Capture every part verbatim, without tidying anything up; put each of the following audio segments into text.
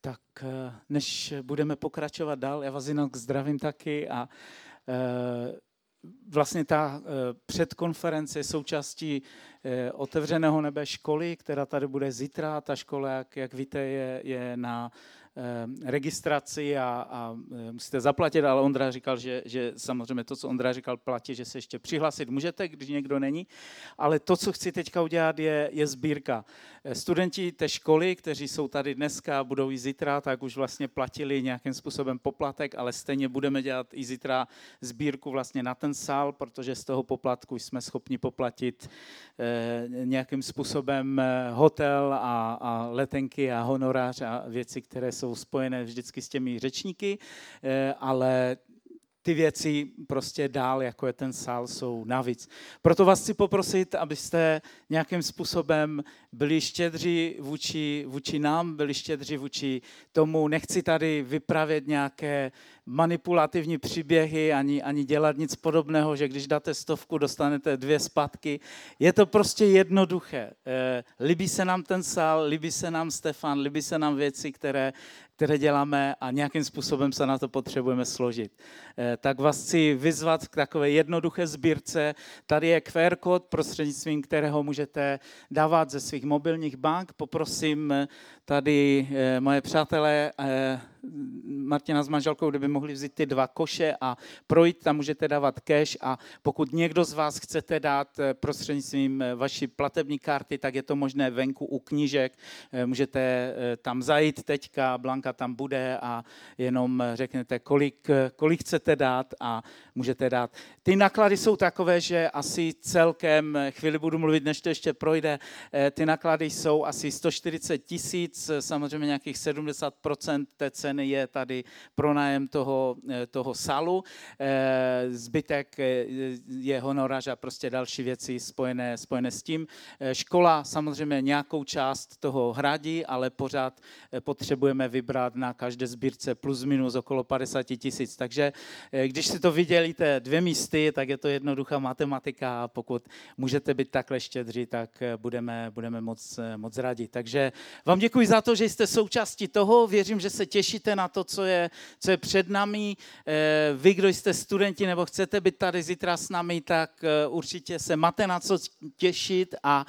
Tak než budeme pokračovat dál, já vás jinak zdravím taky a e, vlastně ta e, předkonference je součástí e, Otevřeného nebe školy, která tady bude zítra. Ta škola, jak, jak víte, je, je na e, registraci a, a e, musíte zaplatit, ale Ondra říkal, že, že samozřejmě to, co Ondra říkal, platí, že se ještě přihlásit můžete, když někdo není. Ale to, co chci teďka udělat, je, je sbírka. Studenti té školy, kteří jsou tady dneska a budou i zítra, tak už vlastně platili nějakým způsobem poplatek, ale stejně budeme dělat i zítra sbírku vlastně na ten sál, protože z toho poplatku jsme schopni poplatit eh, nějakým způsobem hotel a, a letenky a honorář a věci, které jsou spojené vždycky s těmi řečníky, eh, ale ty věci prostě dál, jako je ten sál, jsou navíc. Proto vás chci poprosit, abyste nějakým způsobem byli štědří vůči, vůči nám, byli štědří vůči tomu. Nechci tady vypravět nějaké manipulativní příběhy, ani, ani dělat nic podobného, že když dáte stovku, dostanete dvě zpátky. Je to prostě jednoduché. E, líbí se nám ten sál, líbí se nám Stefan, líbí se nám věci, které, které děláme a nějakým způsobem se na to potřebujeme složit. E, tak vás chci vyzvat k takové jednoduché sbírce. Tady je Q R kód, prostřednictvím kterého můžete dávat ze svých mobilních bank. Poprosím tady e, moje přátelé, e, Martina s manželkou, kdyby mohli vzít ty dva koše a projít, tam můžete dávat cash a pokud někdo z vás chcete dát prostřednictvím vaší platební karty, tak je to možné venku u knížek, můžete tam zajít teďka, Blanka tam bude a jenom řeknete, kolik, kolik chcete dát a můžete dát. Ty náklady jsou takové, že asi celkem, chvíli budu mluvit, než to ještě projde, ty náklady jsou asi sto čtyřicet tisíc, samozřejmě nějakých sedmdesát procent té ceny je tady pronájem toho, toho sálu. Zbytek je honorář a prostě další věci spojené, spojené s tím. Škola samozřejmě nějakou část toho hradí, ale pořád potřebujeme vybrat na každé sbírce plus minus okolo padesát tisíc. Takže když si to vydělíte dvě místy, tak je to jednoduchá matematika a pokud můžete být takhle štědří, tak budeme, budeme moc, moc rádi. Takže vám děkuji za to, že jste součástí toho. Věřím, že se těšíte na to, co je, co je před námi. Vy, kdo jste studenti nebo chcete být tady zítra s námi, tak určitě se máte na co těšit a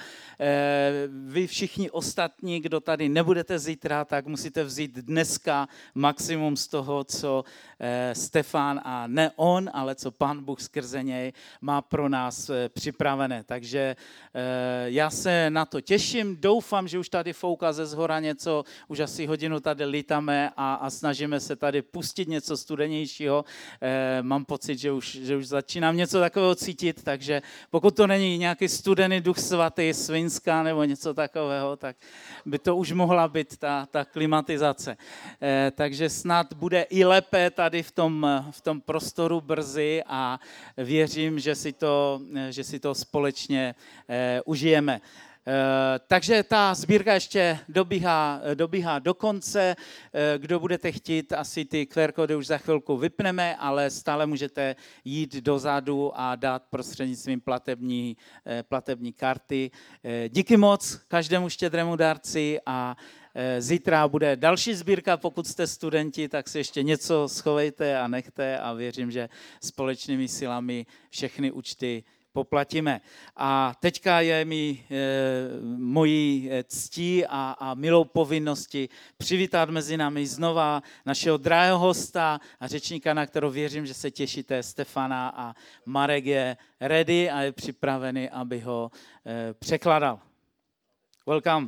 vy všichni ostatní, kdo tady nebudete zítra, tak musíte vzít dneska maximum z toho, co Stefan a ne on, ale co Pán Bůh skrze něj má pro nás připravené. Takže já se na to těším, doufám, že už tady fouká ze zhora něco, už asi hodinu tady lítáme a, a snažíme se tady pustit něco studenějšího. E, mám pocit, že už, že už začínám něco takového cítit, takže pokud to není nějaký studený duch svatý, svinská nebo něco takového, tak by to už mohla být ta, ta klimatizace. E, takže snad bude i lépe tady v tom, v tom prostoru brzy a věřím, že si to, že si to společně e, užijeme. Uh, takže ta sbírka ještě dobíhá, dobíhá do konce. Uh, kdo budete chtít, asi ty Q R kódy už za chvilku vypneme, ale stále můžete jít dozadu a dát prostřednictvím platební, uh, platební karty. Uh, díky moc každému štědrému dárci a uh, zítra bude další sbírka. Pokud jste studenti, tak si ještě něco schovejte a nechte a věřím, že společnými silami všechny účty poplatíme. A teďka je mi e, mojí ctí a, a milou povinnosti přivítat mezi námi znova našeho drahého hosta a řečníka, na kterou věřím, že se těšíte, Stefana, a Marek je ready a je připravený, aby ho e, překladal. Welcome.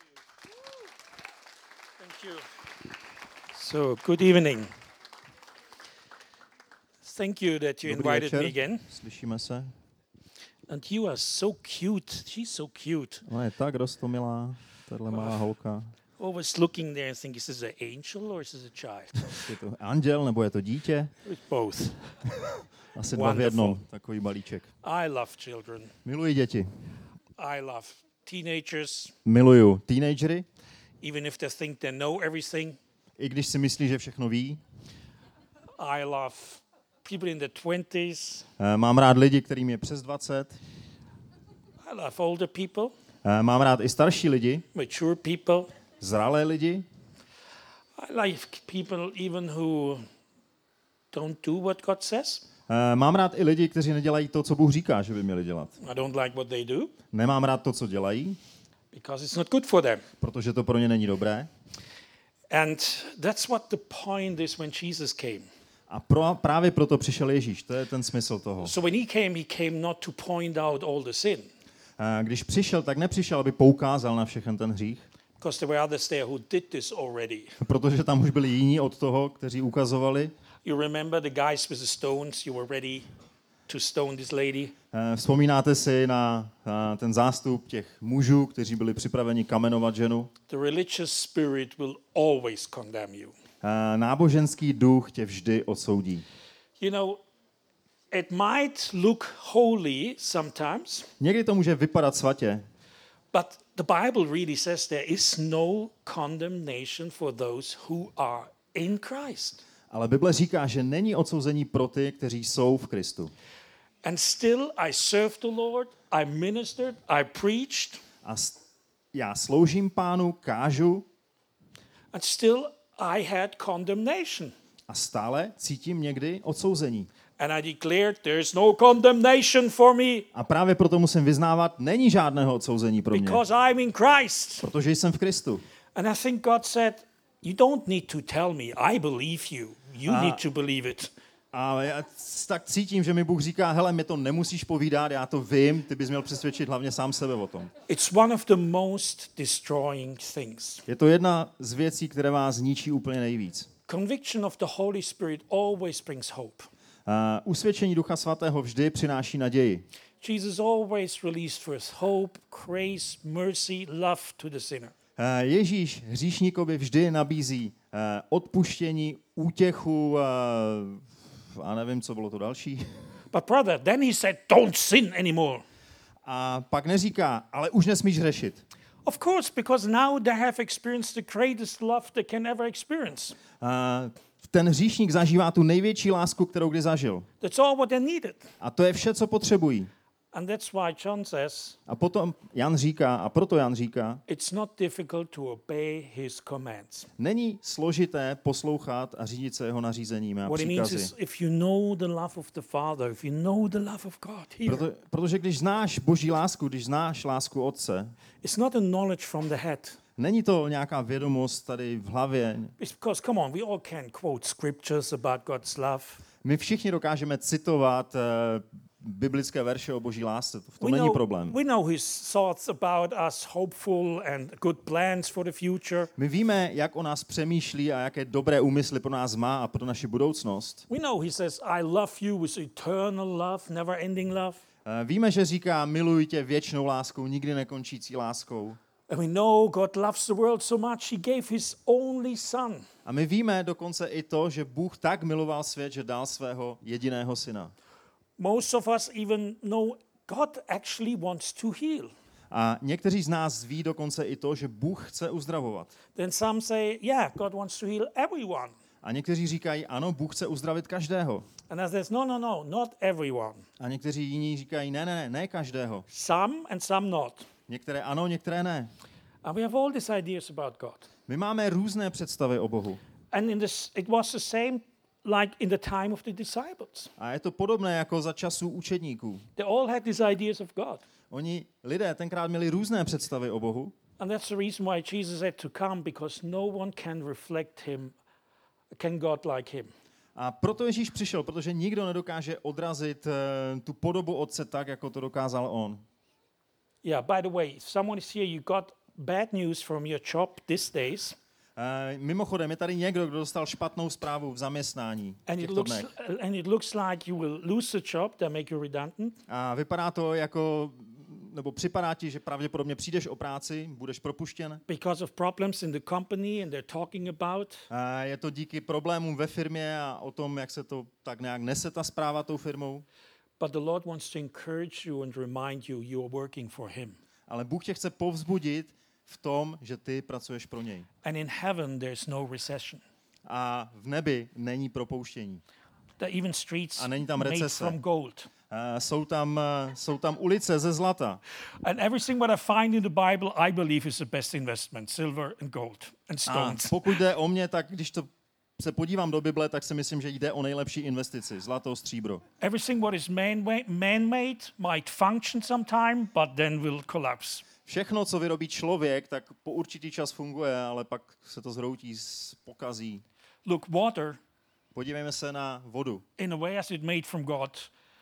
Thank you. So, good evening. Thank you that you Dobrý invited večer. me again. Slyšíme se. And you are so cute. She's so cute. Ona je tak rostomilá, tahle malá holka. Always looking there and think, is this an angel or is this a child? Je to anděl nebo je to dítě? It's both. Asi dva v jednom, takový balíček. I love children. Miluji děti. I love teenagers. Miluju teenagery, Even if they think they know everything. i když si myslí, že všechno ví. I love people in their twenties. Mám rád lidi, kterým je přes dvacet. I love older people. Mám rád i starší lidi, Mature people. zralé lidi. I like people even who don't do what God says. Eh, Mám rád i lidi, kteří nedělají to, co Bůh říká, že by měli dělat. I don't like what they do Nemám rád to, co dělají, because it's not good for them. protože to pro ně není dobré. And that's what the point is when Jesus came. A pro, právě proto přišel Ježíš, to je ten smysl toho. So when he came, he came not to point out all the sin, Eh, Když přišel, tak nepřišel, aby poukázal na všechen ten hřích, because there were others there who did this already. protože tam už byli jiní od toho, kteří ukazovali. You remember the guys with the stones? You were ready to stone this lady. Eh, Vzpomínáte si na na ten zástup těch mužů, kteří byli připraveni kamenovat ženu? The religious spirit will always condemn you. Eh, Náboženský duch tě vždy odsoudí. You know, it might look holy sometimes, Někdy to může vypadat svatě, but the Bible really says there is no condemnation for those who are in Christ. ale Bible říká, že není odsouzení pro ty, kteří jsou v Kristu. And still I served the Lord, I ministered, I preached, A s- já sloužím Pánu, kážu and still I had condemnation. a stále cítím někdy odsouzení. And I declared, there's no condemnation for me A právě proto musím vyznávat, není žádného odsouzení pro mě, because I'm in Christ. protože jsem v Kristu. And I think God said, you don't need to tell me, I believe you. You Ah. need to believe it. A já c- tak cítím, že mi Bůh říká, hele, mi to nemusíš povídat, já to vím, ty bys měl přesvědčit hlavně sám sebe o tom. It's one of the most destroying things. Je to jedna z věcí, které vás zničí úplně nejvíc. Conviction of the Holy Spirit always brings hope. A usvědčení Ducha Svatého vždy přináší naději. Jesus always released for us hope, grace, mercy, love to the sinner. A Ježíš hříšníkovi vždy nabízí eh, odpuštění, útěchu, eh, a nevím, co bylo to další. But brother, then he said, don't sin anymore. A pak neříká, ale už nesmíš hřešit. Of course, because now they have experienced the greatest love they can ever experience. A ten hříšník zažívá tu největší lásku, kterou kdy zažil. That's all what they needed. A to je vše, co potřebují. And that's why John says, A potom Jan říká, a proto Jan říká, it's not difficult to obey his commands. není složité poslouchat a řídit se jeho nařízeními a What it means příkazy. is if you know the love of the Father, if you know the love of God here, Proto, protože když znáš Boží lásku, když znáš lásku Otce, it's not a knowledge from the head. není to nějaká vědomost tady v hlavě. It's because, come on, we all can quote scriptures about God's love. My všichni dokážeme citovat uh, biblické verše o Boží lásce, to v tom We není know, problém. we know his thoughts about us, hopeful and good plans for the future. My víme, jak o nás přemýšlí a jaké dobré úmysly pro nás má a pro naši budoucnost. We know he says, I love you with eternal love, never ending love. Uh, víme, že říká, miluji tě věčnou láskou, nikdy nekončící láskou. And we know God loves the world so much, he gave his only son. A my víme dokonce i to, že Bůh tak miloval svět, že dal svého jediného syna. Most of us even know God actually wants to heal. A někteří z nás ví dokonce i to, že Bůh chce uzdravovat. Then some say, yeah, God wants to heal everyone. A někteří říkají, ano, Bůh chce uzdravit každého. And others, no, no, no, not everyone. A někteří jiní říkají, ne, ne, ne, ne každého. Some and some not. Některé ano, některé ne. And we have all these ideas about God. My máme různé představy o Bohu. And in this, it was the same like in the time of the disciples. A je to podobné jako za časů učedníků. They all had these ideas of God. Oni, lidé, tenkrát měli různé představy o Bohu. And that's the reason why Jesus had to come, because no one can reflect him, can God like him. A proto Ježíš přišel, protože nikdo nedokáže odrazit uh, tu podobu Otce tak, jako to dokázal on. Yeah, by the way, if someone is here, you got bad news from your job these days. Uh, mimochodem, je tady někdo, kdo dostal špatnou zprávu v zaměstnání v And it těchto looks dnech. and it looks like you will lose the job, they make you redundant. A vypadá to jako, nebo připadá ti, že pravděpodobně přijdeš o práci, budeš propuštěn. Because of problems in the company and they're talking about. A je to díky problémům ve firmě a o tom, jak se to tak nějak nese ta zpráva tou firmou. But the Lord wants to encourage you and remind you you are working for him. Ale Bůh tě chce povzbudit v tom, že ty pracuješ pro něj. And in heaven there's no recession. A v nebi není propouštění. There are even streets A není tam made recese. from gold. jsou tam, uh, jsou tam ulice ze zlata. And everything what I find in the Bible, I believe is the best investment, silver and gold and A stones. pokud jde o mě, tak když to se podívám do Bible, tak si myslím, že jde o nejlepší investici, zlato, stříbro. Everything what is man- man-made might function sometime, but then will collapse. Všechno, co vyrobí člověk, tak po určitý čas funguje, ale pak se to zhroutí, pokazí. Look, water, Podívejme se na vodu. in a way as it made from God,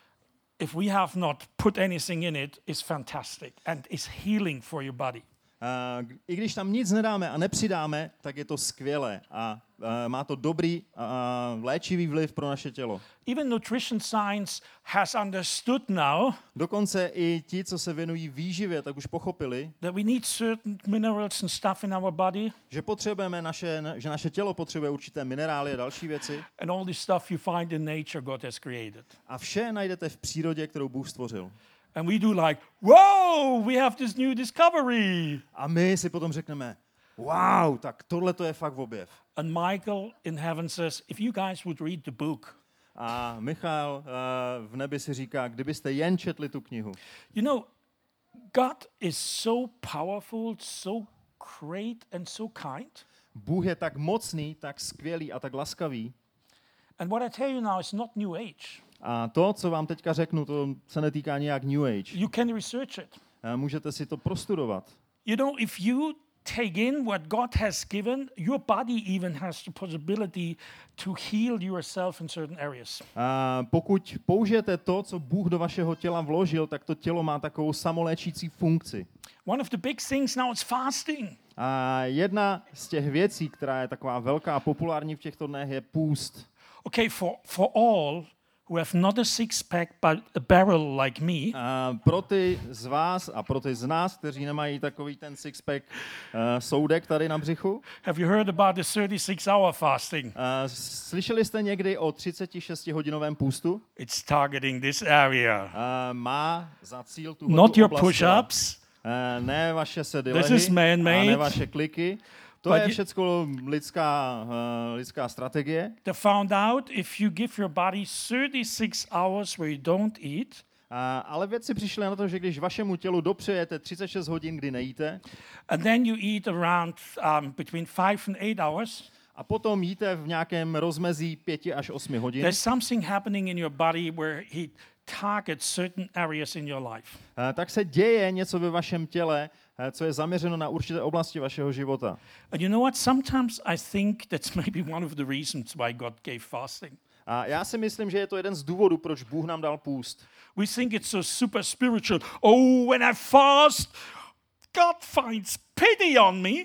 if we have not put anything in it, is fantastic and is healing for your body. Uh, I když tam nic nedáme a nepřidáme, tak je to skvělé a uh, má to dobrý uh, léčivý vliv pro naše tělo. Even nutrition science has understood now Dokonce i ti, co se věnují výživě, tak už pochopili, that we need certain minerals and stuff in our body, že potřebujeme naše, že naše tělo potřebuje určité minerály a další věci and all this stuff you find in nature God has created. a vše najdete v přírodě, kterou Bůh stvořil. And we do like, whoa, we have this new discovery. A my si potom řekneme, wow, tak tohle to je fakt objev. And Michael in heaven says, if you guys would read the book, A Michal uh, v nebi si říká, kdybyste jen četli tu knihu. you know, God is so powerful, so great, and so kind. Bůh je tak mocný, tak skvělý a tak laskavý. And what I tell you now is not New Age. A to, co vám teďka řeknu, to se netýká nějak New Age. You can research it. Uh, můžete si to prostudovat. You know, if you take in what God has given, your body even has the possibility to heal yourself in certain areas. A pokud použijete to, co Bůh do vašeho těla vložil, tak to tělo má takovou samoléčící funkci. One of the big things now is fasting. A jedna z těch věcí, která je taková velká a populární v těchto dnech, je půst. Okay, for, for all who have not a six-pack but a barrel like me, A pro ty z vás a pro ty z nás, kteří nemají takový ten six-pack uh, soudek tady na břichu, have you heard about the thirty-six hour fasting? uh, slyšeli jste někdy o třicetišestihodinovém půstu? It's targeting this area. Uh, má za cíl tu Not your oblast těla. push-ups. Uh, ne vaše This is sedilehy a man-made. ne vaše kliky. To But je you- všecko lidská, uh, lidská strategie. They found out if you give your body thirty-six hours where you don't eat, Uh, ale vědci přišli na to, že když vašemu tělu dopřejete třicet šest hodin, kdy nejíte, and then you eat around um, between five and eight hours, a potom jíte v nějakém rozmezí pěti až osmi hodin, there's something happening in your body where he targets certain areas in your life. uh, tak se děje něco ve vašem těle, uh, co je zaměřeno na určité oblasti vašeho života. And you know what? Sometimes I think that's maybe one of the reasons why God gave fasting. A já si myslím, že je to jeden z důvodů, proč Bůh nám dal půst. We think it's so super spiritual. Oh, when I fast, God finds pity on me.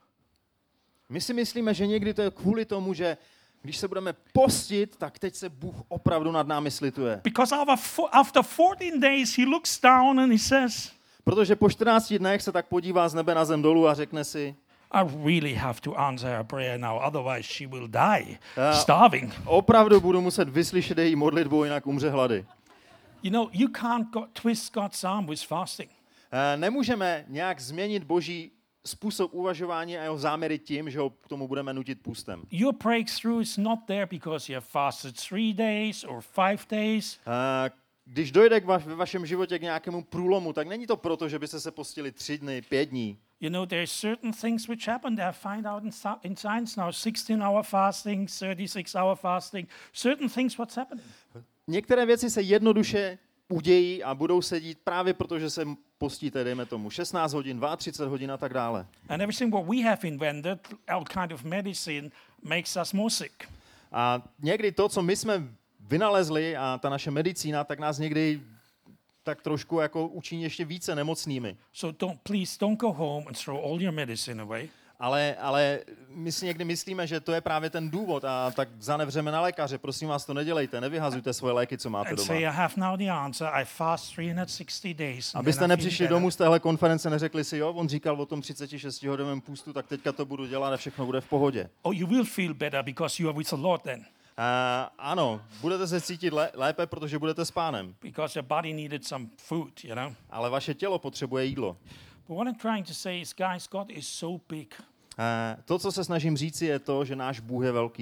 My si myslíme, že někdy to je kvůli tomu, že když se budeme postit, tak teď se Bůh opravdu nad námi slituje. Because after fo- after fourteen days, he looks down and he says, Protože po čtrnácti dnech se tak podívá z nebe na zem dolů a řekne si, I really have to answer her prayer now, otherwise she will die Uh, starving. opravdu budu muset vyslyšet její modlitbu, jinak umře hlady. You know, you can't go- twist God's arm with fasting. Eh, Nemůžeme nějak změnit Boží způsob uvažování a jeho záměry tím, že ho k tomu budeme nutit půstem. Your breakthrough is not there because you have fasted three days or five days. Eh, Když dojde k va- ve vašem životě k nějakému průlomu, tak není to proto, že byste se postili tři dny, pět dní. You know, there's certain things which happen. They find out in, sci- in science now, sixteen hour fasting, thirty-six hour fasting, certain things what's happening. Některé věci se jednoduše udějí a budou se dít právě proto, že se postíte, dejme tomu, šestnáct hodin, třicet dva hodin a tak dále. And everything what we have invented, all kind of medicine, makes us more sick. A někdy to, co my jsme vynalezli a ta naše medicína, tak nás někdy tak trošku jako učiní ještě více nemocnými. So don't, please don't go home and throw all your medicine away. Ale, ale my si někdy myslíme, že to je právě ten důvod a tak zanevřeme na lékaře. Prosím vás, to nedělejte, nevyhazujte svoje léky, co máte And doma. say, I have now the answer. I fast three hundred sixty days. and Abyste then I feel nepřišli better. domů z téhle konference, neřekli si, jo, on říkal o tom třicetišestihodinovém půstu, tak teďka to budu dělat a všechno bude v pohodě. Oh, you will feel better because you are with the Lord then. Uh, ano, budete se cítit lé- lépe, protože budete s pánem, Because your body needed some food, you know. ale vaše tělo potřebuje jídlo. But what I'm trying to say is, guys, God is so big. Uh, to, co se snažím říci, je to, že náš Bůh je velký.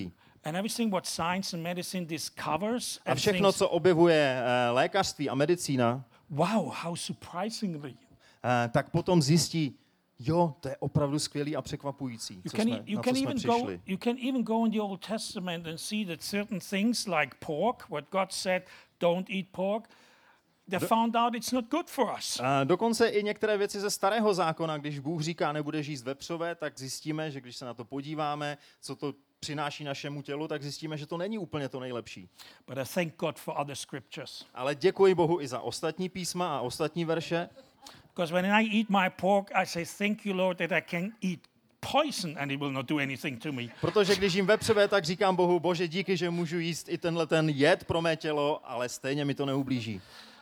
And everything what science and medicine discovers A and všechno, thinks, co objevuje eh, lékařství a medicína, wow, how surprisingly. eh, tak potom zjistí, jo, to je opravdu skvělý a překvapující, You co can, jsme, e- you na can co jsme even go přišli. you can even go in the Old Testament and see that certain things like pork, what God said, don't eat pork, they found out it's not good for us. A dokonce i některé věci ze starého zákona, když Bůh říká, nebudeš jíst vepřové, tak zjistíme, že když se na to podíváme, co to přináší našemu tělu, tak zjistíme, že to není úplně to nejlepší. But I thank God for other scriptures. Ale děkuji Bohu i za ostatní písma a ostatní verše, Because when I eat my pork, I say, thank you, Lord, that I can eat poison and it will not do anything to me. protože když jim vepřové, tak říkám Bohu, Bože, díky, že můžu jíst i tenhle ten jed pro mé tělo, ale stejně mi to neublíží.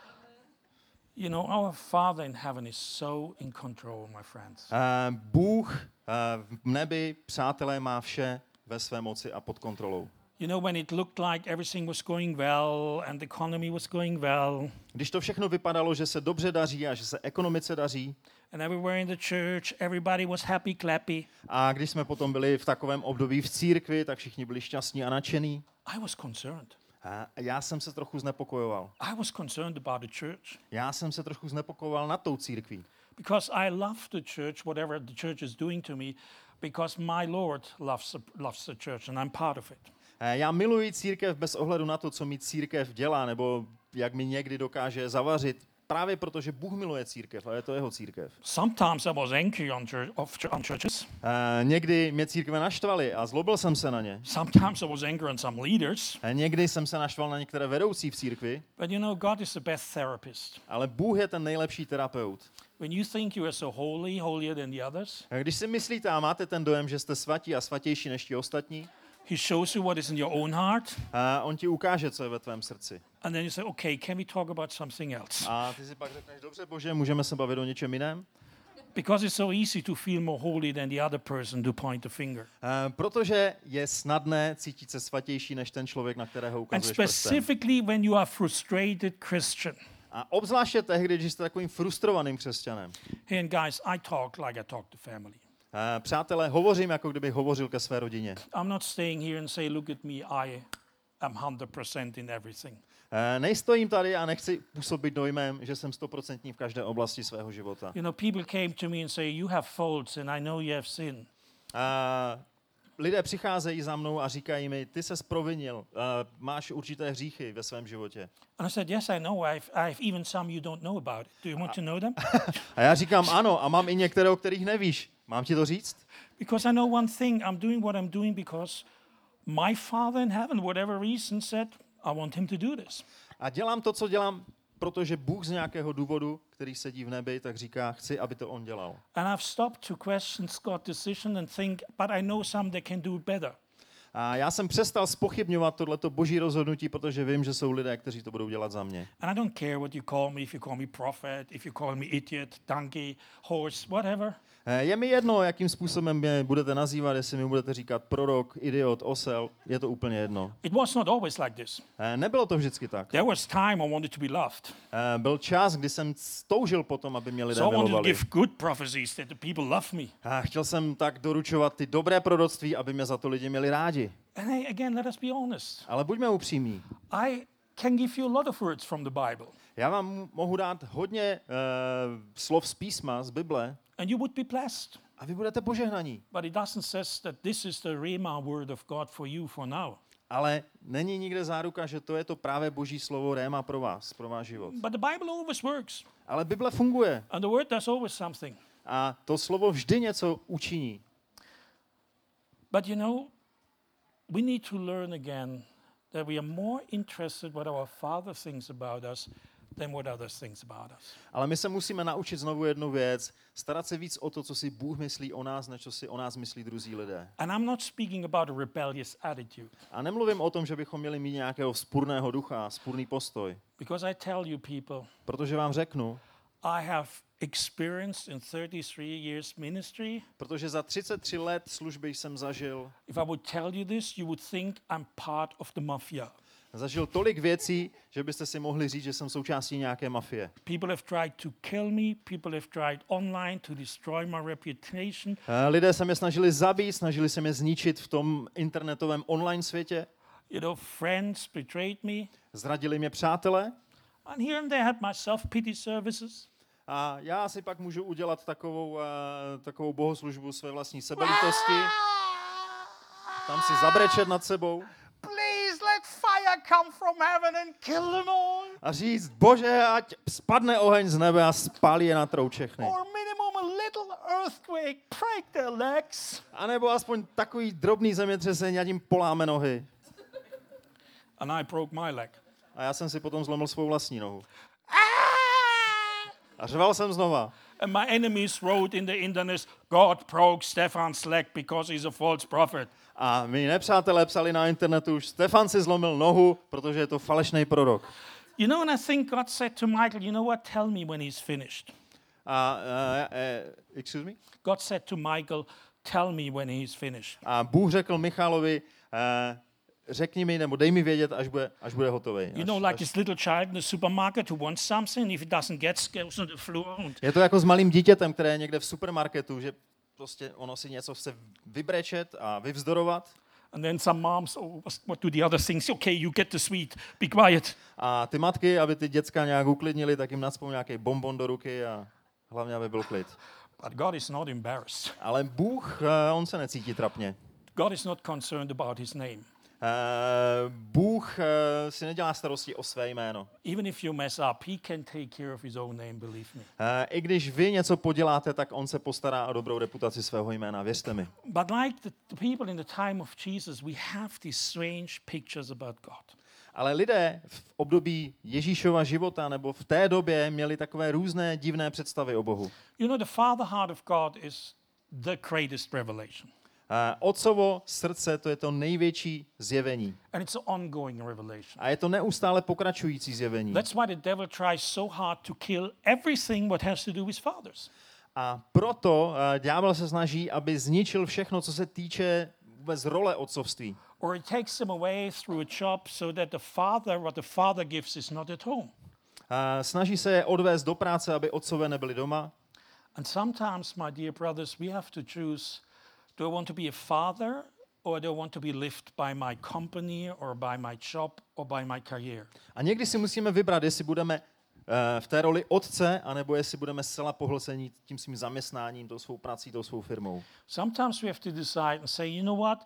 You know, our Father in heaven is so in control, my friends. Uh, Bůh uh, v nebi, přátelé, má vše ve své moci a pod kontrolou. You know, when it looked like everything was going well and the economy was going well, Když to všechno vypadalo, že se dobře daří a že se ekonomice daří, and everywhere in the church, everybody was happy, clappy, a když jsme potom byli v takovém období v církvi, tak všichni byli šťastní a nadšení. I was concerned. A já jsem se trochu znepokojoval. I was concerned about the church Já jsem se trochu znepokojoval nad tou církví. because I love the church, whatever the church is doing to me, because my Lord loves the, loves the church and I'm part of it. Eh, Já miluji církev bez ohledu na to, co mi církev dělá, nebo jak mi někdy dokáže zavařit, právě protože Bůh miluje církev a je to jeho církev. Sometimes I was angry on, church, of, on churches. Eh, Někdy mě církve naštvaly a zlobil jsem se na ně. Sometimes I was angry on some leaders. Eh, Někdy jsem se naštval na některé vedoucí v církvi, But you know, God is the best therapist. ale Bůh je ten nejlepší terapeut. When you think you are so holy, holier than the others, Eh, Když si myslíte a máte ten dojem, že jste svatí a svatější než ti ostatní, He shows you what is in your own heart, eh, on ti ukáže, co je ve tvém srdci. and then you say, okay, can we talk about something else? A ty si pak řekneš, dobře, Bože, můžeme se bavit o něčem jiném? Because it's so easy to feel more holy than the other person to point the finger. Uh, protože je snadné cítit se svatější než ten člověk, na kterého And ukazuješ prstem. specifically when you are frustrated Christian. A obzvláště tehdy, když jste takovým frustrovaným křesťanem. Hey, and guys, I talk like I talk to family. Uh, přátelé, hovořím, jako kdybych hovořil ke své rodině. I'm not staying here and say, look at me, I am one hundred percent in everything. Uh, nejstojím tady a nechci působit dojmem, že jsem stoprocentní v každé oblasti svého života. You know, people came to me and say, you have faults and I know you have sin. Uh, lidé přicházejí za mnou a říkají mi, ty ses provinil, uh, máš určité hříchy ve svém životě. And I said, yes, I know. I have, I have even some you don't know about it. Do you want to know them? A já říkám, ano, a mám i některé, o kterých nevíš. Mám ti to říct? Because I know one thing. I'm doing what I'm doing because my Father in heaven, whatever reason, said, I want him to do this. A dělám to, co dělám, protože Bůh z nějakého důvodu, který sedí v nebi, tak říká, chci, aby to on dělal. And I've stopped to question God's decision and think, but I know some that can do it better. A já jsem přestal zpochybňovat tohleto boží rozhodnutí, protože vím, že jsou lidé, kteří to budou dělat za mě. And I don't care what you call me, if you call me prophet, if you call me idiot, donkey, horse, whatever. Eh, Je mi jedno, jakým způsobem mě budete nazývat, jestli mi budete říkat prorok, idiot, osel, je to úplně jedno. It was not always like this. Eh, Nebylo to vždycky tak. There was time I wanted to be loved. Eh, Byl čas, kdy jsem toužil potom, aby mě lidé So I wanted to milovali. give good prophecies that the people love me. A chtěl jsem tak doručovat ty dobré proroctví, aby mě za to lidi měli rádi. And hey, again, let us be honest. Ale buďme upřímní. I can give you a lot of words from the Bible, Já vám mohu dát hodně uh, slov z písma, z Bible, and you would be blessed. a vy budete požehnaní. But it doesn't says that this is the Rhema word of God for you for now. Ale není nikde záruka, že to je to právě boží slovo réma pro vás, pro váš život. But the Bible always works, Ale Bible funguje and the word does always something. a to slovo vždy něco učiní. But you know, we need to learn again that we are more interested what our Father thinks about us than what others thinks about us. Ale my se musíme naučit znovu jednu věc, starat se víc o to, co si Bůh myslí o nás, než co si o nás myslí druzí lidé. And I'm not speaking about a rebellious attitude, A nemluvím o tom, že bychom měli mít nějakého vzpurného ducha, vzpurný postoj, because I tell you people, protože vám řeknu, I have experienced in thirty-three years ministry. protože za třicet tři let služby jsem zažil. If I would tell you this, you would think I'm part of the mafia. zažil tolik věcí, že byste si mohli říct, že jsem součástí nějaké mafie. People have tried to kill me. People have tried online to destroy my reputation. Eh, Lidé se mě snažili zabít, snažili se mě zničit v tom internetovém online světě. You know, friends betrayed me. Zradili mě přátelé. And here and there I had my self-pity services. A já si pak můžu udělat takovou, uh, takovou bohoslužbu své vlastní sebelítosti. Tam si zabrečet nad sebou. Please let fire come from heaven and kill them all. A říct, Bože, ať spadne oheň z nebe a spálí je na trou všechny. Or minimum a little earthquake, break their legs. A nebo aspoň takový drobný zemětřesení, ať jim poláme nohy. And I broke my leg. A já jsem si potom zlomil svou vlastní nohu. A řval jsem znova. And my enemies wrote in the internet, God broke Stefan's leg because he's a false prophet. A mý nepřátelé psali na internetu, už Stefan si zlomil nohu, protože je to falešný prorok. You know, and I think God said to Michael, you know what, tell me when he's finished. A, uh, uh, excuse me? God said to Michael, tell me when he's finished. A Bůh řekl Michalovi, uh, řekni mi, nebo dej mi vědět, až bude, až bude hotový. You know, like this little child in the supermarket who wants something, if it doesn't get, goes on the floor. Je to jako s malým dítětem, které je někde v supermarketu, že prostě ono si něco chce vybrečet a vyvzdorovat. And then some moms, oh, what do the other things? Okay, you get the sweet, be quiet. A ty matky, aby ty děcka nějak uklidnili, tak jim nacpou nějaký bonbon do ruky a hlavně, aby byl klid. But God is not embarrassed. Ale Bůh, on se necítí trapně. God is not concerned about his name. Uh, Bůh uh, si nedělá starosti o své jméno. Even if you mess up, he can take care of his own name, believe me. Uh, I když vy něco poděláte, tak on se postará o dobrou reputaci svého jména, věřte mi. But like the, the people in the time of Jesus, we have these strange pictures about God. Ale lidé v období Ježíšova života nebo v té době měli takové různé divné představy o Bohu. You know, the father heart of God is the greatest revelation. Uh, Otcovo srdce, to je to největší zjevení. And it's an ongoing revelation. A je to neustále pokračující zjevení. That's why the devil tries so hard to kill everything what has to do with fathers. A proto uh, ďábel se snaží, aby zničil všechno, co se týče vůbec role otcovství. Or he takes them away through a job so that the father, what the father gives, is not at home. Uh, snaží se je odvést do práce, aby otcové nebyli doma. And sometimes, my dear brothers, we have to choose, do I want to be a father or do I want to be lived by my company or by my job or by my career? A někdy si musíme vybrat, jestli budeme uh, v té roli otce, anebo jestli budeme zcela pohlcení tím svým zaměstnáním, tou svou prací, tou svou firmou. Sometimes we have to decide and say, you know what?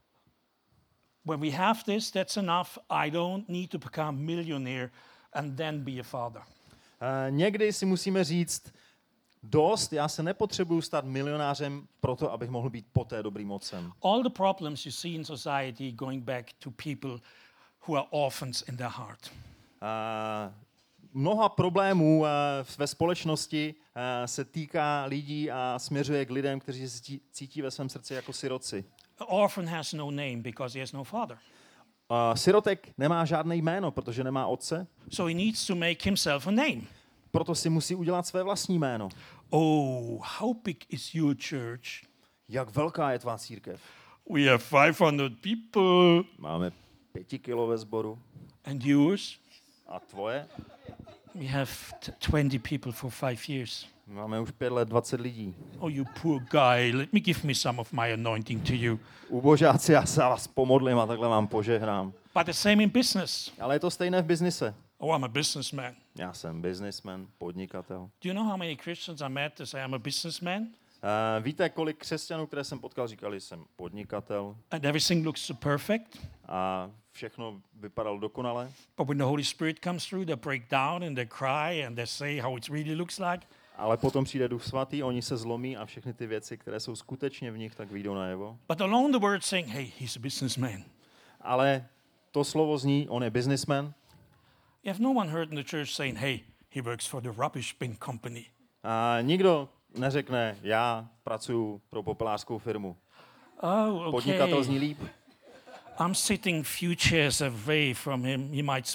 When we have this, that's enough. I don't need to become a millionaire and then be a father. Uh, někdy si musíme říct, dost, já se nepotřebuju stát milionářem proto, abych mohl být poté dobrým otcem. All the problems you see in society going back to people who are orphans in their heart. Uh, mnoha problémů uh, ve společnosti uh, se týká lidí a směřuje k lidem, kteří se cítí, cítí ve svém srdci jako siroci. An orphan has no name because he has no father. Uh, sirotek nemá žádné jméno, protože nemá otce, So he needs to make himself a name. proto si musí udělat své vlastní jméno. Oh, how big is your church? Jak velká je tvá církev? We have five hundred people. Máme pěti kilo ve sboru. And yours? A tvoje? We have t- twenty people for five years. Máme už pět let, dvacet lidí. Oh, you poor guy. Let me give me some of my anointing to you. Ubožáci, já se vás pomodlím a takhle vám požehnám. But the same in business. Ale je to stejné v biznise. Oh, I'm a businessman. Já jsem businessman, podnikatel. Do you know how many Christians I met that say I'm a businessman? Uh, víte, kolik křesťanů, které jsem potkal, říkali, jsem podnikatel And everything looks so perfect. a všechno vypadalo dokonale. But when the Holy Spirit comes through, they break down and they cry and they say how it really looks like. Ale potom přijde Duch Svatý, oni se zlomí a všechny ty věci, které jsou skutečně v nich, tak vyjdou najevo. But alone the word saying, hey, he's a businessman. Ale to slovo zní, on je businessman. You have no one heard in the church saying, hey, he works for the rubbish bin company. A nikdo neřekne, já pracuji pro popelářskou firmu. Oh, Podnikatel okay. zní líp. I'm sitting few chairs away from him. He might smell.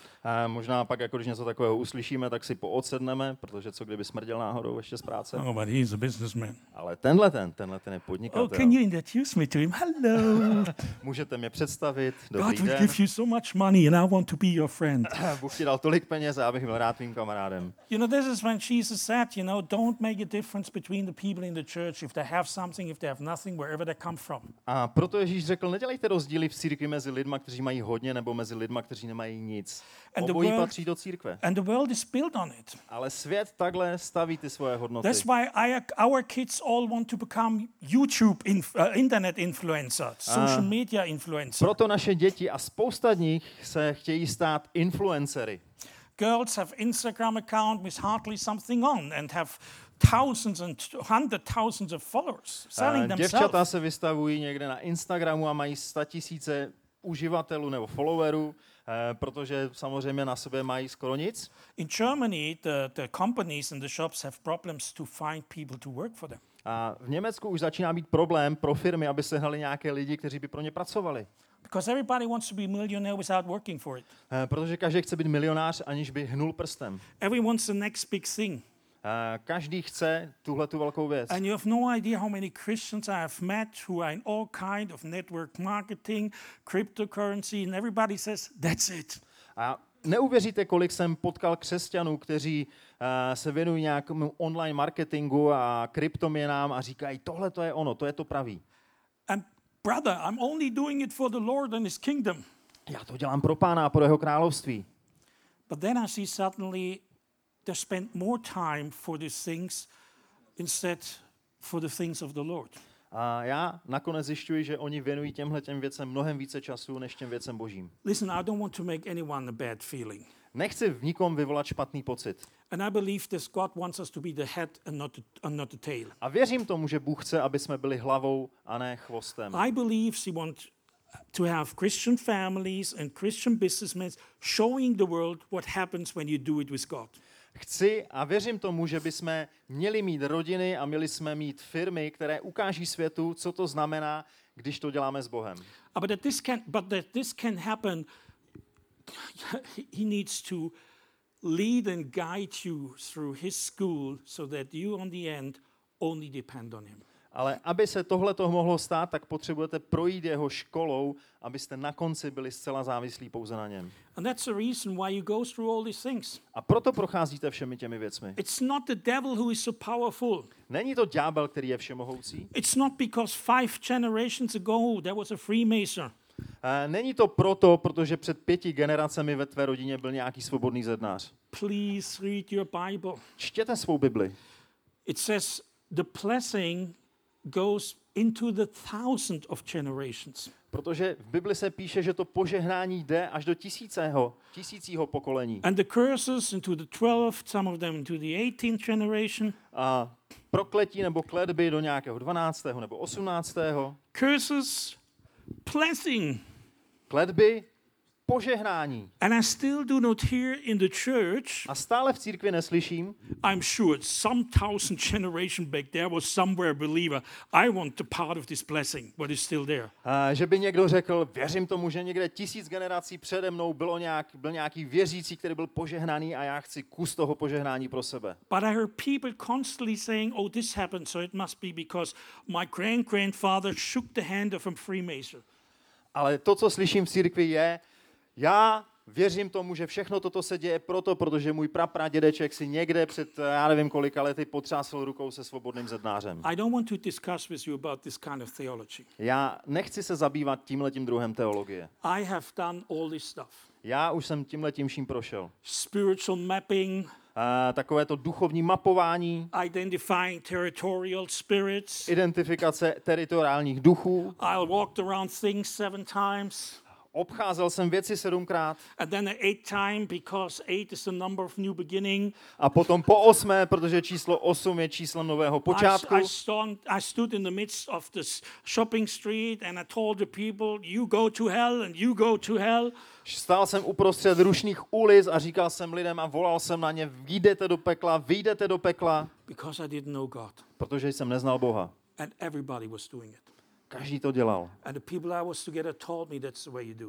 A možná pak, jako když něco takového uslyšíme, tak si poodsedneme, protože co kdyby smrděl náhodou ještě z práce. Oh, but he's a businessman. Ale tenhle ten, tenhle ten je Oh, podnikatel. can you introduce me to him? Hello. Můžete mě představit, dobrý God will den. give you so much money and I want to be your friend. Bůh ti dal tolik peněz a abych byl rád tvým kamarádem. You know, this is when Jesus said, you know, don't make a difference between the people in the church if they have something, if they have nothing, wherever they come from. A proto Ježíš řekl, nedělejte rozdíly v církvi mezi lidma, kteří mají hodně, nebo mezi lidma, kteří nemají nic. And the Obojí world- patří do církve. And the world is built on it. Ale svět takhle staví ty svoje hodnoty. That's why I, our kids all want to become YouTube, inf- uh, internet influencers, social media influencers. Proto naše děti a spousta z nich se chtějí stát influencery. Girls have Instagram account with hardly something on and have thousands and hundred thousands of followers selling A Děvčata themselves. se vystavují někde na Instagramu a mají statisíce uživatelů nebo followerů, eh, protože samozřejmě na sobě mají skoro nic. In Germany, the, the companies and the shops have problems to find people to work for them. A v Německu už začíná být problém pro firmy, aby sehnali nějaké lidi, kteří by pro ně pracovali. Because everybody wants to be a millionaire without working for it. Eh, Protože každý chce být milionář, aniž by hnul prstem. Everyone wants the next big thing. Eh, Každý chce tuhle tu velkou věc. And you have no idea how many Christians I have met who are in all kind of network marketing, cryptocurrency, and everybody says, that's it. A neuvěříte, kolik jsem potkal křesťanů, kteří uh, se věnují nějakému online marketingu a kryptoměnám a říkají, tohle to je ono, to je to pravý. And brother, I'm only doing it for the Lord and his kingdom. Já to dělám pro Pána a pro jeho království. But then I see suddenly they spend more time for these things instead for the things of the Lord. A já nakonec zjišťuji, že oni věnují těmhle těm věcem mnohem více času, než těm věcem božím. Listen, I don't want to make anyone a bad feeling. Nechci v nikom vyvolat špatný pocit. And I believe this God wants us to be the head and not the, and not the tail. A věřím tomu, že Bůh chce, aby jsme byli hlavou a ne chvostem. I believe he wants to have Christian families and Christian businessmen showing the world what happens when you do it with God. Chci a věřím tomu, že bychom měli mít rodiny a měli jsme mít firmy, které ukáží světu, co to znamená, když to děláme s Bohem. Uh, But that this can, but that this can happen, he needs to lead and guide you through his school so that you, on the end, only depend on him. Ale aby se tohle to mohlo stát, tak potřebujete projít jeho školou, abyste na konci byli zcela závislí pouze na něm. And that's the reason why you go through all these things. A proto procházíte všemi těmi věcmi. It's not the devil who is so powerful. Není to ďábel, který je všemohoucí. It's not because five generations ago there was a Freemason. A není to proto, protože před pěti generacemi ve tvé rodině byl nějaký svobodný zednář. Please read your Bible. Čtěte svou Bibli. It says the blessing goes into the thousand of generations. Protože v Bibli se píše, že to požehnání jde až do tisícého, tisícího pokolení. And the curses into the twelfth, some of them into the eighteenth generation. A prokletí nebo kletby do nějakého dvanáctého nebo osmnáctého Curses, blessing. Kletby, požehnání. And I still do not hear in the church, A stále v církvi neslyším, I'm sure some thousand generation back there was somewhere a believer. I want the part of this blessing, but it's still there. a že by někdo řekl, věřím tomu, že někde tisíc generací přede mnou bylo nějak, byl nějaký věřící, který byl požehnaný a já chci kus toho požehnání pro sebe. But I heard people constantly saying, oh, this happened, so it must be because my grand-grandfather shook the hand of a Freemason. Ale to, co slyším v církvi, je, já věřím tomu, že všechno toto se děje proto, protože můj prapradědeček si někde před, já nevím kolika lety, potřásl rukou se svobodným zednářem. I don't want to discuss with you about this kind of theology. Já nechci se zabývat tímhletím druhem teologie. I have done all this stuff. Já už jsem tímhletím vším prošel. Spiritual mapping, A takové to duchovní mapování, identifying territorial spirits. identifikace teritoriálních duchů. I walked around things seven times. Obcházel jsem věci sedmkrát And then the eighth time, because eight is the number of new beginning. a potom po osmé, protože číslo osm je číslem nového počátku. I, I, stand, I stood in the midst of this shopping street and I told the people, you go to hell and you go to hell. Stál jsem uprostřed rušných ulic a říkal jsem lidem a volal jsem na ně, vyjdete do pekla, vyjdete do pekla, Because I didn't know God. protože jsem neznal Boha. And everybody was doing it. Každý to dělal. And the people I was together told me that's the way you do it.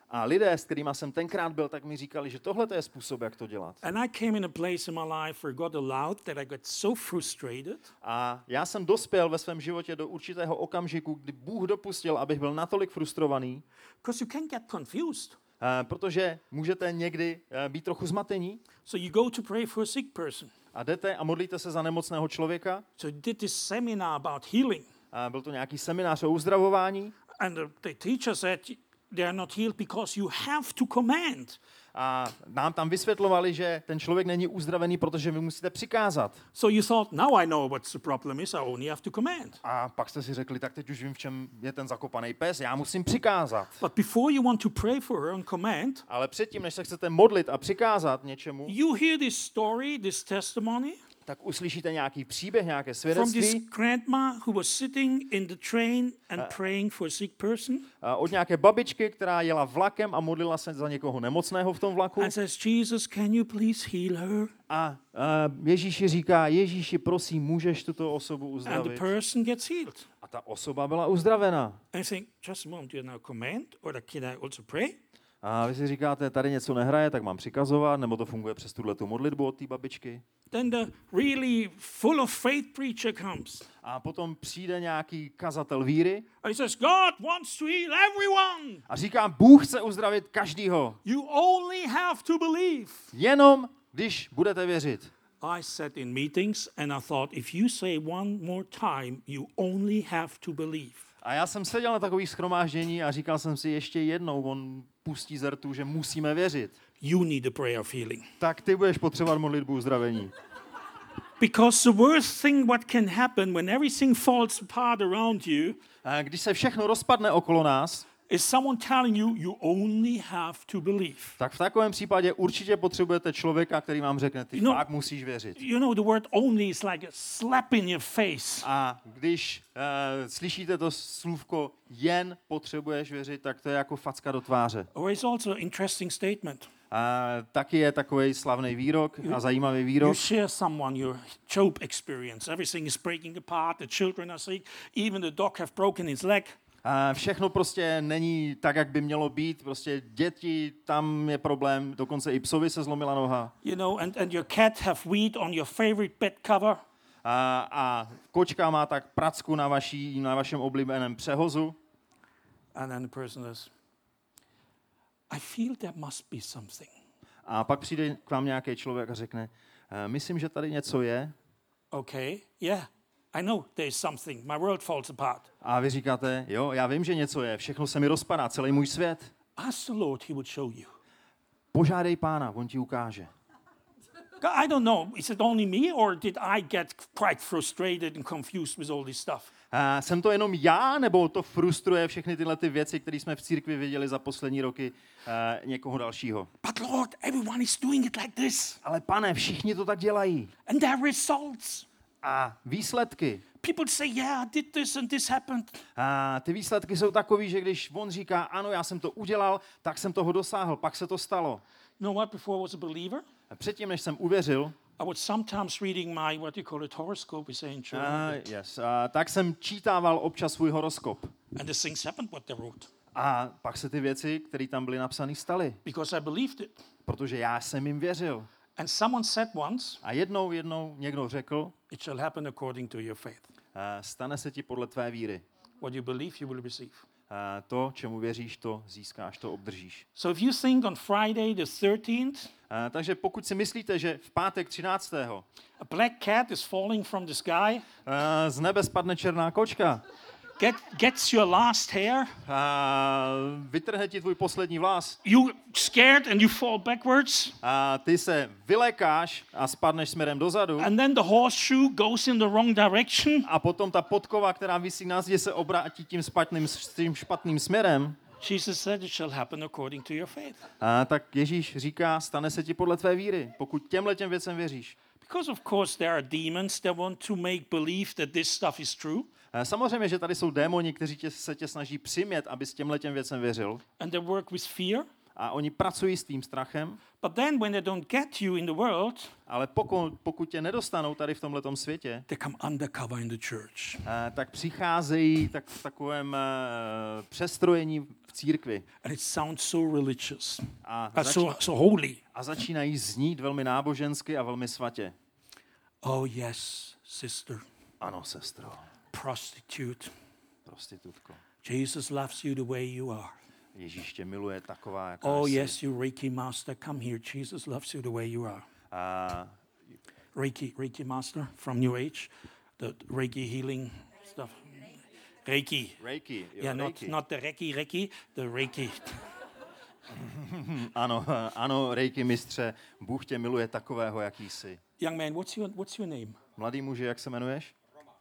A lidé, s kterými jsem tenkrát byl, tak mi říkali, že tohle je způsob, jak to dělat. And I came in a place in my life where God allowed that I got so frustrated. A já jsem dospěl ve svém životě do určitého okamžiku, kdy Bůh dopustil, abych byl natolik frustrovaný, Because you can get confused. uh, protože můžete někdy uh, být trochu zmatení So you go to pray for a sick person. a jdete a modlíte se za nemocného člověka. So you did this seminar about healing. Uh, byl to nějaký seminář o uzdravování. And the, the teacher said they are not healed because you have to command. A nám tam vysvětlovali, že ten člověk není uzdravený, protože vy musíte přikázat. So you thought, now I know what the problem is, I only have to command. A pak jste si řekli, tak teď už vím, v čem je ten zakopaný pes, já musím přikázat. But before you want to pray for her and command, Ale předtím, než se chcete modlit a přikázat něčemu, you hear this story, this testimony tak uslyšíte nějaký příběh, nějaké from this svědectví grandma who was sitting in the train and praying for a sick person a od nějaké babičky, která jela vlakem a modlila se za někoho nemocného v tom vlaku. and says, Jesus, can you please heal her? A, a Ježíši říká, Ježíši, prosím, můžeš tuto osobu And the uzdravit? person gets healed. A ta osoba byla uzdravena. And I think, just a moment, do you now command or can I also pray? A vy si říkáte, tady něco nehraje, tak mám přikazovat, nebo to funguje přes tuhletu modlitbu od té babičky. Then the really full of faith preacher comes. A potom přijde nějaký kazatel víry And he says, God wants to heal everyone. a říká, Bůh chce uzdravit každýho, You only have to believe. jenom když budete věřit. I sat in meetings and I thought, if you say one more time, you only have to believe. A já jsem seděl na takových shromáždění a říkal jsem si ještě jednou, on pustí z rtu, že musíme věřit. You need a prayer of healing. Tak ty budeš potřebovat modlitbu uzdravení. Because the worst thing what can happen when everything falls apart around you A když se všechno rozpadne okolo nás, is someone telling you you only have to believe. tak v takovém případě určitě potřebujete člověka, který vám řekne, ty No. fakt musíš věřit. You know, the word only is like a slap in your face. A když uh, slyšíte to slůvko jen potřebuješ věřit, tak to je jako facka do tváře. Or it's also an interesting statement. A taky je takový slavný výrok a zajímavý You výrok. share someone your Job experience. Everything is breaking apart. The children are sick. Even the dog have broken his leg. A všechno prostě není tak, jak by mělo být. Prostě děti, tam je problém. Dokonce i psovi se zlomila noha. You know, and, and your cat have weed on your favorite bed cover. A, a kočka má tak pracku na, vaší, na vašem oblíbeném přehozu. And then the person says, I feel there must be something. A pak přijde k vám nějaký člověk a řekne, myslím, že tady něco je. Okay, yeah, I know there is something. My world falls apart. A vy říkáte, jo, já vím, že něco je, všechno se mi rozpadá, celý můj svět. Ask the Lord, he would show you. Požádej Pána, on ti ukáže. God, I don't know, is it only me or did I get quite frustrated and confused with all this stuff? A jsem to jenom já, nebo to frustruje všechny tyhle ty věci, které jsme v církvi viděli za poslední roky uh, někoho dalšího? But Lord, everyone is doing it like this. Ale pane, všichni to tak dělají. And there are results. A výsledky? People say, yeah, I did this and this happened. A ty výsledky jsou takový, že když on říká, ano, já jsem to udělal, tak jsem toho dosáhl, pak se to stalo. You know what, before I was a believer, A předtím, než jsem uvěřil, I was sometimes reading my, what you call it, horoscope, we say in German. uh, yes, uh, tak jsem čítával občas svůj horoskop. And the things happened what they wrote. A pak se ty věci, které tam byly napsané, staly. Because I believed it. Protože já jsem jim věřil. And someone said once, A jednou, jednou někdo řekl, it shall happen according to your faith. uh, stane se ti podle tvé víry. What you believe, you will receive. Uh, to, čemu věříš, to získáš, to obdržíš. So if you think on Friday the thirteenth, Uh, takže pokud si myslíte, že v pátek třináctého a black cat is falling from the sky, Uh, z nebe spadne černá kočka, get, gets your last hair, uh, vytrhne ti tvůj poslední vlas, you scared and you fall backwards, a ty se vylekáš a spadneš směrem dozadu, and then the horseshoe goes in the wrong direction, a potom ta podkova, která visí na zdi, se obrátí tím špatným, tím špatným směrem, Jesus said it shall happen according to your faith. a tak Ježíš říká, stane se ti podle tvé víry, pokud těmhle těm věcem věříš. Because of course there are demons that want to make believe that this stuff is true, A samozřejmě, že tady jsou démoni, kteří tě, se tě snaží přimět, aby s těmhle těm věcem věřil, and they work with fear. a oni pracují s tím strachem, But then when they don't get you in the world, ale pokud, pokud tě nedostanou tady v tomhletom světě, they come undercover in the church. a, tak přicházejí tak v takovém uh, přestrojení v církvi. And it sounds so religious, A, uh, zač- so, so holy. a začínají znít velmi nábožensky a velmi svatě. Oh yes, sister, Ano, sestro, prostitute. prostitutko. Jesus loves you the way you are. Ježíš tě miluje taková, jaká Oh jsi. yes, you Reiki master, come here. Jesus loves you the way you are. A Reiki, Reiki master from New Age, the Reiki healing stuff. Reiki. Reiki, jo, Yeah, not, Reiki. not the Reiki, Reiki, the Reiki. Ano, ano, Reiki mistře, Bůh tě miluje takového, jaký jsi. Young man, what's your, what's your name? Mladý muži, jak se jmenuješ?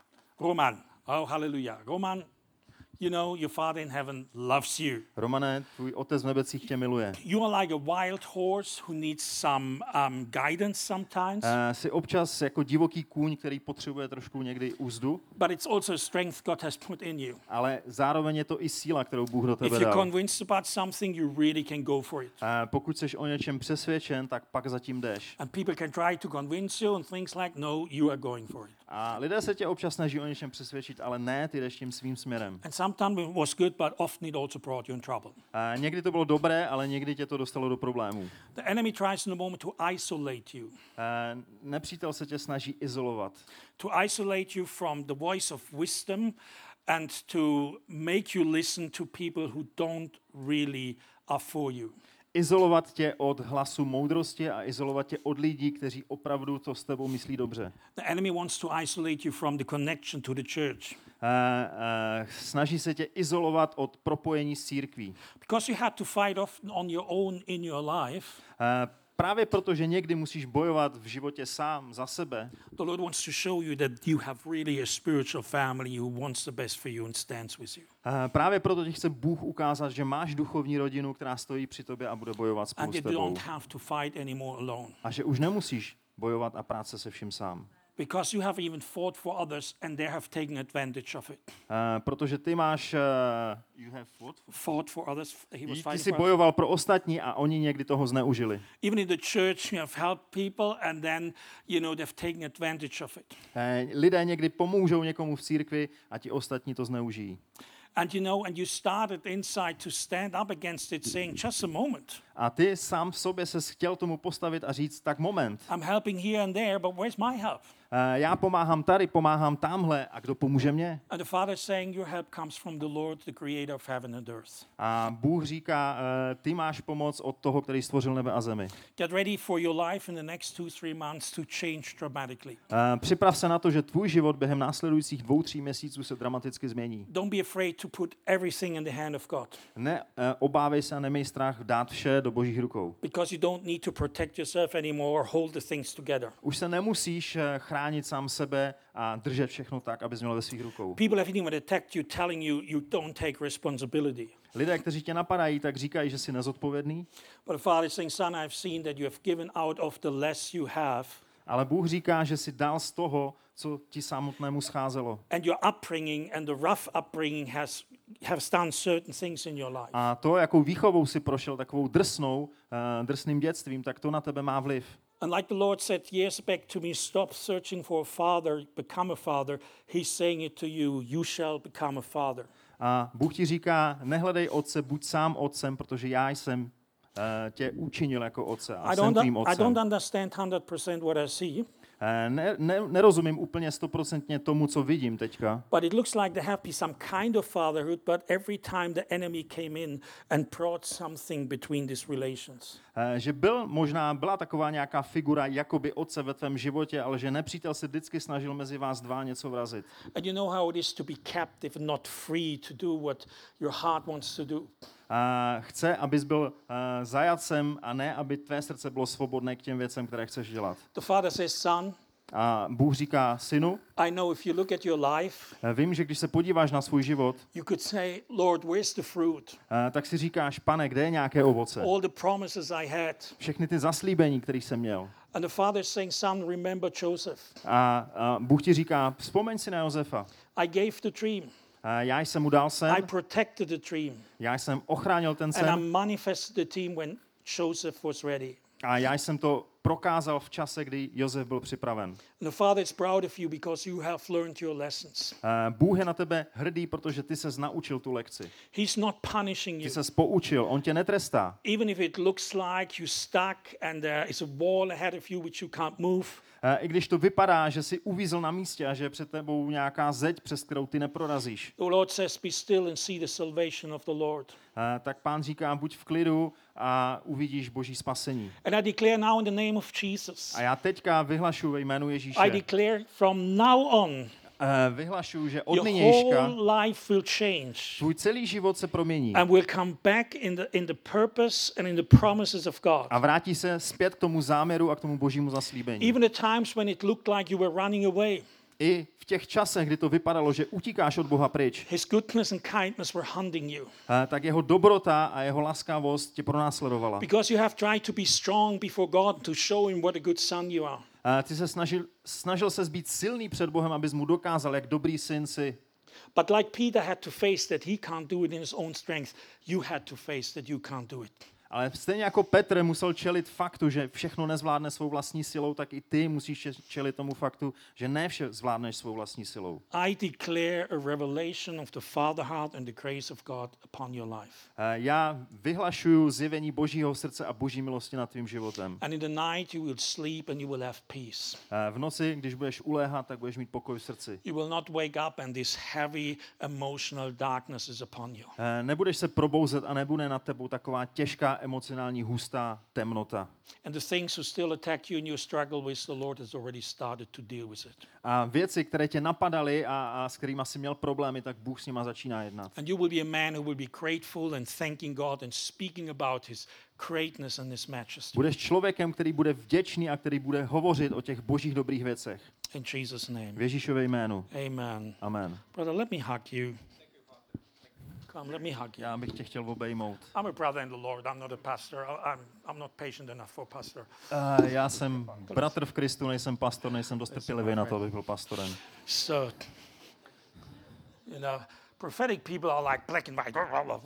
Roman. Oh, hallelujah. Roman, you know, your Father in heaven loves you. Romane, tvůj otec v nebecích tě miluje. You are like a wild horse who needs some um, guidance sometimes, Uh, jsi občas jako divoký kůň, který potřebuje trošku někdy úzdu, but it's also a strength God has put in you. ale zároveň je to i síla, kterou Bůh do If tebe you're dal. convinced about something, you really can go for it. Uh, pokud jsi o něčem přesvědčen, tak pak zatím jdeš. And people can try to convince you and things like, no, you are going for it. A lidé se tě občas snaží o něčem přesvědčit, ale ne, ty jdeš tím svým směrem. And sometimes it was good, but often it also brought you in trouble. Uh, někdy to bylo dobré, ale někdy tě to dostalo do problémů. The enemy tries in a moment to isolate you, Uh, nepřítel se tě snaží izolovat. to isolate you from the voice of wisdom and to make you listen to people who don't really are for you. Izolovat tě od hlasu moudrosti a izolovat tě od lidí, kteří opravdu to s tebou myslí dobře. The enemy wants to isolate you from the connection to the church. Uh, uh, snaží se tě izolovat od propojení s církví. Because you had to fight off on your own in your life, Uh, právě proto, že někdy musíš bojovat v životě sám za sebe, the Lord wants to show you that you have really a spiritual family who wants the best for you and stands with you. uh, právě proto ti chce Bůh ukázat, že máš duchovní rodinu, která stojí při tobě a bude bojovat spolu And s you tebou. don't have to fight anymore alone. A že už nemusíš bojovat a práce se vším sám. Because you have even fought for others and they have taken advantage of it. Uh, protože ty máš... Uh, you have what? Fought for others, he was Ty fighting jsi for others. bojoval pro ostatní a oni někdy toho zneužili. Even in the church, you have helped people and then, you know, they've taken advantage of it. Uh, lidé někdy pomůžou někomu v církvi a ti ostatní to zneužijí. And you know, and you started inside to stand up against it, saying, just a moment. A ty sám v sobě se chtěl tomu postavit a říct, tak moment. I'm helping here and there, but where's my help? Uh, já pomáhám tady, pomáhám tamhle a kdo pomůže mě? And the Father is saying, your help comes from the Lord, the creator of heaven and earth. A Bůh říká, uh, ty máš pomoc od toho, který stvořil nebe a zemi. Get ready for your life in the next two, three months to change dramatically. Uh, připrav se na to, že tvůj život během následujících dvou, tří měsíců se dramaticky změní. Don't be afraid to put everything in the hand of God. Ne, uh, obávej se a nemej strach dát vše do božích rukou. Because you don't need to protect yourself anymore or hold the things together. Už se nemusíš uh, chránit sám sebe a držet všechno tak, abys měl ve svých rukou. People have even attacked you, telling you you don't take responsibility. Lidé, kteří tě napadají, tak říkají, že jsi nezodpovědný, But the Father is saying, son, I've seen that you have given out of the less you have. ale Bůh říká, že jsi dal z toho, co ti samotnému scházelo. And your upbringing and the rough upbringing has, has done certain things in your life. A to, jakou výchovou si prošel, takovou drsnou, uh, drsným dětstvím, tak to na tebe má vliv. And like the Lord said years back to me, stop searching for a father, become a father. He's saying it to you, you shall become a father. A Bůh ti říká, nehledej otce, buď sám otcem, protože já jsem uh, tě učinil jako otce a I jsem don't, tvým I otcem. don't understand one hundred percent what I see, Uh, ne, ne, nerozumím úplně stoprocentně tomu, co vidím teďka, but it looks like there have been some kind of fatherhood, but every time the enemy came in and brought something between these relations. uh, že byl možná, byla taková nějaká figura jakoby otce ve tvém životě, ale že nepřítel se vždycky snažil mezi vás dva něco vrazit. And you know how it is to be captive, not free to do what your heart wants to do. A chce, abys byl uh, zajatcem a ne, aby tvé srdce bylo svobodné k těm věcem, které chceš dělat. The Father says, son, A Bůh říká, synu, I know if you look at your life, uh, vím, že když se podíváš na svůj život, you could say, Lord, where's the fruit? uh, tak si říkáš, pane, kde je nějaké ovoce? All the promises I had. Všechny ty zaslíbení, které jsem měl. And the Father is saying, son, remember Joseph. A, a Bůh ti říká, vzpomeň si na Josefa. I gave the dream. A já jsem mu dal sen, I protected the dream. já jsem ochránil ten And I sen manifested the dream when Joseph was ready. A já jsem to prokázal v čase, kdy Josef byl připraven. And the Father is proud of you because you have learned your lessons. Uh, Bůh je na tebe hrdý, protože ty ses naučil tu lekci. He's not punishing Ty you. ses poučil, on tě netrestá. Even if it looks like you're stuck and there is a wall ahead of you which you can't move. Uh, I když to vypadá, že jsi uvízl na místě a že je před tebou nějaká zeď, přes kterou ty neprorazíš, The Lord says, be still and see the salvation of the Lord. uh, tak Pán říká, buď v klidu a uvidíš Boží spasení. And I declare now in the name of Jesus, A já teďka vyhlašuji ve jménu Ježíše, I declare from now on, uh, vyhlašuji, že od your nynějška whole life will change tvůj celý život se promění and will come back in the, in the purpose and in the promises of God. a vrátí se zpět k tomu záměru a k tomu Božímu zaslíbení. Even at times when it looked like you were running away, I v těch časech, kdy to vypadalo, že utíkáš od Boha pryč, His goodness and kindness were hunting you. eh, tak jeho dobrota a jeho laskavost tě pronásledovala. Because you have tried to be strong before God to show Him what a good son you are. Eh, Ty se snažil, snažil ses být silný před Bohem, abys mu dokázal, jak dobrý syn jsi. But like Peter had to face that he can't do it in his own strength, you had to face that you can't do it. Ale stejně jako Petr musel čelit faktu, že všechno nezvládne svou vlastní silou, tak i ty musíš čelit tomu faktu, že ne vše zvládneš svou vlastní silou. I declare a revelation of the Father heart and the grace of God upon your life. Eh, Já vyhlašuju zjevení Božího srdce a Boží milosti nad tvým životem. And in the night you will sleep and you will have peace. Eh, V noci, když budeš uléhat, tak budeš mít pokoj v srdci. You will not wake up and this heavy emotional darkness is upon you. Eh, Nebudeš se probouzet a nebude nad tebou taková těžká emocionální hustá temnota. And the things who still attack you and you struggle with, the Lord has already started to deal with it. A věci, které tě napadaly a, a s kterými jsi měl problémy, tak Bůh s nima začíná jednat. And you will be a man who will be grateful and thanking God and speaking about His greatness and His majesty. Budeš člověkem, který bude vděčný a který bude hovořit o těch božích dobrých věcech. In Jesus' name. V Ježíšově jménu. Amen. Amen. Brother, let me hug you. Come, let me hug you. Já bych tě chtěl obejmout. I'm a brother in the Lord. I'm not a pastor. I- I'm, I'm not patient enough for a pastor. Uh, já jsem bratr v Kristu, nejsem pastor, nejsem dost trpělivý na to, abych byl pastorem. So, you know, prophetic people are like black and white.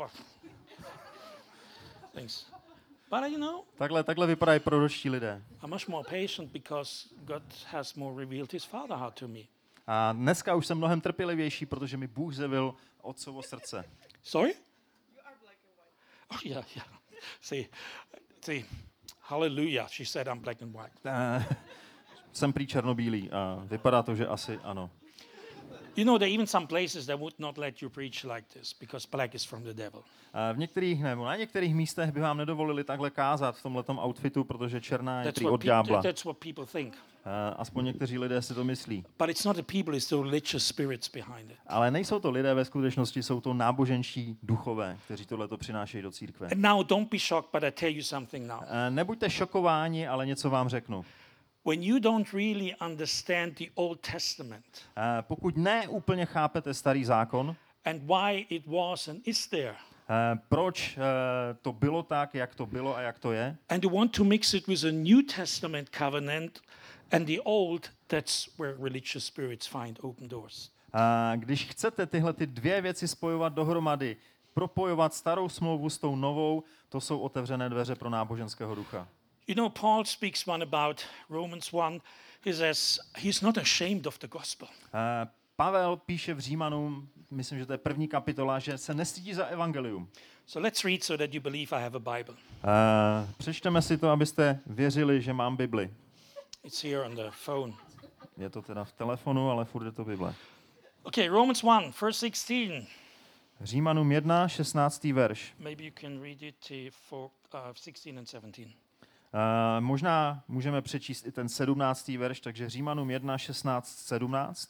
Things. But you know, Takhle, takhle vypadají proročtí lidé. I'm much more patient because God has more revealed His Father heart to me. A dneska už jsem mnohem trpělivější, protože mi Bůh zjevil otcovo srdce. Sorry? You are black and white. Oh yeah, yeah. See, see, hallelujah. She said I'm black and white. Uh, jsem prý černobílý a vypadá to, že asi ano. You know, there are even some places that would not let you preach like this because black is from the devil. Uh, v některých, nebo na některých místech by vám nedovolili takhle kázat v tomhletom outfitu, protože černá je That's prý what, od pe- ďábla. that's what people think. Uh, aspoň někteří lidé si to myslí. But it's not the people, it's the religious spirits behind it. Ale nejsou to lidé ve skutečnosti, jsou to náboženští duchové, kteří tohleto přinášejí do církve. And now don't be shocked, but I tell you something now. Uh, nebuďte šokováni, ale něco vám řeknu. When you don't really understand the Old Testament Uh, pokud ne úplně chápete starý zákon, and why it was and is there, uh, proč uh, to bylo tak, jak to bylo a jak to je, and you want to mix it with a New Testament covenant and the Old, that's where religious spirits find open doors. uh, když chcete tyhle ty dvě věci spojovat dohromady, propojovat starou smlouvu s tou novou, to jsou otevřené dveře pro náboženského ducha. You know, Paul speaks one about Romans one. He says he's not ashamed of the gospel. Uh, Pavel píše v Římanům, myslím, že to je první kapitola, že se nestydí za evangelium. So let's read so that you believe I have a Bible. Uh, přečteme si to, abyste věřili, že mám Bibli. It's here on the phone. Je to teda v telefonu, ale furt je to Bible. Okay, Romans one, verse sixteen. Římanům jedna, šestnáctý verš. Maybe you can read it uh, for uh, sixteen and seventeen. Uh, možná můžeme přečíst i ten sedmnáctý verš, takže Římanům jedna, šestnáct, sedmnáct.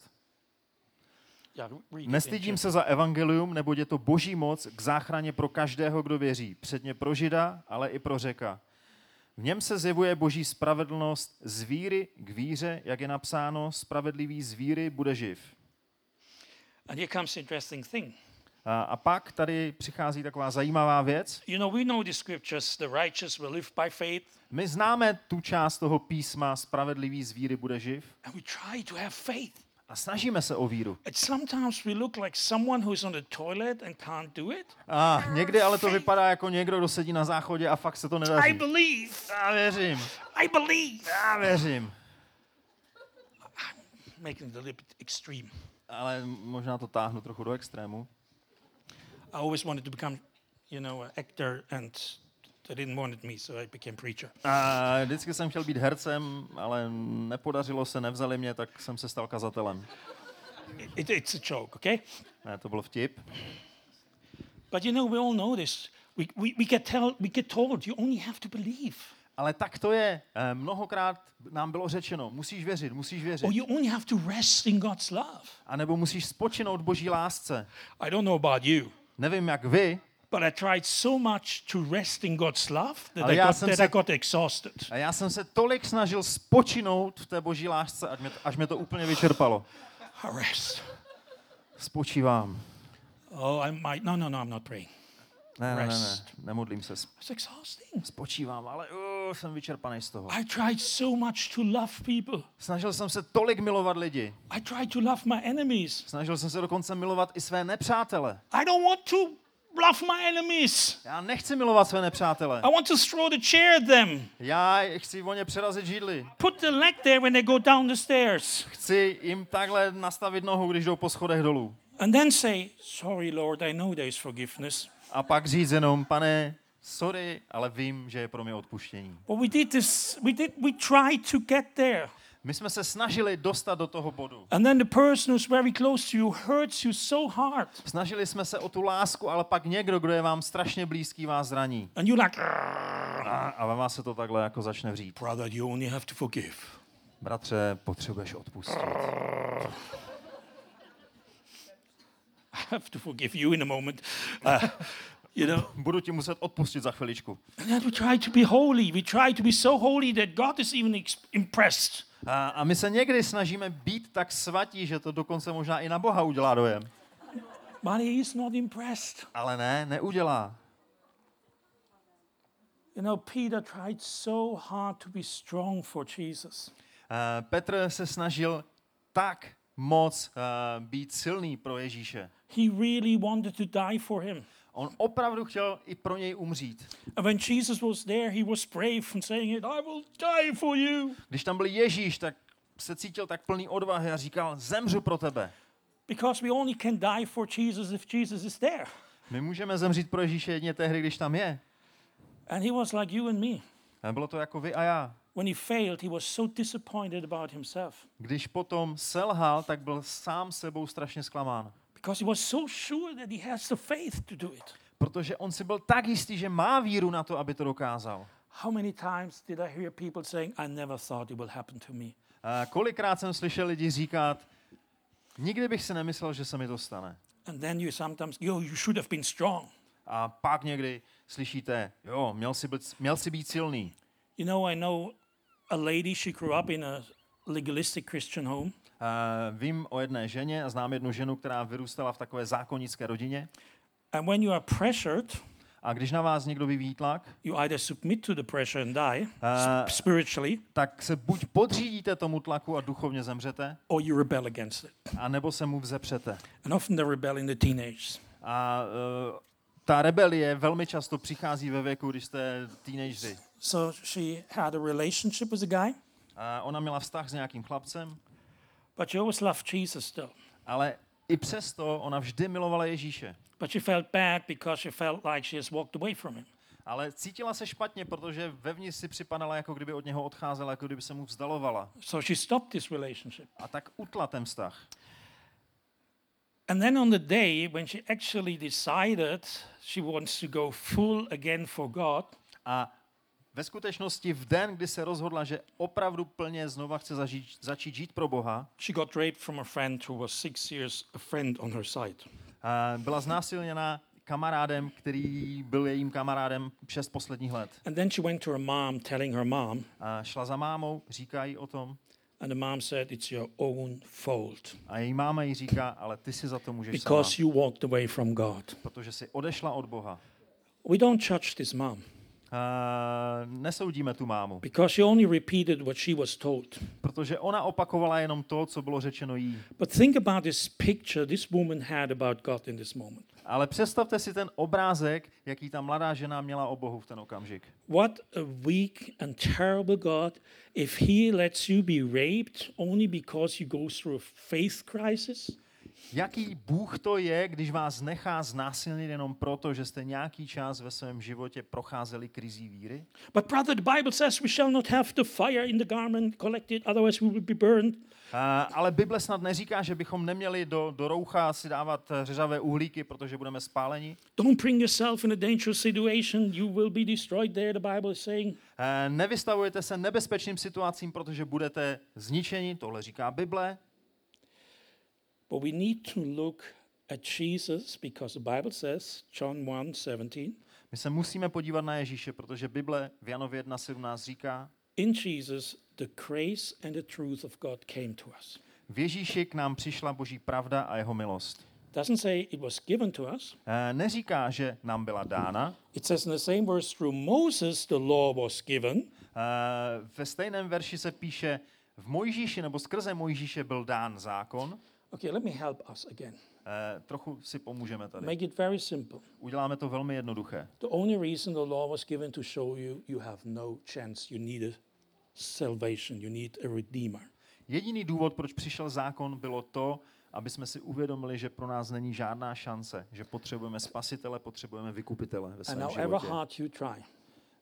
Yeah, read it Nestydím in se za evangelium, neboť je to boží moc k záchraně pro každého, kdo věří. Předně pro Žida, ale i pro Řeka. V něm se zjevuje boží spravedlnost z víry k víře, jak je napsáno, spravedlivý z víry bude živ. And here comes the interesting thing. A, a pak tady přichází taková zajímavá věc. You know, we know the scriptures, the righteous will live by faith. My známe tu část toho písma, spravedlivý z víry bude živ. And we try to have faith. A snažíme se o víru. And sometimes we look like someone who's on the toilet and can't do it. A někdy ale to vypadá jako někdo, kdo sedí na záchodě a fakt se to I nedaří. believe. Já věřím. I believe. Já věřím. Making it a little bit extreme. Ale možná to táhnu trochu do extrému. I always wanted to become, you know, an actor, and they didn't want me, so I became preacher. A vždycky jsem chtěl být hercem, ale nepodařilo se, nevzali mě, tak jsem se stal kazatelem. It, it's a joke, okay? Ne, to byl vtip. But you know, we all know this. We, we, we, get tell, we get told you only have to believe. Ale tak to je. Eh, Mnohokrát nám bylo řečeno, musíš věřit, musíš věřit. Or you only have to rest in God's love. A nebo musíš spočinout Boží lásce. I don't know about you, Nevím, jak vy, but I tried so much to rest in God's love that, Ale I já got, jsem that se- I got exhausted. a já jsem se tolik snažil spočinout v té Boží lásce, až mě, až mě to úplně vyčerpalo. Rest. Spočívám. Oh, I might. No, no, no, I'm not praying. Ne, ne, ne, ne, Rest. nemodlím se. It's exhausting. Spočívám, ale uh, jsem vyčerpaný z toho. I tried so much to love people. Snažil jsem se tolik milovat lidi. I tried to love my enemies. Snažil jsem se dokonce milovat i své nepřátele. I don't want to love my enemies. Já nechci milovat své nepřátele. I want to throw the chair at them. Já chci o ně přerazit židli. Put the leg there when they go down the stairs. Chci jim takhle nastavit nohu, když jdou po schodech dolů. And then say, sorry, Lord, I know there's forgiveness. A pak říct jenom, pane, sorry, ale vím, že je pro mě odpuštění. But we did this, we did, we tried to get there. My jsme se snažili dostat do toho bodu. And then the person who's very close to you hurts you so hard. Snažili jsme se o tu lásku, ale pak někdo, kdo je vám strašně blízký, vás zraní. And you're like, A, a ve vás se to takhle jako začne vřít. brother, you only have to forgive. Bratře, potřebuješ odpustit. I have to forgive you in a moment. Uh, you know, Budu ti muset odpustit za chviličku. and then we try to be holy. We try to be so holy that God is even ex- impressed. A, a my se někdy snažíme být tak svatí, že to dokonce možná i na Boha udělá dojem. But he is not impressed. Ale ne, neudělá. You know, Peter tried so hard to be strong for Jesus. Uh, Petr se snažil tak moc uh, být silný pro Ježíše. He really wanted to die for him. On opravdu chtěl i pro něj umřít. And when Jesus was there, he was brave and saying it, I will die for you. Když tam byl Ježíš, tak se cítil tak plný odvahy a říkal, zemřu pro tebe. Because we only can die for Jesus if Jesus is there. My můžeme zemřít pro Ježíše jedině tehdy, když tam je. And he was like you and me. A bylo to jako vy a já. When he failed, he was so disappointed about himself. Když potom selhal, tak byl sám sebou strašně zklamán. Because he was so sure that he has the faith to do it. Protože on si byl tak jistý, že má víru na to, aby to dokázal. How many times did I hear people saying, I never thought it will happen to me? A kolikrát jsem slyšel lidi říkat, nikdy bych si nemyslel, že se mi to stane. And then you sometimes, yo, you should have been strong. A pak někdy slyšíte, jo, měl jsi být, měl jsi být silný. You know, I know a lady, she grew up in a legalistic Christian home. Uh, vím o jedné ženě a znám jednu ženu, která vyrůstala v takové zákonické rodině. And when you are pressured, A když na vás někdo vyvíjí tlak, you either submit to the pressure and die Uh, sp- spiritually, tak se buď podřídíte tomu tlaku a duchovně zemřete, or you rebel against it. anebo se mu vzepřete. And often they rebel in the teenagers. A uh, ta rebelie velmi často přichází ve věku, když jste teenageři. So she had a relationship with a guy, A ona měla vztah s nějakým chlapcem, but she always loved Jesus still. ale i přesto ona vždy milovala Ježíše. But she felt bad because she felt like she has walked away from him. Ale cítila se špatně, protože vevnitř si připadala, jako kdyby od něho odcházela, jako kdyby se mu vzdalovala. So she stopped this relationship. A tak utla ten vztah. And then on the day when she actually decided she wants to go full again for God, A ve skutečnosti v den, kdy se rozhodla, že opravdu plně znova chce zažít, začít žít pro Boha, she got raped from a friend who was six years a friend on her side. a byla znásilněna kamarádem, který byl jejím kamarádem šest posledních let. And then she went to her mom, telling her mom, A šla za mámou, říká jí o tom, and the mom said, it's your own fault a její máma jí říká, ale ty si za to můžeš because sama, you walked away from God. protože si odešla od Boha. We don't judge this mom. nesoudíme tu mámu, because she only repeated what she was told. protože ona opakovala jenom to, co bylo řečeno jí. But think about this picture this woman had about God in this moment. Ale představte si ten obrázek, jaký ta mladá žena měla o Bohu v ten okamžik. What a weak and terrible God if he lets you be raped only because you go through a faith crisis. Jaký Bůh to je, když vás nechá znásilnit jenom proto, že jste nějaký čas ve svém životě procházeli krizí víry? But brother, the Bible says we shall not have the fire in the garment collected, otherwise we will be burned. Uh, ale Bible snad neříká, že bychom neměli do, do roucha si dávat řeřavé uhlíky, protože budeme spáleni. Don't bring yourself in a dangerous situation, you will be destroyed there, the Bible is saying. Uh, nevystavujete se nebezpečným situacím, protože budete zničeni, tohle říká Bible. But we need to look at Jesus because the Bible says, John one seventeen, My se musíme podívat na Ježíše, protože Bible v Janově jedna sedmnáct říká, in Jesus the grace and the truth of God came to us. v Ježíši k nám přišla Boží pravda a jeho milost. Doesn't say it was given to us. Uh, neříká, že nám byla dána. It says in the same verse, through Moses the law was given. Uh, ve stejném verši se píše, v Mojžíši nebo skrze Mojžíše byl dán zákon. Okay, let me help us again. Uh, trochu si pomůžeme tady. Make it very simple. Uděláme to velmi jednoduché. The only reason the law was given to show you you have no chance. You need a salvation. You need a redeemer. Jediný důvod, proč přišel zákon, bylo to, aby jsme si uvědomili, že pro nás není žádná šance, že potřebujeme spasitele, potřebujeme vykupitele ve And svém however životě. hard you try. Uh,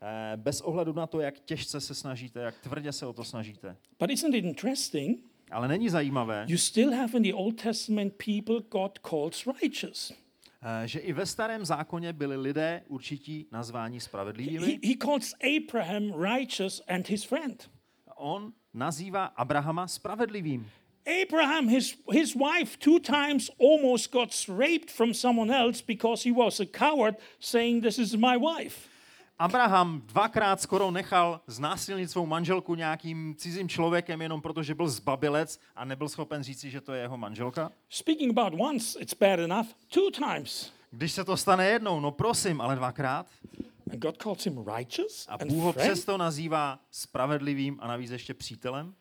bez ohledu na to, jak těžce se snažíte, jak tvrdě se o to snažíte. But isn't it interesting? Ale není zajímavé, You still have in the Old Testament people God calls righteous. uh, že i ve starém zákoně byli lidé určití nazváni He, spravedlivými. he calls Abraham righteous and his friend. On nazývá Abrahama spravedlivým. Abraham, his, his wife, two times almost got raped from someone else because he was a coward, saying, "This is my wife." Abraham dvakrát skoro nechal znásilnit svou manželku nějakým cizím člověkem jenom proto, že byl zbabilec a nebyl schopen říci, že to je jeho manželka. Speaking about once, it's bad enough. Two times. Když se to stane jednou, no prosím, ale dvakrát. And God calls him righteous A and Bůh ho friend. přesto nazývá spravedlivým a navíc ještě přítelem.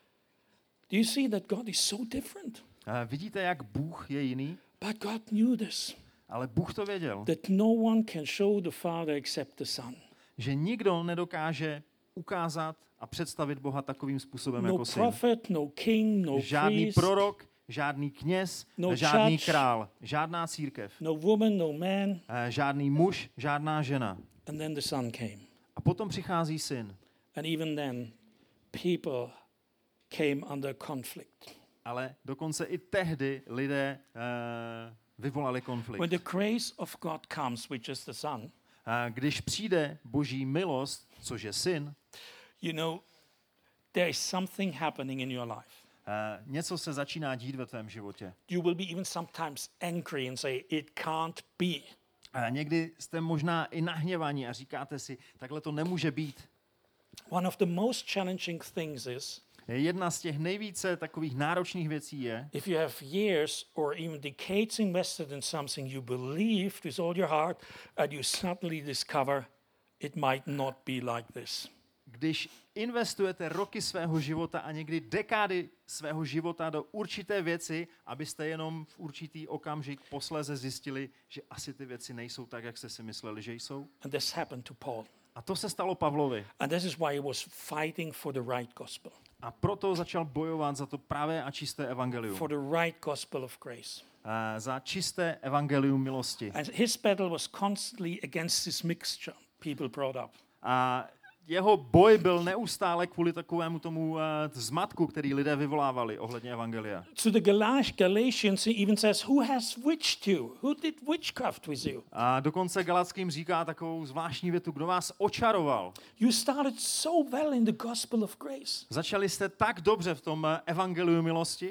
Do you see that God is so different? A vidíte, jak Bůh je jiný? But God knew this, Ale Bůh to věděl, that no one can show the Father except the Son. že nikdo nedokáže ukázat a představit Boha takovým způsobem No jako syn. prophet, no king, no Žádný priest, prorok, žádný kněz, No žádný judge. král, žádná církev, no woman, no man. eh, žádný muž, žádná žena. And then the Son came. A potom přichází syn. And even then, people came under conflict. Ale dokonce i tehdy lidé uh, vyvolali konflikt. When the grace of God comes, which is the Son, Uh, když přijde Boží milost, což je syn, you know, there is something happening in your life. uh, něco se začíná dít ve tvém životě. You will be even sometimes angry and say, it can't be. A někdy jste možná i nahněvaní a říkáte si, takhle to nemůže být. One of the most challenging things is, Jedna z těch nejvíce takových náročných věcí je, if you have years or even decades invested in something you believed with all your heart, and you suddenly discover it might not be like this. když investujete roky svého života a někdy dekády svého života do určité věci, abyste jenom v určitý okamžik posléze zjistili, že asi ty věci nejsou tak, jak jste si mysleli, že jsou. And this happened to Paul. A to se stalo Pavlovi. And this is why he was fighting for the right gospel, A proto začal bojovat za to pravé a čisté evangelium. for the right gospel of grace. Uh, za čisté evangelium milosti. And his battle was constantly against this mixture people brought up. A jeho boj byl neustále kvůli takovému tomu uh, zmatku, který lidé vyvolávali ohledně evangelia. To the Galat- Galatians, he even says, who has witched you? Who did witchcraft with you? A dokonce Galackým říká takovou zvláštní větu, kdo vás očaroval. You started so well in the gospel of grace. Začali jste tak dobře v tom uh, evangeliu milosti.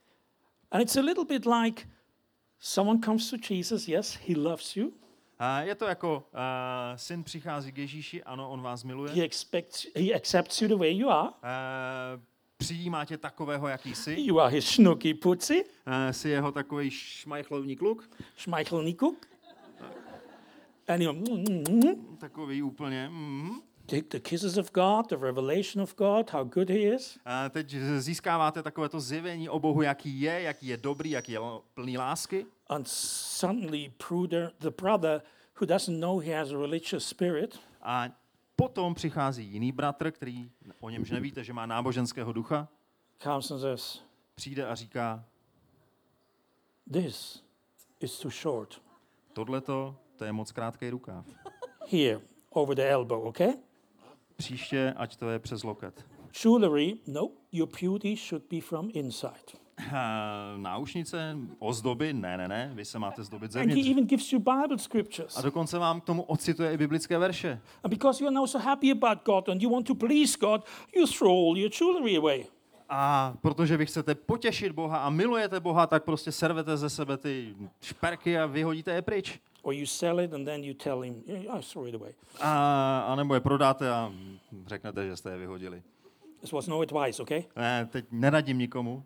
And it's a little bit like someone comes to Jesus, yes, he loves you. A je to jako uh, syn přichází k Ježíši, ano, on vás miluje. He expects, he accepts you the way you are. Uh, přijímá tě takového, jaký jsi. You are his schnooky pussy, Uh, jsi jeho takový šmajchlovní kluk. schmeichelnikuk. And you know, mm, mm, mm, Takový úplně. Mm. take the kisses of God, the revelation of God, how good he is. A teď získáváte takovéto zjevení o Bohu, jaký je, jaký je dobrý, jaký je plný lásky. And suddenly brother, the brother who doesn't know he has a religious spirit, A potom přichází jiný bratr, který o němž nevíte, že má náboženského ducha, comes and says, přijde a říká, this is too short. tohleto, to je moc krátký rukáv. Here, over the elbow, okay? Příště, ať to je přes loket. Jewelry, no, your beauty should be from inside. Uh, náušnice, ozdoby, ne, ne, ne, vy se máte zdobit And he zevnitř. even gives you Bible scriptures. A dokonce vám k tomu ocituje i biblické verše. And because you are now so happy about God and you want to please God, you throw all your jewelry away. A protože vy chcete potěšit Boha a milujete Boha, tak prostě servete ze sebe ty šperky a vyhodíte je pryč. Or you sell it and then you tell him, yeah, I throw it away. A, a nebo je prodáte a řeknete, že jste je vyhodili. This was no advice, okay? Ne, teď neradím nikomu.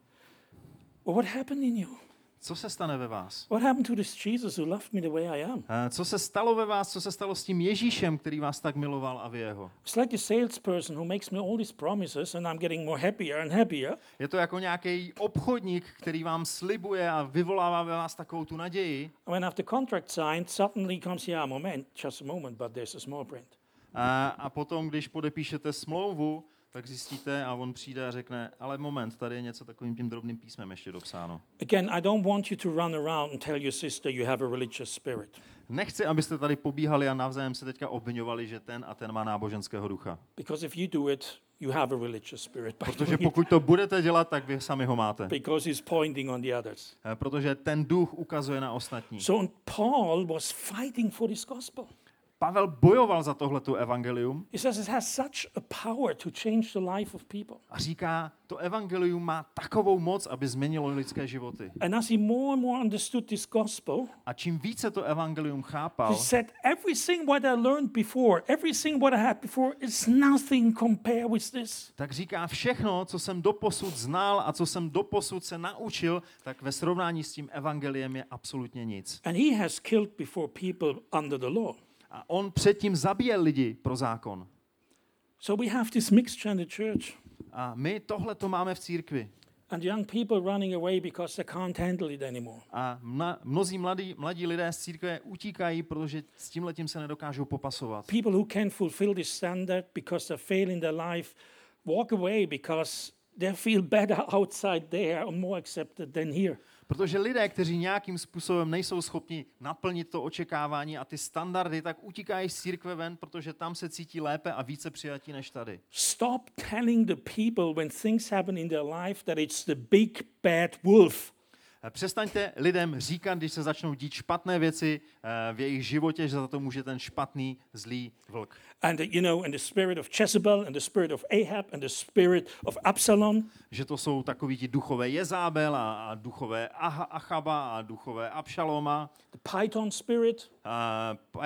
Well, what happened in you? Co se stane ve vás? What happened to this Jesus who loved me the way I am? A co se stalo ve vás? Co se stalo s tím Ježíšem, který vás tak miloval a vy jeho? It's like a salesperson who makes me all these promises and I'm getting more happier and happier. Je to jako nějaký obchodník, který vám slibuje a vyvolává ve vás takovou tu naději. And when after contract signed, suddenly comes, yeah, moment, just a moment, but there's a small print. A, a potom, když podepíšete smlouvu, tak zjistíte a on přijde a řekne, ale moment, tady je něco takovým tím drobným písmem ještě dopsáno. Again, I don't want you to run around and tell your sister you have a religious spirit. Nechci, abyste tady pobíhali a navzájem se teďka obviňovali, že ten a ten má náboženského ducha. Because if you do it, you have a religious spirit. by Protože doing it, pokud to budete dělat, tak vy sami ho máte. Because he's pointing on the others. Eh, Protože ten duch ukazuje na ostatní. So Paul was fighting for this gospel. Pavel bojoval za tohleto evangelium He says it has such a power to change the life of people. a říká, to evangelium má takovou moc, aby změnilo lidské životy. And as he more and more understood this gospel, A čím více to evangelium he chápal, said, everything what I learned before, everything what I had before is nothing compared with this. tak říká, všechno, co jsem doposud znal a co jsem doposud se naučil, tak ve srovnání s tím evangeliem je absolutně nic. And he has killed before people under the law. A on předtím zabíjel lidi pro zákon. So we have this mixture in the church. A my tohle to máme v církvi. And young people running away because they can't handle it anymore. A mna, mnozí mladí, mladí lidé z církve utíkají, protože s tímhletím se nedokážou popasovat. People who can fulfill this standard because they fail in their life walk away because they feel better outside there or more accepted than here. Protože lidé, kteří nějakým způsobem nejsou schopni naplnit to očekávání a ty standardy, tak utíkají z církve ven, protože tam se cítí lépe a více přijatí než tady. Stop telling the people when things happen in their life that it's the big bad wolf. Přestaňte lidem říkat, když se začnou dít špatné věci v jejich životě, že za to může ten špatný, zlý vlk. And uh, you know, and the spirit of Jezebel and the spirit of Ahab and the spirit of Absalom. Že to jsou takoví ti duchové Jezábel a, a duchové Aha, Achaba a duchové Abšaloma. The Python spirit. A, uh,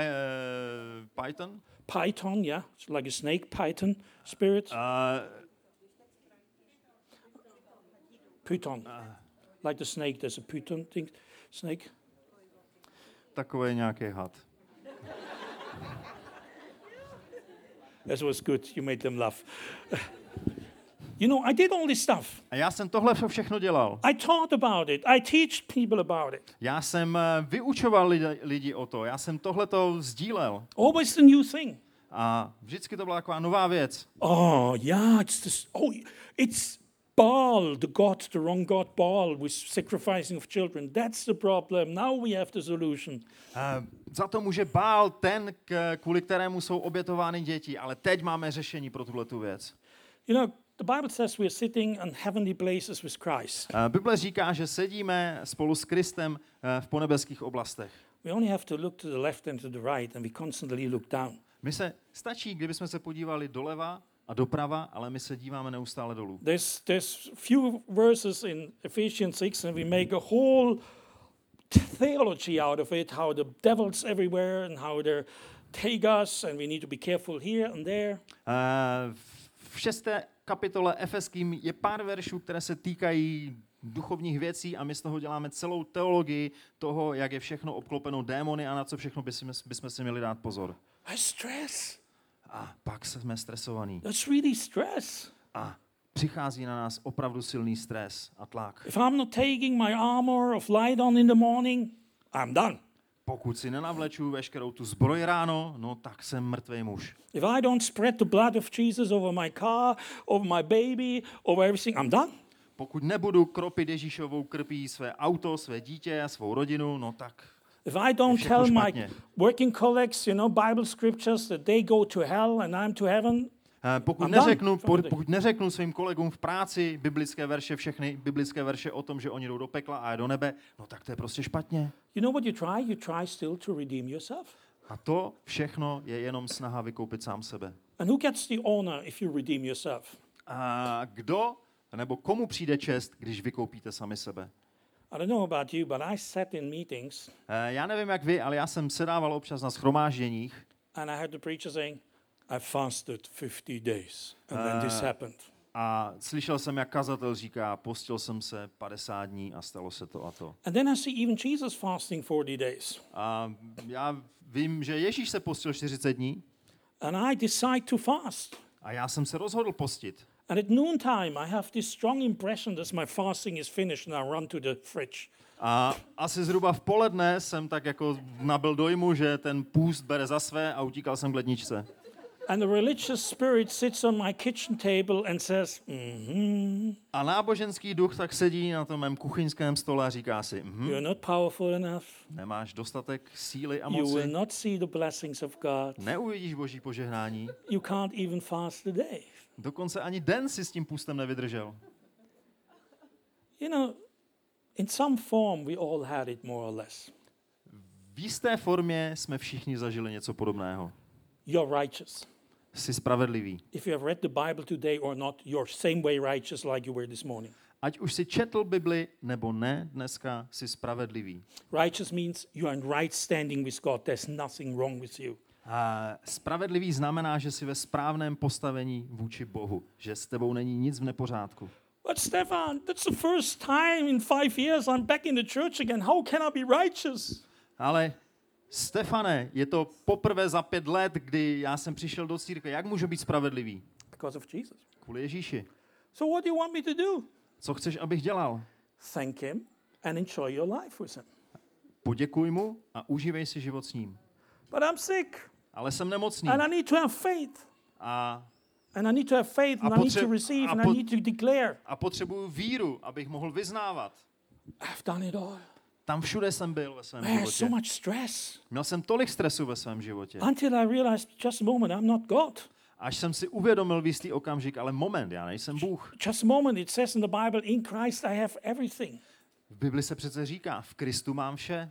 Python? Python, yeah, it's like a snake python spirit. Uh, Python. Like the snake, there's a python thing, snake. Takový nějaký had. That was good, you made them laugh. You know, I did all this stuff. A já jsem tohle všechno dělal. I taught about it. I teach people about it. Já jsem uh, vyučoval lidi, lidi o to. Já jsem tohleto sdílel. Always the new thing. A vždycky to byla taková nová věc. Oh, yeah, it's this, oh, it's Baal, the god, the wrong god Baal with sacrificing of children. That's the problem. Now we have the solution. Uh, za to může Bál ten, k, kvůli kterému jsou obětovány děti, ale teď máme řešení pro tuhletu věc. You know, the Bible says we are sitting in heavenly places with Christ. Uh, Bible říká, že sedíme spolu s Kristem uh, v ponebeských oblastech. We only have to look to the left and to the right, and we constantly look down. My se stačí, kdybychom se podívali doleva a doprava, ale my se díváme neustále dolů. There's there's few verses in Ephesians six, and we make a whole theology out of it, how the devil's everywhere and how they take us, and we need to be careful here and there. Uh, v šesté kapitole Efeským je pár veršů, které se týkají duchovních věcí a my z toho děláme celou teologii toho, jak je všechno obklopeno démony a na co všechno bychom, bychom si měli dát pozor. That's stress. A pak jsme stresovaní. That's really stress. A přichází na nás opravdu silný stres a tlak. If I'm not taking my armor of light on in the morning, I'm done. Pokud si nenavleču veškerou tu zbroj ráno, no tak jsem mrtvej muž. If I don't spread the blood of Jesus over my car, over my baby, over everything, I'm done. Pokud nebudu kropit Ježíšovou krví své auto, své dítě a svou rodinu, no tak If I don't všechno tell my špatně. working colleagues, you know, Bible scriptures that they go to hell and I'm to heaven, Eh, Pokud I'm done neřeknu, for the po- day. pokud neřeknu svým kolegům v práci biblické verše, všechny biblické verše o tom, že oni jdou do pekla a do nebe, no tak to je prostě špatně. you know what you try? You try still to redeem yourself. A to všechno je jenom snaha vykoupit sám sebe. And who gets the honor if you redeem yourself? A kdo nebo komu přijde čest, když vykoupíte sami sebe? I don't know about you, but I sat in meetings Eh, Já nevím, jak vy, ale já jsem sedával občas na shromážděních and I heard the preacher saying, I fasted fifty days and then this happened. a slyšel jsem, jak kazatel říká, postil jsem se padesát dní a stalo se to a to. And then I see even Jesus fasting forty days. A já vím, že Ježíš se postil čtyřicet dní And I decide to fast. a já jsem se rozhodl postit. And at noontime, I have this strong impression that my fasting is finished and I run to the fridge. A asi zhruba v poledne jsem tak jako nabyl dojmu, že ten půst bere za své a utíkal jsem k ledničce. And the religious spirit sits on my kitchen table and says, mm-hmm, A náboženský duch tak sedí na tom mém kuchyňském stole a říká si, hm, you're not powerful enough. nemáš dostatek síly a You will moci, not see the blessings of God. neuvidíš boží požehnání, You can't even fast a day. dokonce ani den si s tím půstem nevydržel. You know, in some form, we all had it more or less. V jisté formě jsme všichni zažili něco podobného. You're righteous. Jsi spravedlivý. If you have read the Bible today or not, you're same way righteous like you were this morning. Ať už si četl Bibli nebo ne, dneska jsi spravedlivý. Righteous means you're in right standing with God. There's nothing wrong with you. A spravedlivý znamená, že jsi ve správném postavení vůči Bohu, že s tebou není nic v nepořádku. But Stefan, that's the first time in five years I'm back in the church again. How can I be righteous? Ale Stefane, je to poprvé za pět let, kdy já jsem přišel do církve. Jak můžu být spravedlivý? Because of Jesus. Kvůli Ježíši. So what do you want me to do? Co chceš, abych dělal? Thank him and enjoy your life with him. Poděkuj mu a užívej si život s ním. But I'm sick Ale jsem nemocný. and I need to have faith. A, And I need to have faith and A I need to potře- receive a and pot- I need to declare. a potřebuju víru, abych mohl vyznávat. I've done it all. Tam všude jsem byl ve svém Man, životě. so much stress. Měl jsem tolik stresu ve svém životě. Until I realized just a moment, I'm not God. Až jsem si uvědomil v jistý okamžik, ale moment, já nejsem Bůh. Just a moment, it says in the Bible, in Christ I have everything. V Bibli se přece říká, v Kristu mám vše.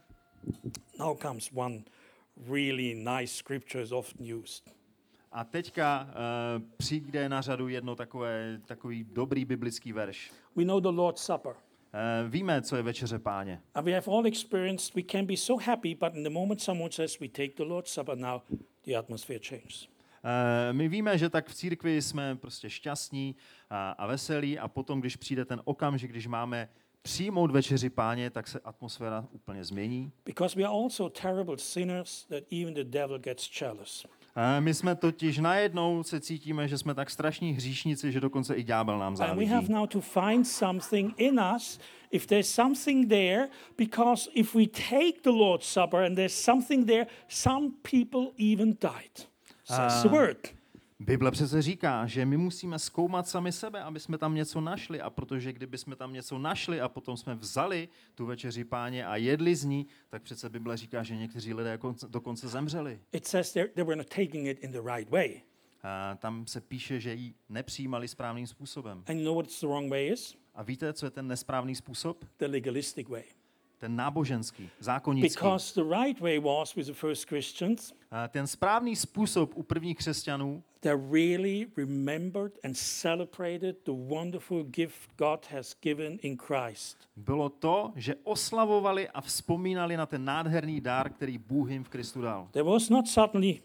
Now comes one really nice scripture is often used. A teďka uh, přijde na řadu jedno takové, takový dobrý biblický verš. We know the Lord's Supper. Uh, víme, co je večeře Páně. And we have all experienced, we can be so happy, but in the moment someone says we take the Lord's Supper now, the atmosphere changes. Uh, my víme, že tak v církvi jsme prostě šťastní a, a veselí a potom, když přijde ten okamžik, když máme přijmout večeři Páně, tak se atmosféra úplně změní. Because we are also terrible sinners that even the devil gets jealous. Uh, my jsme totiž najednou se cítíme, že jsme tak strašní hříšníci, že dokonce i ďábel nám And we závidí. have now to find something in us, if there's something there, because if we take the Lord's Supper and there's something there, some people even died. Says the word. Bible přece říká, že my musíme zkoumat sami sebe, aby jsme tam něco našli. A protože kdyby jsme tam něco našli a potom jsme vzali tu večeři Páně a jedli z ní, tak přece Bible říká, že někteří lidé dokonce zemřeli. It says they they were not taking it in the right way. A tam se píše, že ji nepřijímali správným způsobem. And you know what the wrong way is? A víte, co je ten nesprávný způsob? The legalistic way. Ten náboženský, zákonnický. Because the right way was with the first Christians, A ten správný způsob u prvních křesťanů, they really remembered and celebrated the wonderful gift God has given in Christ. bylo to, že oslavovali a vzpomínali na ten nádherný dár, který Bůh jim v Kristu dal. There was not suddenly,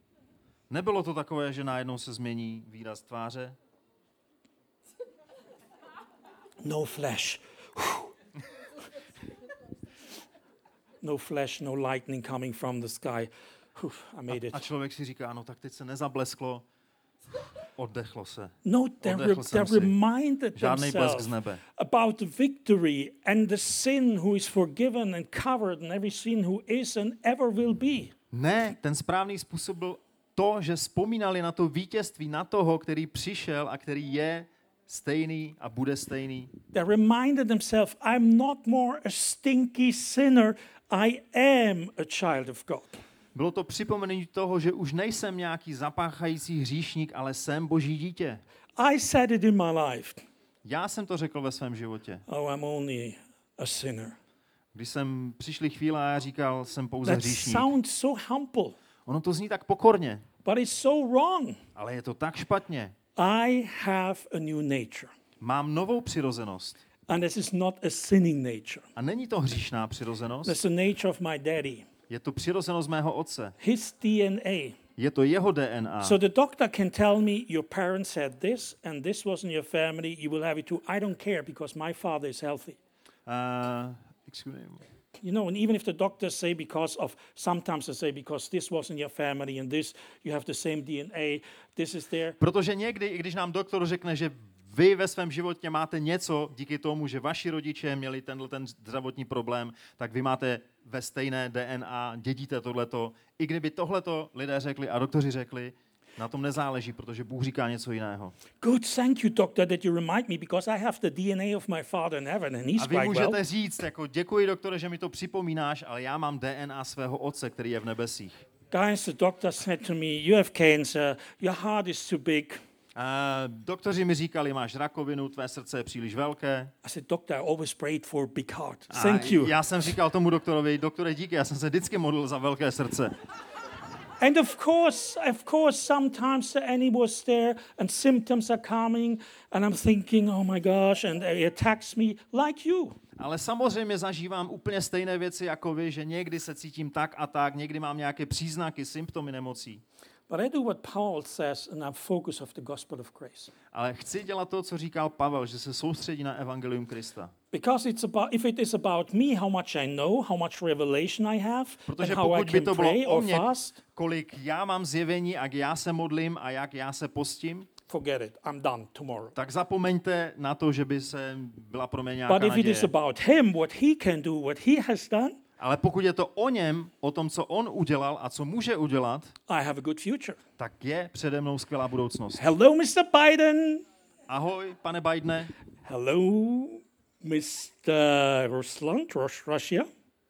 Nebylo to takové, že najednou se změní výraz tváře. no flesh. No flash, no lightning coming from the sky. Whew, I made it. A člověk si říká, no tak teď se nezablesklo, oddechlo se. No, they, re- Oddechl they jsem si. reminded Žádnej blesk themselves z nebe. about the victory and the sin who is forgiven and covered and every sin who is and ever will be. Ne, ten správný způsob byl to, že vzpomínali na to vítězství, na toho, který přišel a který je stejný a bude stejný. They reminded themselves, I'm not more a stinky sinner, I am a child of God. Bylo to připomenutí toho, že už nejsem nějaký zapáchající hříšník, ale jsem Boží dítě. I said it in my life. Já jsem to řekl ve svém životě. Oh, I'm only a sinner. Když jsem přišly chvíle a já říkal, jsem pouze That hříšník. sounds so humble, Ono to zní tak pokorně, but it's so wrong. ale je to tak špatně. I have a new nature. Mám novou přirozenost. And this is not a sinning nature. A není to hříšná přirozenost, That's the nature of my daddy. je to přirozenost mého otce. His D N A. Je to jeho D N A. So the doctor can tell me your parents had this and this was in your family, you will have it too. I don't care because my father is healthy. Uh, excuse me. You know, and even if the doctors say because of, sometimes they say because this was in your family and this, you have the same D N A, this is there. Protože někdy, i když nám doktor řekne, že vy ve svém životě máte něco díky tomu, že vaši rodiče měli tenhle ten zdravotní problém, tak vy máte ve stejné D N A, dědíte tohleto. I kdyby tohleto lidé řekli a doktoři řekli, na tom nezáleží, protože Bůh říká něco jiného. Good, thank you, doctor, that you remind me because I have the D N A of my father in heaven and he's A vy quite můžete well. říct, jako děkuji, doktore, že mi to připomínáš, ale já mám D N A svého otce, který je v nebesích. Guys, the doctor said to me, you have cancer, your heart is too big. Uh, doktoři mi říkali, máš rakovinu, tvé srdce je příliš velké. I said, doctor, I always prayed for a big heart. A Thank you. já jsem říkal tomu doktorovi, doktore, díky, já jsem se vždycky modlil za velké srdce. And of course, of course, sometimes the enemy was there and symptoms are coming and I'm thinking, oh my gosh, and he attacks me like you. Ale samozřejmě zažívám úplně stejné věci jako vy, že někdy se cítím tak a tak, někdy mám nějaké příznaky, symptomy nemocí. But I do what Paul says and I focus of the gospel of grace. Ale chci dělat to, co říkal Pavel, že se soustředí na evangelium Krista. Because it's about, if it is about me, how much I know, how much revelation I have, Protože and how I pokud by can to bylo pray o or mně, fast, kolik já mám zjevení, jak já se modlím a jak já se postím, forget it. I'm done tomorrow. tak zapomeňte na to, že by se byla pro mě nějaká But if it is naděje. about him, what he can do, what he has done, Ale pokud je to o něm, o tom, co on udělal a co může udělat, I have a good future. tak je přede mnou skvělá budoucnost. Hello, mister Biden. Ahoj, pane Bidene. Hello, mister Rusland, Rus- Russia.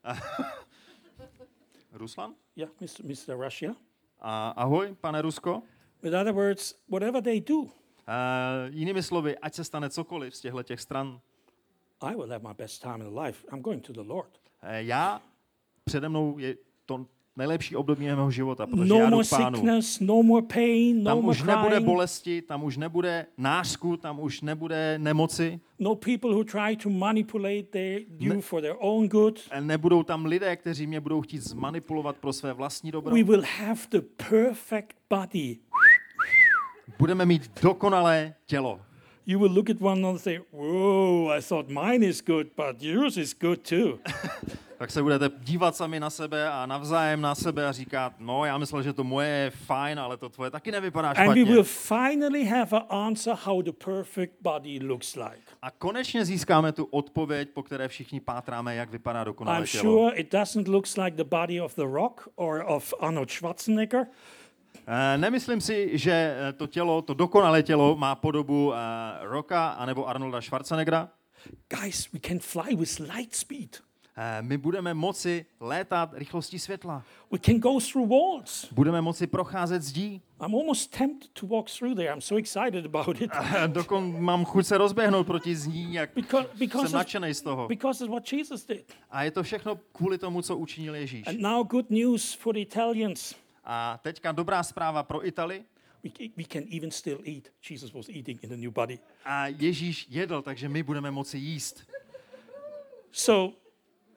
Ruslan? Yeah, mister mister Russia. A ahoj, pane Rusko. In other words, whatever they do, Uh, jinými slovy, ať se stane cokoliv z těchto těch stran, I will have my best time in life. I'm going to the Lord. uh, já, přede mnou je to nejlepší období mého života, protože No já jdu more k Pánu. sickness, no more pain, no Tam more už nebude crying. bolesti, tam už nebude nářku, tam už nebude nemoci, No people who try to manipulate their, you for their own good. nebudou tam lidé, kteří mě budou chtít zmanipulovat pro své vlastní dobro. We will have the perfect body. Budeme mít dokonalé tělo. You will look at one another and say, whoa, I thought mine is good, but yours is good too. Tak se budete dívat sami na sebe a navzájem na sebe a říkat, no já myslel, že to moje je fajn, ale to tvoje taky nevypadá And we špatně. will finally have an answer how the perfect body looks like. A konečně získáme tu odpověď, po které všichni pátráme, jak vypadá dokonalé I'm tělo. sure it doesn't look like the body of The Rock or of Arnold Schwarzenegger. Eh, Nemyslím si, že eh, to tělo, to dokonalé tělo má podobu eh, Rocka anebo Arnolda Schwarzeneggera. Guys, we can fly with light speed. Eh, My budeme moci létat rychlostí světla. We can go through walls. Budeme moci procházet zdí. I'm almost tempted to walk through there. I'm so excited about it. Eh, Dokon mám chuť se rozběhnout proti zdí, jak Because, because, jsem it's, nadšenej z toho. because it's what Jesus did. A je to všechno kvůli tomu, co učinil Ježíš. And now good news for the Italians. A teďka dobrá zpráva pro Itali. We, we can even still eat. Jesus was eating in the new body. A Ježíš jedl, takže my budeme moci jíst. So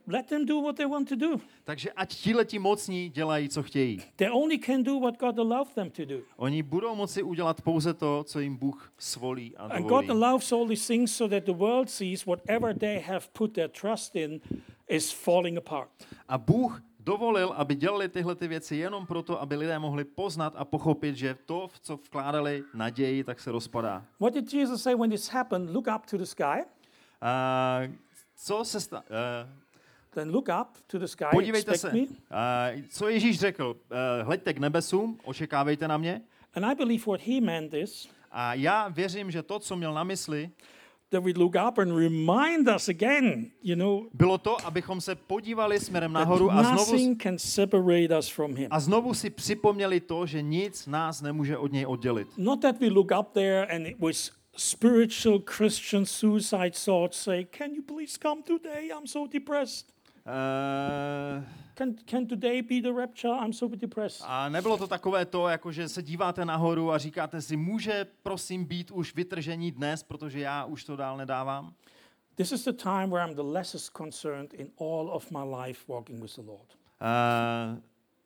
let them do what they want to do. Takže ať tihleti mocní dělají, co chtějí. They only can do what God allows them to do. Oni budou moci udělat pouze to, co jim Bůh svolí a And dovolí. God allows all these things so that the world sees whatever they have put their trust in is falling apart. A Bůh dovolil, aby dělali tyhle ty věci jenom proto, aby lidé mohli poznat a pochopit, že to, v co vkládali naději, tak se rozpadá. What did Jesus say when this happened? Look up to the sky. A co se sta- uh, Then look up to the sky. podívejte Expect se, me. uh, co Ježíš řekl, uh, hleďte k nebesům, očekávejte na mě. And I believe what he meant is A já věřím, že to, co měl na mysli, that we look up and remind us again, you know, bylo to, abychom se podívali směrem that nahoru a znovu, nothing can separate us from him. a znovu si připomněli to, že nic nás nemůže od něj oddělit. Not that we look up there and it was spiritual Christian suicide thoughts say, can you please come today? I'm so depressed. Uh, Can, can today be the rapture? I'm so depressed. a nebylo to takové to, jako že se díváte nahoru a říkáte si, může prosím být už vytržení dnes, protože já už to dál nedávám. This is the time where I'm the lessest concerned in all of my life walking with the Lord. Uh,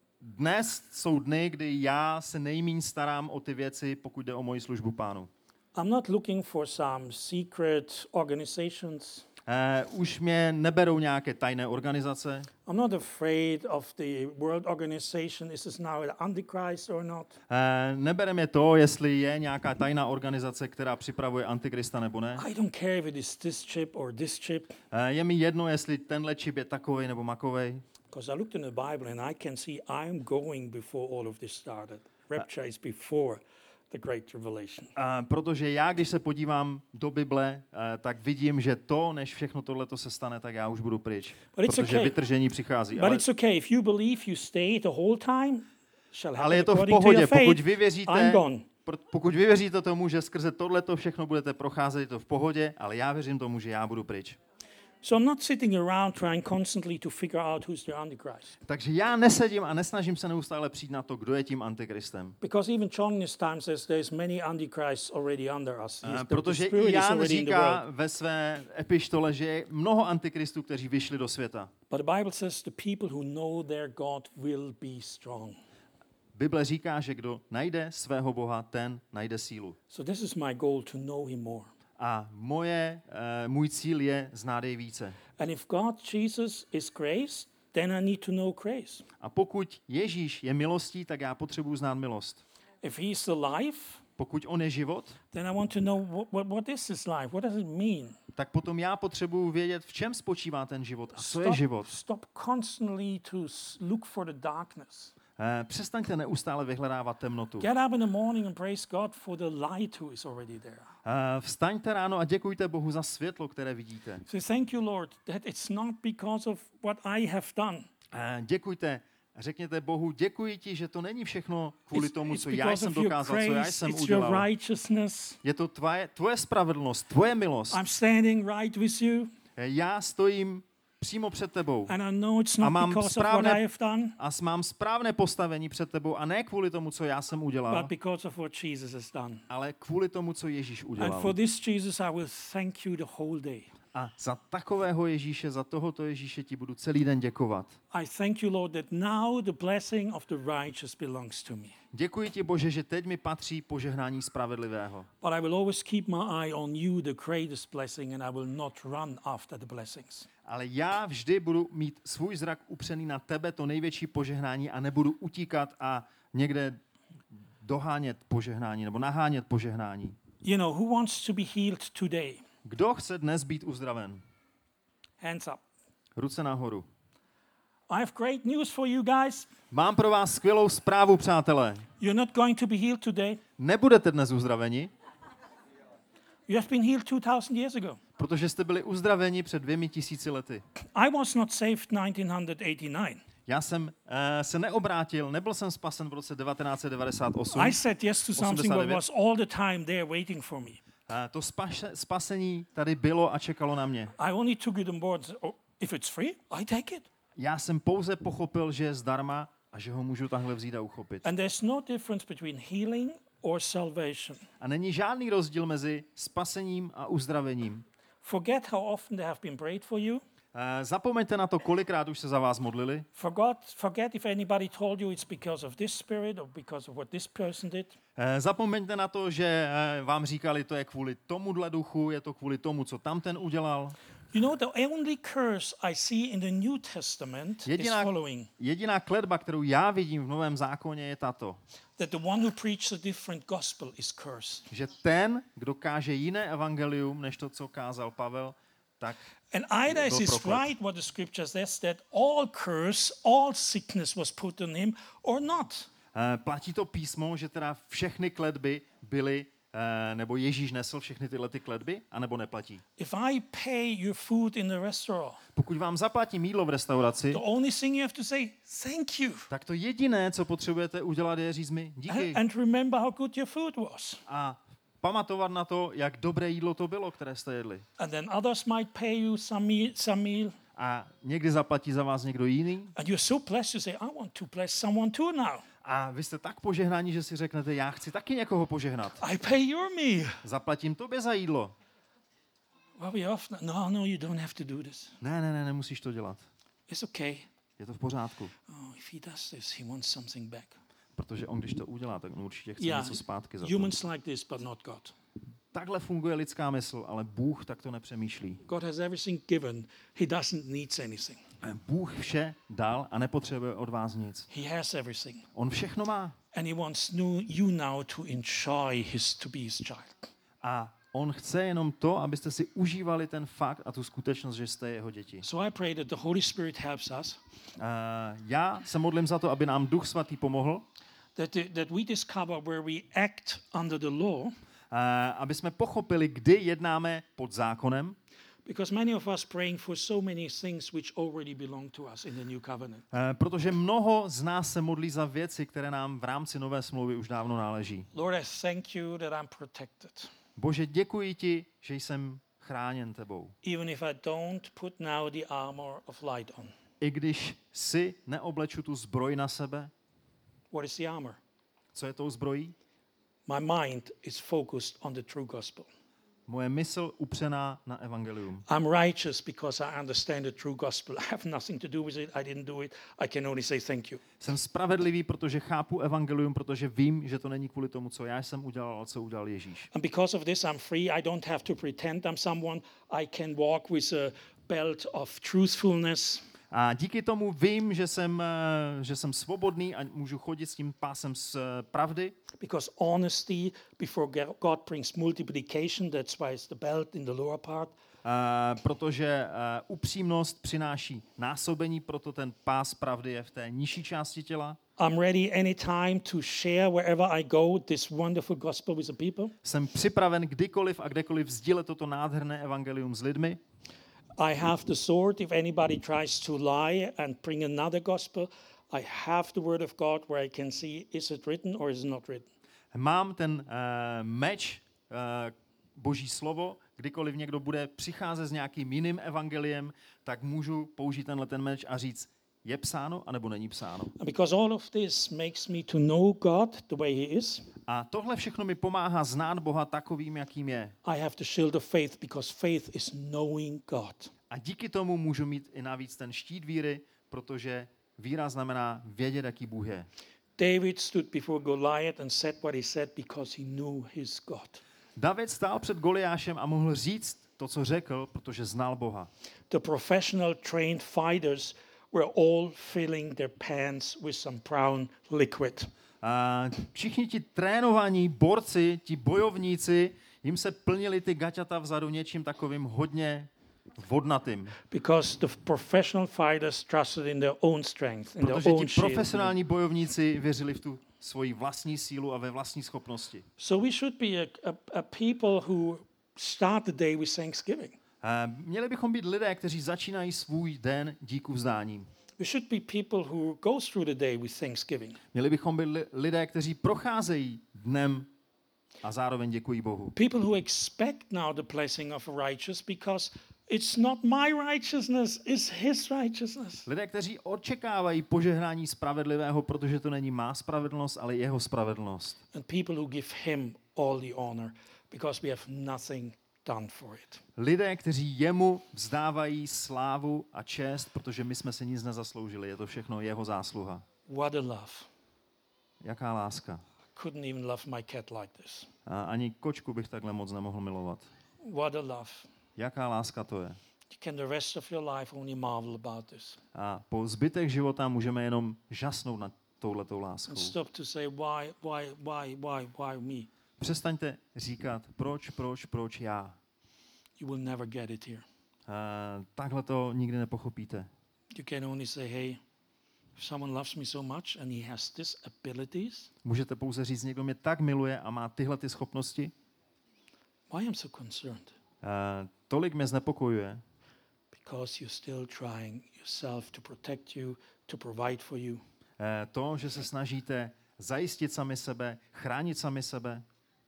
dnes jsou dny, kdy já se nejméně starám o ty věci, pokud jde o moji službu Pánu. I'm not looking for some secret organizations. Uh, už mě neberou nějaké tajné organizace. I'm not afraid of the world organization. Is this now an antichrist or not? Uh, nebere mě to, jestli je nějaká tajná organizace, která připravuje antikrista nebo ne. I don't care if it is this chip or this chip. Uh, je mi jedno, jestli tenhle čip je takovej nebo makovej. Because I looked in the Bible and I can see I'm going before all of this started. Rapture is before the great tribulation. Uh, protože já, když se podívám do Bible, uh, tak vidím, že to, než všechno tohleto se stane, tak já už budu pryč. But it's Protože okay. vytržení přichází. But Ale, it's okay. If you believe you stay the whole time, shall ale happen je to v according to pohodě, your pokud faith. vy I'm věříte, gone. pro- pokud vy věříte tomu, že skrze tohleto všechno budete procházet, je to v pohodě, ale já věřím tomu, že já budu pryč. So I'm not sitting around trying constantly to figure out who's the Antichrist. Takže já nesedím a nesnažím se neustále přijít na to, kdo je tím antikristem. Because even John in his time says there's many Antichrists already under us. He's- Uh, the- the protože spirit i is Jan already in the říká world. ve své epištole, že je mnoho antikristů, kteří vyšli do světa. But the Bible says the people who know their God will be strong. Bible říká, že kdo najde svého Boha, ten najde sílu. So this is my goal, to know him more. A moje, uh, můj cíl je znát jej více. And if God, Jesus, is grace, then I need to know grace. A pokud Ježíš je milostí, tak já potřebuji znát milost. If he's the life, Pokud on je život, then I want to know what, what, what is his life? What does it mean? tak potom já potřebuji vědět, v čem spočívá ten život a co je život. stop constantly to s- look for the darkness. Uh, přestaňte neustále vyhledávat temnotu. Get up in the morning and praise God for the light who is already there. Uh, vstaňte ráno a děkujte Bohu za světlo, které vidíte. So thank you, Lord, that it's not because of what I have done. Uh, děkujte, řekněte Bohu, děkuji ti, že to není všechno kvůli It's, tomu, it's co já because jsem of your dokázal, co já grace, jsem it's your udělal. righteousness. Je to tvoje, tvoje spravedlnost, tvoje milost. I'm standing right with you, Já stojím přímo před tebou and I know it's A not mám because of what správné- I have done, a s- mám správné postavení před tebou a ne kvůli tomu, co já jsem udělal, but because of what Jesus has done. ale kvůli tomu, co Ježíš And udělal. for this Jesus, I will thank you the whole day. A za takového Ježíše, za tohoto Ježíše ti budu celý den děkovat. I thank you, Lord, that now the blessing of the righteous belongs to me. Děkuji ti, Bože, že teď mi patří požehnání spravedlivého. But I will always keep my eye on you, the greatest blessing, and I will not run after the blessings. Ale já vždy budu mít svůj zrak upřený na tebe, to největší požehnání, a nebudu utíkat a někde dohánět požehnání nebo nahánět požehnání. You know, who wants to be healed today? Kdo chce dnes být uzdraven? Hands up. Ruce nahoru. I have great news for you guys. Mám pro vás skvělou zprávu, přátelé. You're not going to be healed today. Nebudete dnes uzdraveni, You have been healed two thousand years ago. protože jste byli uzdraveni před dvěmi tisíci lety. I was not saved nineteen eighty-nine. Já jsem uh, se neobrátil, nebyl jsem spasen v roce devatenáct set devadesát osm. I said yes to something that was all the time there waiting for me. Uh, to spaše, spasení tady bylo a čekalo na mě. I only took it on board. Oh, if it's free, I take it. Já jsem pouze pochopil, že je zdarma a že ho můžu takhle vzít a uchopit. And there's no difference between healing or salvation. A není žádný rozdíl mezi spasením a uzdravením. Forget how often they have been prayed for you. Uh, Uh, zapomeňte na to, kolikrát už se za vás modlili. Forgot, forget if anybody told you it's because of this spirit or because of what this person did. Uh, zapomeňte na to, že uh, vám říkali, to je kvůli tomuhle duchu, je to kvůli tomu, co tam ten udělal. You know, the only curse I see in the New Testament Jediná, is following. jediná kletba, kterou já vidím v Novém zákoně, je tato. That the one who preaches a different gospel is cursed. Že ten, kdo káže jiné evangelium, než to, co kázal Pavel, tak And either byl is proklet. right what the scripture says, that all curse, all sickness was put on him, or not. Uh, platí to písmo, že teda všechny kletby byly, uh, nebo Ježíš nesl všechny tyhle ty kletby, anebo neplatí. If I pay your food in the restaurant, Pokud vám zaplatím jídlo v restauraci, the only thing you have to say, thank you. tak to jediné, co potřebujete udělat, je říct mi díky. And, and remember how good your food was. A pamatovat na to, jak dobré jídlo to bylo, které jste jedli. And then others might pay you some meal, some meal. A někdy zaplatí za vás někdo jiný. And you're so blessed, you say, I want to bless someone too now. A vy jste tak požehnaní, že si řeknete, já chci taky někoho požehnat. I pay your meal. Zaplatím tobě za jídlo. Well, we often, no, no, you don't have to do this. Ne, ne, ne, nemusíš to dělat. It's okay. Je to v pořádku. Oh, if he does this, he wants something back. Protože on, když to udělá, tak on určitě chce Yeah, něco zpátky za to. humans like this, but not God. Takhle funguje lidská mysl, ale Bůh tak to nepřemýšlí. God has everything given. He doesn't need anything. Bůh vše dal a nepotřebuje od vás nic. He has everything. On všechno má. And he wants new, you now to enjoy his, to be his child. A on chce jenom to, abyste si užívali ten fakt a tu skutečnost, že jste jeho děti. So I pray that the Holy Spirit helps us. Uh, já se modlím za to, aby nám Duch Svatý pomohl, That, the, that we discover where we act under the law, uh, aby jsme pochopili, kdy jednáme pod zákonem, because many of us praying for so many things which already belong to us in the new covenant. uh, protože mnoho z nás se modlí za věci, které nám v rámci nové smlouvy už dávno náleží. Lord, I thank you that I'm protected. Bože, děkuji ti, že jsem chráněn tebou. Even if I don't put now the armor of light on. I když si neobleču tu zbroj na sebe, What is the armor? co je tou zbrojí? My mind is focused on the true gospel. Moje mysl upřená na evangelium. I'm righteous because I understand the true gospel. I have nothing to do with it. I didn't do it. I can only say thank you. Jsem spravedlivý, protože chápu evangelium, protože vím, že to není kvůli tomu, co já jsem udělal, ale co udělal Ježíš. And because of this, I'm free. I don't have to pretend I'm someone. I can walk with a belt of truthfulness. A díky tomu vím, že jsem, eh, že jsem svobodný a můžu chodit s tím pásem z eh, pravdy. Because honesty before God brings multiplication. That's why it's the belt in the lower part. Uh, protože uh, upřímnost přináší násobení, proto ten pás pravdy je v té nižší části těla. I'm ready anytime to share wherever I go this wonderful gospel with the people. Jsem připraven kdykoliv a kdekoliv sdílet toto nádherné evangelium s lidmi. I have the sword if anybody tries to lie and bring another gospel. I have the word of God where I can see is it written or is it not written. Mám ten uh, meč, uh, Boží slovo, kdykoliv někdo bude přicházet s nějakým jiným evangeliem, tak můžu použít tenhle ten meč a říct, je psáno, anebo není psáno. And because all of this makes me to know God the way he is, A tohle všechno mi pomáhá znát Boha takovým, jakým je. I have the shield of faith because faith is knowing God. A díky tomu můžu mít i navíc ten štít víry, protože víra znamená vědět, jaký Bůh je. David stood before Goliath and said what he said because he knew his God. David stál před Goliášem a mohl říct to, co řekl, protože znal Boha. The professional trained fighters were all filling their pants with some brown liquid. A všichni ti trénovaní borci, ti bojovníci, jim se plnili ty gaťata vzadu něčím takovým hodně vodnatým. Because the professional fighters trusted in their own strength, in their Protože own ti shield. profesionální bojovníci věřili v tu svoji vlastní sílu a ve vlastní schopnosti. So we should be a, a, a people who start the day with thanksgiving. A měli bychom být lidé, kteří začínají svůj den díku vzdáním. We should be people who go through the day with thanksgiving. Měli bychom být li- lidé, kteří procházejí dnem a zároveň děkují Bohu. People who expect now the blessing of a righteous because it's not my righteousness, it's his righteousness. Lidé, kteří očekávají požehnání spravedlivého, protože to není má spravedlnost, ale jeho spravedlnost. And people who give him all the honor because we have nothing done for it. Lidé, kteří jemu vzdávají slávu a čest, protože my jsme si nic nezasloužili. Je to všechno jeho zásluha. What a love. Jaká láska. Couldn't even love my cat like this. A ani kočku bych takhle moc nemohl milovat. What a love. Jaká láska to je. You can the rest of your life only marvel about this. A po zbytek života můžeme jenom žasnout nad touhletou láskou. And stop to say why, why, why, why, why me? Přestaňte říkat, proč, proč, proč já. You will never get it here. Uh, takhle to nikdy nepochopíte. You can only say, hey, if someone loves me so much and he has these abilities, Můžete pouze říct, někdo mě tak miluje a má tyhle ty schopnosti. why I'm so concerned? Uh, tolik mě znepokojuje, Because you're still trying yourself to protect you, to provide for you. uh, to, že se snažíte zajistit sami sebe, chránit sami sebe,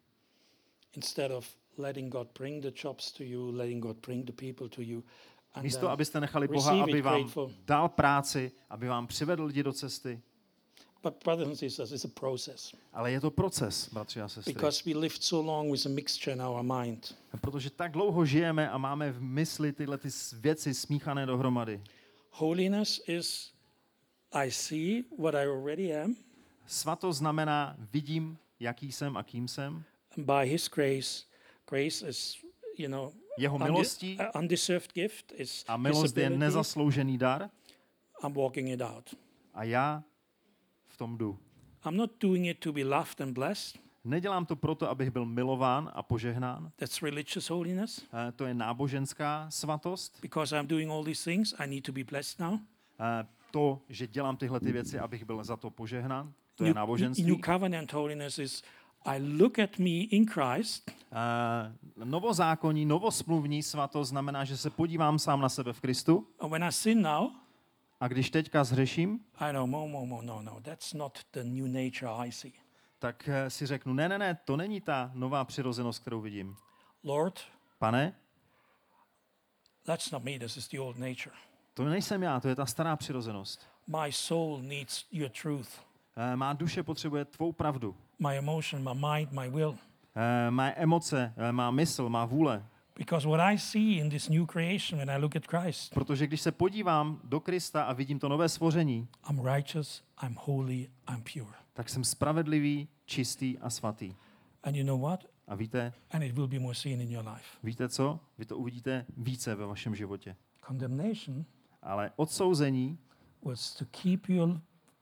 Instead of letting God bring the jobs to you, letting God bring the people to you. And místo, then abyste nechali Boha, receive it aby vám grateful. dal práci, aby vám přivedl lidi do cesty. But brothers and sisters, it's a process. Ale je to proces, bratři a sestry. Because we lived so long with a mixture in our mind. Protože tak dlouho žijeme a máme v mysli tyhle ty věci smíchané dohromady. Holiness is, I see what I already am, Svatost znamená, vidím, jaký jsem a kým jsem. and by His grace, grace is, you know, Jeho undi- milostí uh, undeserved gift is a His milost je ability. nezasloužený dar I'm walking it out. a já v tom jdu. I'm not doing it to be loved and blessed. Nedělám to proto, abych byl milován a požehnán. That's religious holiness. Eh, To je náboženská svatost. Because I'm doing all these things, I need to be blessed now. Eh, To, že dělám tyhle ty věci, abych byl za to požehnán, to je New, náboženství. New covenant holiness is I look at me in Christ Eh, Novozákonní, novosmluvní svatost znamená, že se podívám sám na sebe v Kristu and when I sin now, a když teďka zhřeším, I know, mo, mo, mo, no, no, that's not the new nature I see. tak eh, si řeknu, ne, ne, ne, to není ta nová přirozenost, kterou vidím. Lord, Pane, that's not me, this is the old nature. to nejsem já, to je ta stará přirozenost. My soul needs your truth. Eh, Má duše potřebuje tvou pravdu. My emotion, my mind, my will. Eh, Má emoce, eh, má mysl, má vůle. Because what I see in this new creation when I look at Christ, Protože když se podívám do Krista a vidím to nové stvoření, I'm righteous, I'm holy, I'm pure. tak jsem spravedlivý, čistý a svatý. And you know what? A víte, And it will be more seen in your life. víte co? Vy to uvidíte více ve vašem životě. Condemnation Ale odsouzení was to keep your,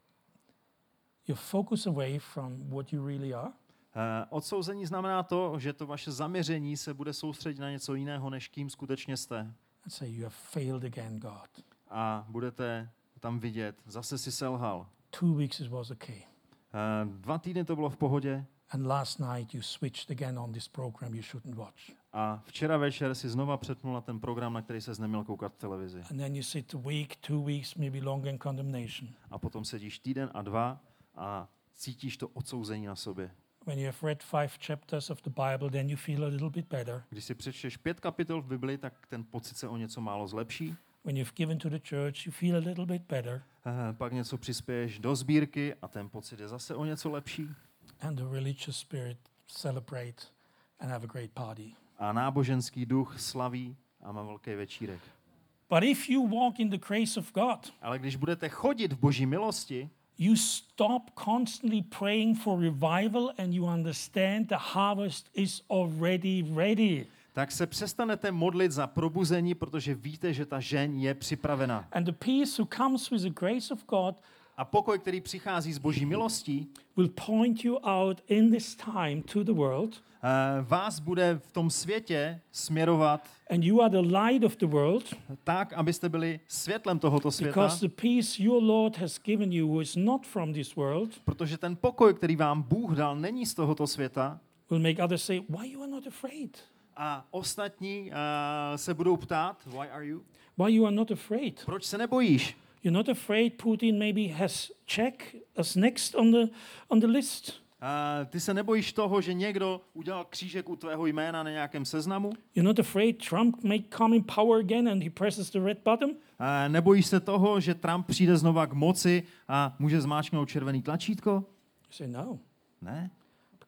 your focus away from what you really are. Eh, Odsouzení znamená to, že to vaše zaměření se bude soustředit na něco jiného, než kým skutečně jste. And say, you have failed again, God. A budete tam vidět, zase si selhal. Two weeks it was okay. Eh, Dva týdny to bylo v pohodě And last night you switched again on this program you shouldn't watch. a včera večer si znova přepnul na ten program, na který ses neměl koukat v televizi. And then you sit a week, two weeks, maybe longer in condemnation. A potom sedíš týden a dva a cítíš to odsouzení na sobě. When you have read five chapters of the Bible, then you feel a little bit better. Když si přečteš pět kapitol v Bibli, tak ten pocit se o něco málo zlepší. When you've given to the church, you feel a little bit better. Eh, Pak něco přispěješ do sbírky a ten pocit je zase o něco lepší. And the religious spirit celebrate and have a great party. A náboženský duch slaví a má velký večírek. But if you walk in the grace of God, Ale když budete chodit v Boží milosti, you stop constantly praying for revival and you understand the harvest is already ready. tak se přestanete modlit za probuzení, protože víte, že ta žeň je připravena. And the peace who comes with the grace of God A pokoj, který přichází z Boží milostí, will point you out in this time to the world. eh, vás bude v tom světě směrovat And you are the light of the world tak, abyste byli světlem tohoto světa, because the peace your Lord has given you is not from this world. protože ten pokoj, který vám Bůh dal, není z tohoto světa Will make others say, why you are not afraid? a ostatní eh, se budou ptát, why are you? Why you are not afraid? Proč se nebojíš? You're not afraid Putin maybe has check as next on the on the list. Uh, ty se nebojíš toho, že někdo udělal křížek u tvého jména na nějakém seznamu? You're not afraid Trump may come in power again and he presses the red button? Uh, nebojíš se toho, že Trump přijde znova k moci a může zmáčknout červený tlačítko? You say no, Ne,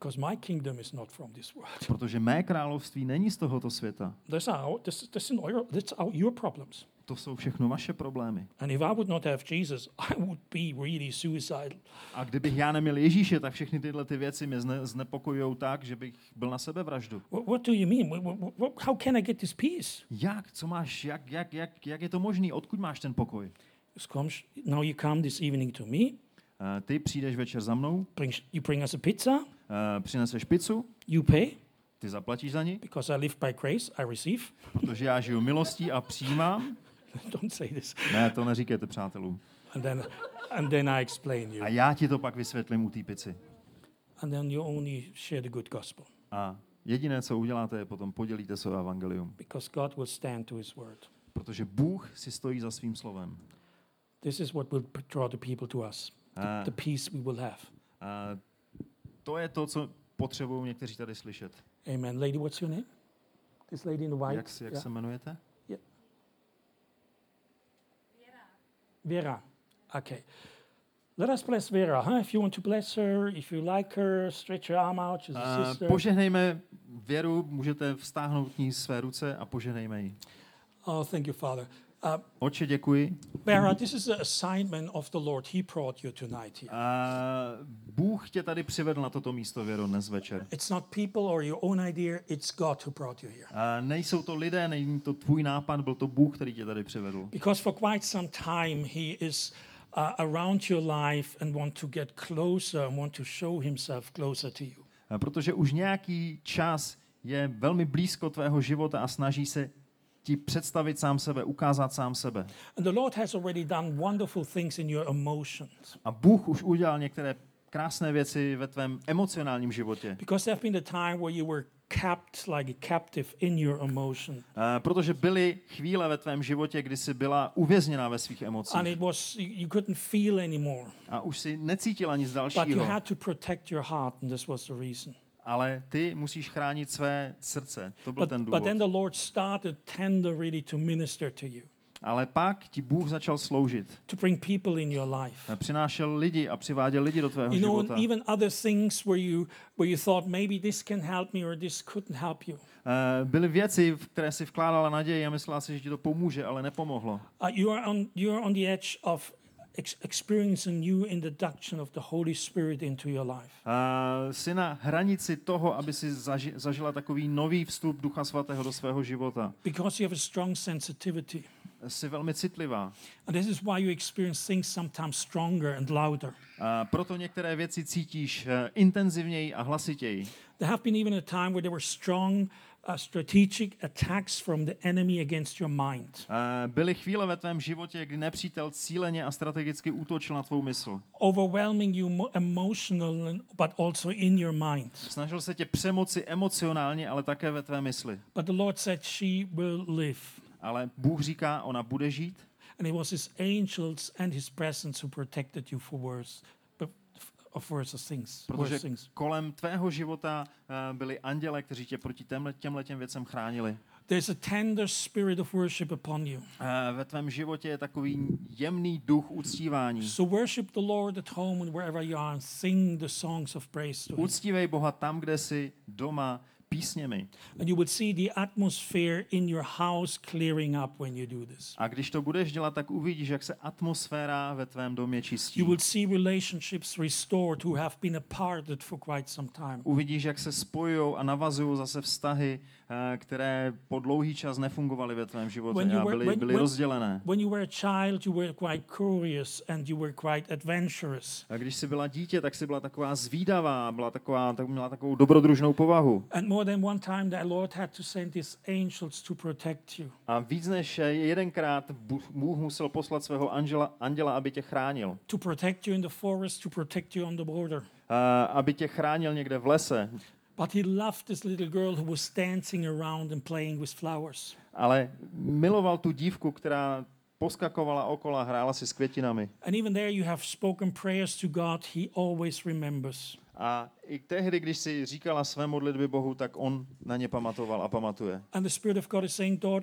Because my kingdom is not from this world. Protože mé království není z tohoto světa. These are our, this, this is our, that's our, your problems. To jsou všechno vaše problémy. And if I would not have Jesus, I would be really suicidal. A kdybych já neměl Ježíše, tak všechny tyhle ty věci mě zne, znepokojujou tak, že bych byl na sebevraždu. What, what do you mean? What, what, what, how can I get this peace? Jak? Co máš? Jak, jak, jak, jak je to možný? Odkud máš ten pokoj? Comes, now you come this evening to me. Uh, ty přijdeš večer za mnou, Bring, you bring us a pizza. uh, přineseš pizzu, You pay. ty zaplatíš za ní, Because I live by grace, I receive. protože já žiju milostí a přijímám. Don't say this. Ne, to neříkejte přátelům. And then, and then I explain you. A já ti to pak vysvětlím u té pici. And then you only share the good gospel. A jediné, co uděláte, je potom podělíte se o evangelium. Because God will stand to his word. Protože Bůh si stojí za svým slovem. This is what will draw the people to us. The, A, the peace we will have. a to je to, co potřebují někteří tady slyšet. Amen. Lady, what's your name? This lady in the white. Jak, si, jak Yeah. se jmenujete? Vera. Okay. Let us bless Vera, huh? If you want to bless her, if you like her, stretch your arm out. She's a A sister. požehnejme Věru, můžete vztáhnout k ní své ruce a požehnejme ji. Oh, thank you, Father. Uh, Otče, děkuji. Vera, this is an assignment of the Lord. He brought you tonight here. A Bůh tě tady přivedl na toto místo, Věro, dnes večer. It's not people or your own idea, it's God who brought you here. A nejsou to lidé, není to tvůj nápad, byl to Bůh, který tě tady přivedl. Because for quite some time he is uh, around your life and want to get closer and want to show himself closer to you. A protože už nějaký čas je velmi blízko tvého života a snaží se ti představit sám sebe, ukázat sám sebe. And the Lord has already done wonderful things in your emotions. A Bůh už udělal některé krásné věci ve tvém emocionálním životě. Because there have been a time where you were kept like a captive in your emotion. Uh, protože byly chvíle ve tvém životě, kdy jsi byla uvězněná ve svých emocích. And it was, you couldn't feel anymore. A už si necítila nic But you dalšího. had to protect your heart, and this was the reason. Ale ty musíš chránit své srdce. To byl But, ten but důvod. then the Lord started tender really to minister to you, Ale pak ti Bůh začal sloužit. to bring people in your life. Přinášel lidi a přiváděl lidi do tvého You know, života. and even other things where you where you thought maybe this can help me or this couldn't help you. Uh, byly věci, v které si vkládala naději a myslela si, že ti to pomůže, ale nepomohlo. Uh, you are on you are on the edge of ex- experiencing new introduction of the Holy Spirit into your life. Uh, jsi na hranici toho, aby si zaži- zažila takový nový vstup Ducha Svatého do svého života. Because you have a strong sensitivity. Jsi velmi citlivá. And this is why you experience things sometimes stronger and louder. Uh, proto některé věci cítíš uh, intenzivněji a hlasitěji. There have been even a time where there were strong uh, strategic attacks from the enemy against your mind. Uh, byly chvíle ve tvém životě, kdy nepřítel cíleně a strategicky útočil na tvou mysl. Overwhelming you mo- emotional, but also in your mind. Snažil se tě přemoci emocionálně, ale také ve tvé mysli. But the Lord said she will live. Ale Bůh říká, ona bude žít. And it was his angels and his presence who protected you for worse, but of worse things. Protože Worse things. kolem tvého života uh, byli anděle, kteří tě proti těmhle, těmhletěm věcem chránili. There's a tender spirit of worship upon you. Uh, ve tvém životě je takový jemný duch uctívání. So worship the Lord at home and wherever you are and sing the songs of praise to him. Uctívej Boha tam, kde jsi doma, písněmi. And you will see the atmosphere in your house clearing up when you do this. A když to budeš dělat, tak uvidíš, jak se atmosféra ve tvém domě čistí. You will see relationships restored who have been aparted for quite some time. Uvidíš, jak se spojují a navazují zase vztahy, uh, které po dlouhý čas nefungovaly ve tvém životě When you a were- byly, when- byly when- rozdělené. When you were a child, you were quite curious and you were quite adventurous. A když jsi byla dítě, tak jsi byla taková zvídavá, byla taková, tak měla takovou dobrodružnou povahu. And more than one time, the Lord had to send his angels to protect you. A víc než jedenkrát Bůh Bůh musel poslat svého anděla, anděla, aby tě chránil. To protect you in the forest, to protect you on the border. A aby tě chránil někde v lese. But he loved this little girl who was dancing around and playing with flowers. Ale miloval tu dívku, která poskakovala okolo a hrála si s květinami. And even there you have spoken prayers to God, he always remembers. A i tehdy, když si říkala své modlitby Bohu, tak on na ně pamatoval a pamatuje. And the Spirit of God is saying, daughter,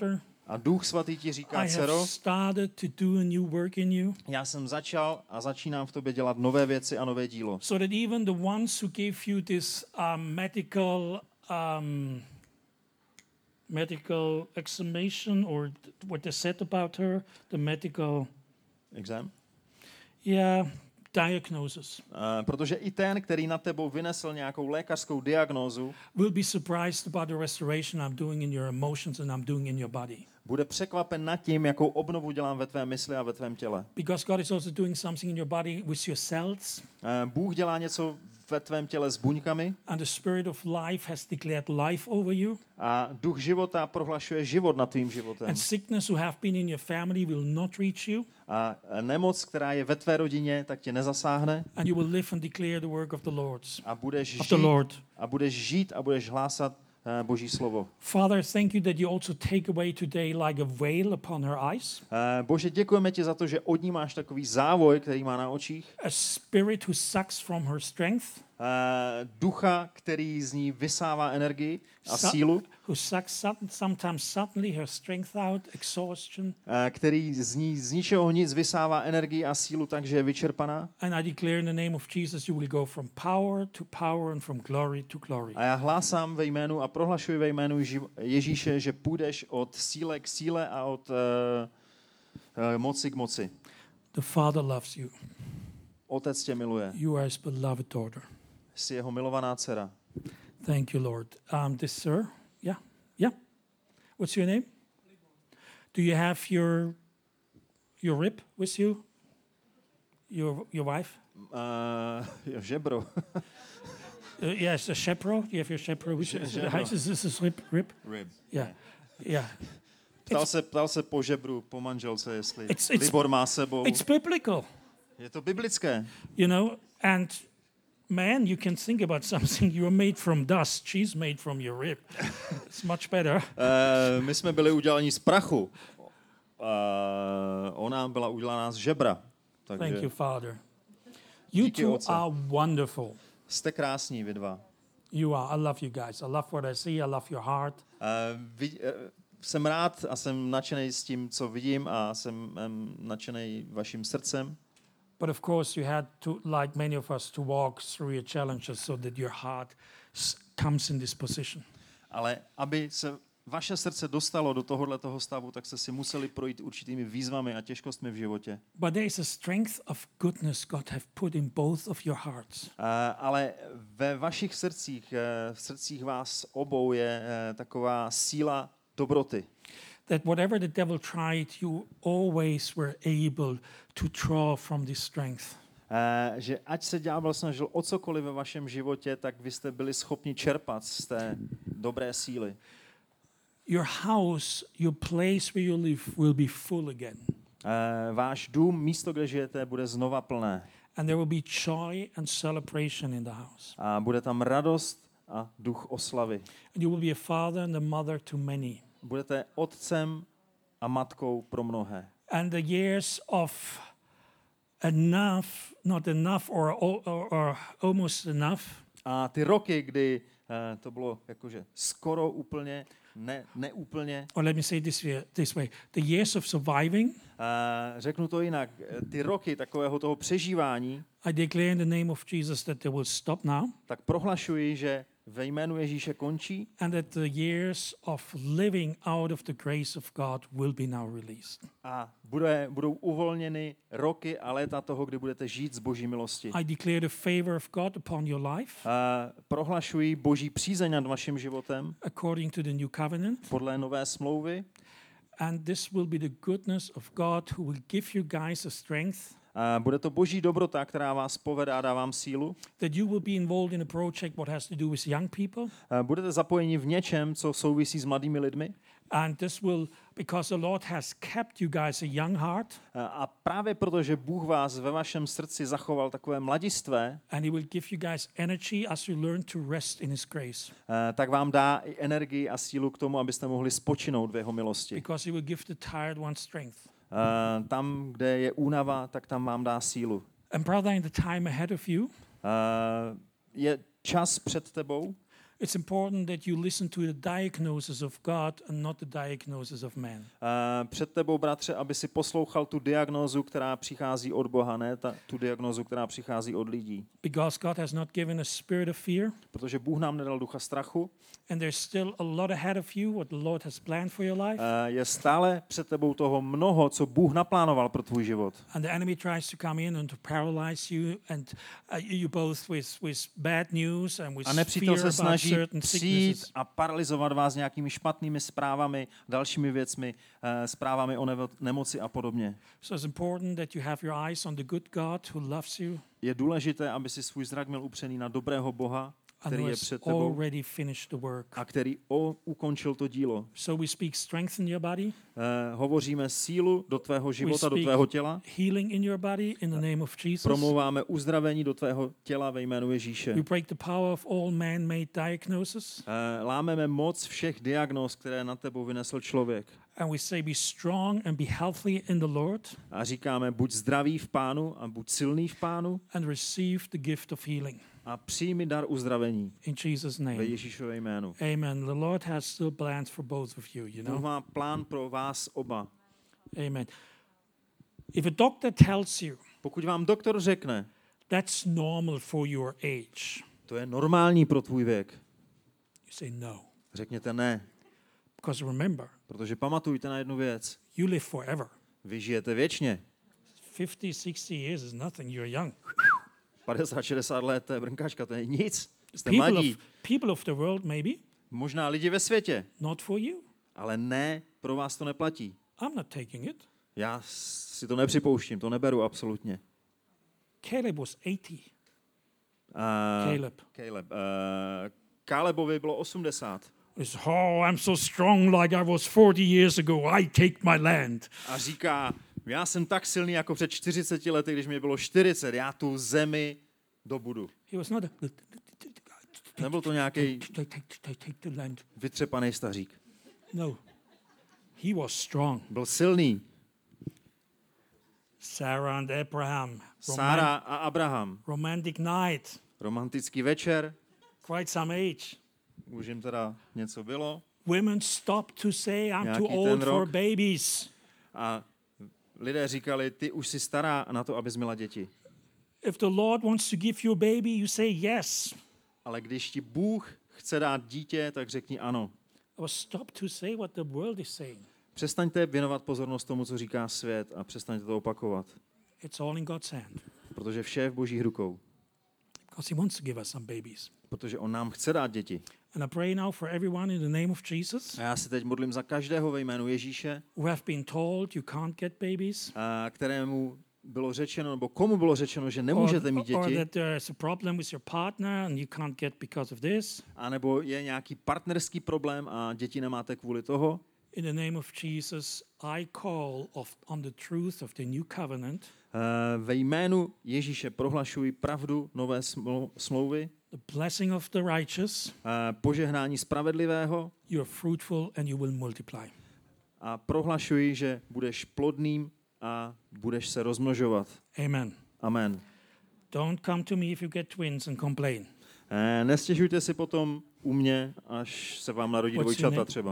A Duch Svatý ti říká, I dcero, have started to do a new work in you. já jsem začal a začínám v tobě dělat nové věci a nové dílo. So that even the ones who gave you this um, medical um, medical examination, or th- what they said about her, the medical, Exam? yeah, diagnosis, Uh, protože i ten, který na tebou vynesl nějakou lékařskou diagnózu, will be surprised about the restoration I'm doing in your emotions and I'm doing in your body. bude překvapen nad tím, jakou obnovu dělám ve tvé mysli a ve tvém těle. Because God is also doing something in your body with your cells, Uh, Bůh dělá něco ve tvém těle s buňkami and the Spirit of life has declared life over you. a duch života prohlašuje život nad tvým životem. And sickness who have been in your family will not reach you, A nemoc, která je ve tvé rodině, tak tě nezasáhne and you will live and declare the work of the Lord. a budeš Of the žít Lord. a budeš žít a budeš hlásat uh, Boží slovo. Father, thank you that you also take away today like a veil upon her eyes, Uh, Bože, děkujeme ti za to, že od ní máš takový závoj, který má na očích. a spirit who sucks from her strength, Uh, ducha, který z ní vysává energii a Sa- sílu, who sucks sud- sometimes suddenly her strength out, exhaustion. uh, který z ní z ničeho nic vysává energii a sílu, takže je vyčerpaná. And I declare in the name of Jesus, you will go from power to power and from glory to glory. A já hlásám ve jménu a prohlašuji ve jménu Ježí- Ježíše, že půjdeš od síle k síle a od uh, uh, moci k moci. The Father loves you. Otec tě miluje. You are his beloved daughter. Jsi jeho milovaná dcera. Thank you, Lord. Um, this sir, yeah, yeah. What's your name? Do you have your your rib with you? Your your wife? Uh, jo, žebro. Uh, yes, a chaperone. You have your chaperone with you. Chaperone. Is this is rib? Rib? Rib. Yeah, yeah. Ptal se, ptal se po žebru, po manželce, jestli It's- it's- Libor má sebou. It's biblical, Je to biblické. you know. And man, you can think about something. You are made from dust. She's made from your rib. It's much better. Uh, my jsme byli udělaní z prachu. Uh, ona byla udělaná z žebra. Thank Takže you, Father. You Díky, two Otče. are wonderful. jste krásní vy dva. You are. I love you guys. I love what I see. I love your heart. Uh, vid, uh, jsem rád a jsem nadšený s tím, co vidím a jsem um, nadšený vaším srdcem. But of course, you had to, like many of us, to walk through your challenges so that your heart s- comes in this position. Ale aby se vaše srdce dostalo do tohohle toho stavu, tak jste si museli projít určitými výzvami a těžkostmi v životě. But there is a strength of goodness God have put in both of your hearts. Uh, ale ve vašich srdcích, uh, v srdcích vás obou je uh, taková síla dobroty. That whatever the devil tried, you always were able to draw from this strength. Uh, že ať se ďábel snažil o cokoliv ve vašem životě, tak vy jste byli schopni čerpat z té dobré síly. Your house, your place where you live will be full again. Uh, váš dům, místo, kde žijete, bude znova plné. And there will be joy and celebration in the house. A bude tam radost a duch oslavy. And you will be a father and a mother to many. Budete otcem a matkou pro mnohé. And the years of enough, not enough, or, or, or almost enough, A ty roky, kdy uh, to bylo jakože skoro úplně, ne, neúplně, or let me say this way, this way, the years of surviving, uh, řeknu to jinak, ty roky takového toho přežívání, I declare in the name of Jesus that they will stop now, tak prohlašuji, že ve jménu Ježíše končí and that the years of living out of the grace of God will be now released. a bude, budou uvolněny roky a léta toho, kdy budete žít z Boží milosti. I declare the favor of God upon your life, Uh, prohlašuji Boží přízeň nad vaším životem according to the new covenant, podle nové smlouvy. and this will be the goodness of God who will give you guys a strength Uh, bude to Boží dobrota, která vás povede a dá vám sílu. that you will be involved in a project what has to do with young people. Uh, budete zapojeni v něčem, co souvisí s mladými lidmi. And this will, because the Lord has kept you guys a young heart, Uh, a právě proto, že Bůh vás ve vašem srdci zachoval takové mladistvé, and He will give you guys energy as you learn to rest in His grace. uh, tak vám dá i energii a sílu k tomu, abyste mohli spočinout v jeho milosti. Because He will give the tired one strength. Uh, tam, kde je únava, tak tam vám dá sílu. And brother, in the time ahead of you, Uh, je čas před tebou, It's important that you listen to the diagnosis of God and not the diagnosis of man. Uh, před tebou, bratře, aby si poslouchal tu diagnózu, která přichází od Boha, ne ta, tu diagnózu, která přichází od lidí. Because God has not given a spirit of fear. Protože Bůh nám nedal ducha strachu. And there's still a lot ahead of you, what the Lord has planned for your life. Uh, je stále před tebou toho mnoho, co Bůh naplánoval pro tvůj život. And the enemy tries to come in and to paralyze you and uh, you both with, with bad news and with A nepřítel fear se about snaží certain přijít sicknesses. a paralyzovat vás nějakými špatnými zprávami, dalšími věcmi, uh, zprávami o nevo- nemoci a podobně. So it's important that you have your eyes on the good God who loves you Je důležité, aby si svůj zrak měl upřený na dobrého Boha, and který who je has před tebou already finished the work. a který o, ukončil to dílo. So we speak strength in your body, Uh, hovoříme sílu do tvého života, do speak- tvého těla. healing in your body in the name of Jesus. Promlouváme uzdravení do tvého těla ve jménu Ježíše. We break the power of all man-made diagnosis. Uh, lámeme moc všech diagnóz, které na tebou vynesl člověk. And we say be strong and be healthy in the Lord A říkáme, buď zdravý v Pánu a buď silný v Pánu and receive the gift of healing. a přijmi dar uzdravení In Jesus' ve name. Ježíšově jménu. Amen. The Lord has still plans for both of you, you Bůh know. má plán pro vás oba. Amen. If a doctor tells you Pokud vám doktor řekne, that's normal for your age, to je normální pro tvůj věk, you say no. řekněte ne, Because remember, protože pamatujte na jednu věc. you live forever. Vy žijete věčně. fifty, sixty years is nothing. You're young. padesát šedesát let, to je brnkačka, to je nic. Jste People mladí. of, people of the world, maybe, Možná lidi ve světě, not for you. ale ne, pro vás to neplatí. I'm not taking it. Já si to nepřipouštím, to neberu absolutně. Caleb was eighty. Uh, Caleb. Caleb. Uh, Kalebovi bylo osmdesát. It's, oh, I'm so strong like I was forty years ago. I take my land. A říká, já jsem tak silný jako před čtyřiceti lety, když mi bylo čtyřicet, já tu zemi dobudu. He was not a, Nebyl to nějaký take, take, take, take the land. vytřepaný stařík. No. He was strong. Byl silný. Sarah and Abraham. Roman- Sára a Abraham. romantic night. Romantický večer. Quite some age. Už jim teda něco bylo. Women stopped to say, I'm Nějaký too ten old for rok. babies. A lidé říkali, ty už jsi stará na to, abys měla děti. If the Lord wants to give you a baby, you say yes. Ale když ti Bůh chce dát dítě, tak řekni ano. Or stop to say what the world is saying. Přestaňte věnovat pozornost tomu, co říká svět a přestaňte to opakovat. It's all in God's hand. Protože vše je v Božích rukou. Because He wants to give us some babies. Protože on nám chce dát děti. And I pray now for everyone in the name of Jesus A já se teď modlím za každého ve jménu Ježíše, who have been told you can't get babies. a kterému bylo řečeno, nebo komu bylo řečeno, že nemůžete mít or děti, that there's a problem with your partner and you can't get because of this. anebo je nějaký partnerský problém a děti nemáte kvůli toho. In the name of Jesus, I call of, on the truth of the new covenant, Uh, ve jménu Ježíše prohlašuji pravdu nové smlou- smlouvy, the blessing of the righteous. uh, požehnání spravedlivého You are fruitful and you will multiply. a prohlašuji, že budeš plodným a budeš se rozmnožovat. Amen. Amen. Don't come to me if you get twins and complain. Uh, nestěžujte si potom u mě, až se vám narodí What's your dvojčata name? třeba.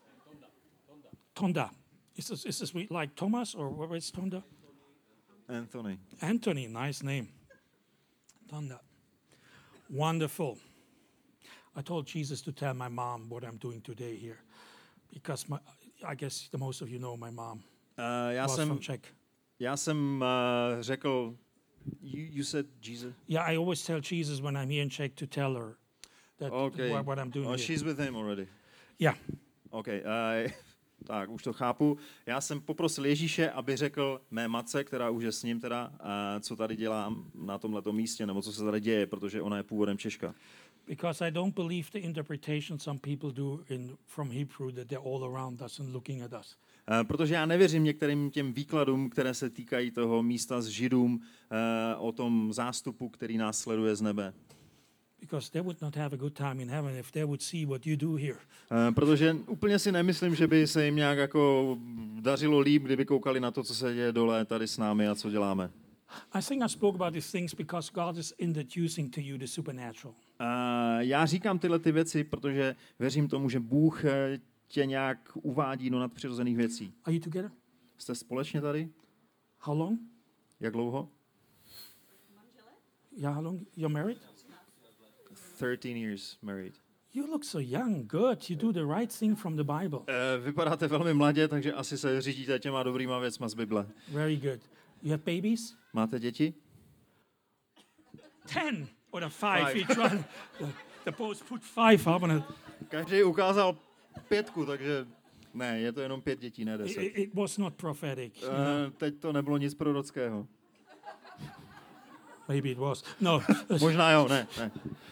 Tonda. Is this, is this like Thomas or what is Tonda? Anthony. Anthony, nice name. Tonda. Wonderful. I told Jesus to tell my mom what I'm doing today here. Because my, I guess the most of you know my mom Uh, já was from jsem, Czech. já jsem uh, řekl, you, you said Jesus? Yeah, I always tell Jesus when I'm here in Czech to tell her that Okay. what, what I'm doing Oh, here. she's with him already. Yeah. Okay. Uh, tak, už to chápu. Já jsem poprosil Ježíše, aby řekl mé matce, která už je s ním teda, uh, co tady dělám na tomhletom místě, nebo co se tady děje, protože ona je původem Češka. Because I don't believe the interpretation some people do in from Hebrew that they're all around us and looking at us. Uh, protože já nevěřím některým těm výkladům, které se týkají toho místa s Židům, uh, o tom zástupu, který nás sleduje z nebe. Because they would not have a good time in heaven if they would see what you do here. Uh, protože úplně si nemyslím, že by se jim nějak jako dařilo líp, kdyby koukali na to, co se děje dole tady s námi a co děláme. I think I spoke about these things because God is introducing to you the supernatural. já říkám tyhle ty věci, protože věřím tomu, že Bůh eh, tě nějak uvádí do nadpřirozených věcí. Are you together? Jste společně tady? How long? Jak dlouho? Yeah, how long? You're married? thirteen years married. You look so young. Good. You do the right thing from the Bible. Uh, vypadáte velmi mladě, takže asi se řídíte těma dobrýma věcma z Bible. Very good. You have babies? Máte děti? Ten or five, Five. each one. The, the boss put five up on it. Každý ukázal pětku, takže ne, je to jenom pět dětí, ne It, deset. it was not prophetic. you know. Uh, teď to nebylo nic prorockého. Maybe it was. No. Možná jo, ne, ne.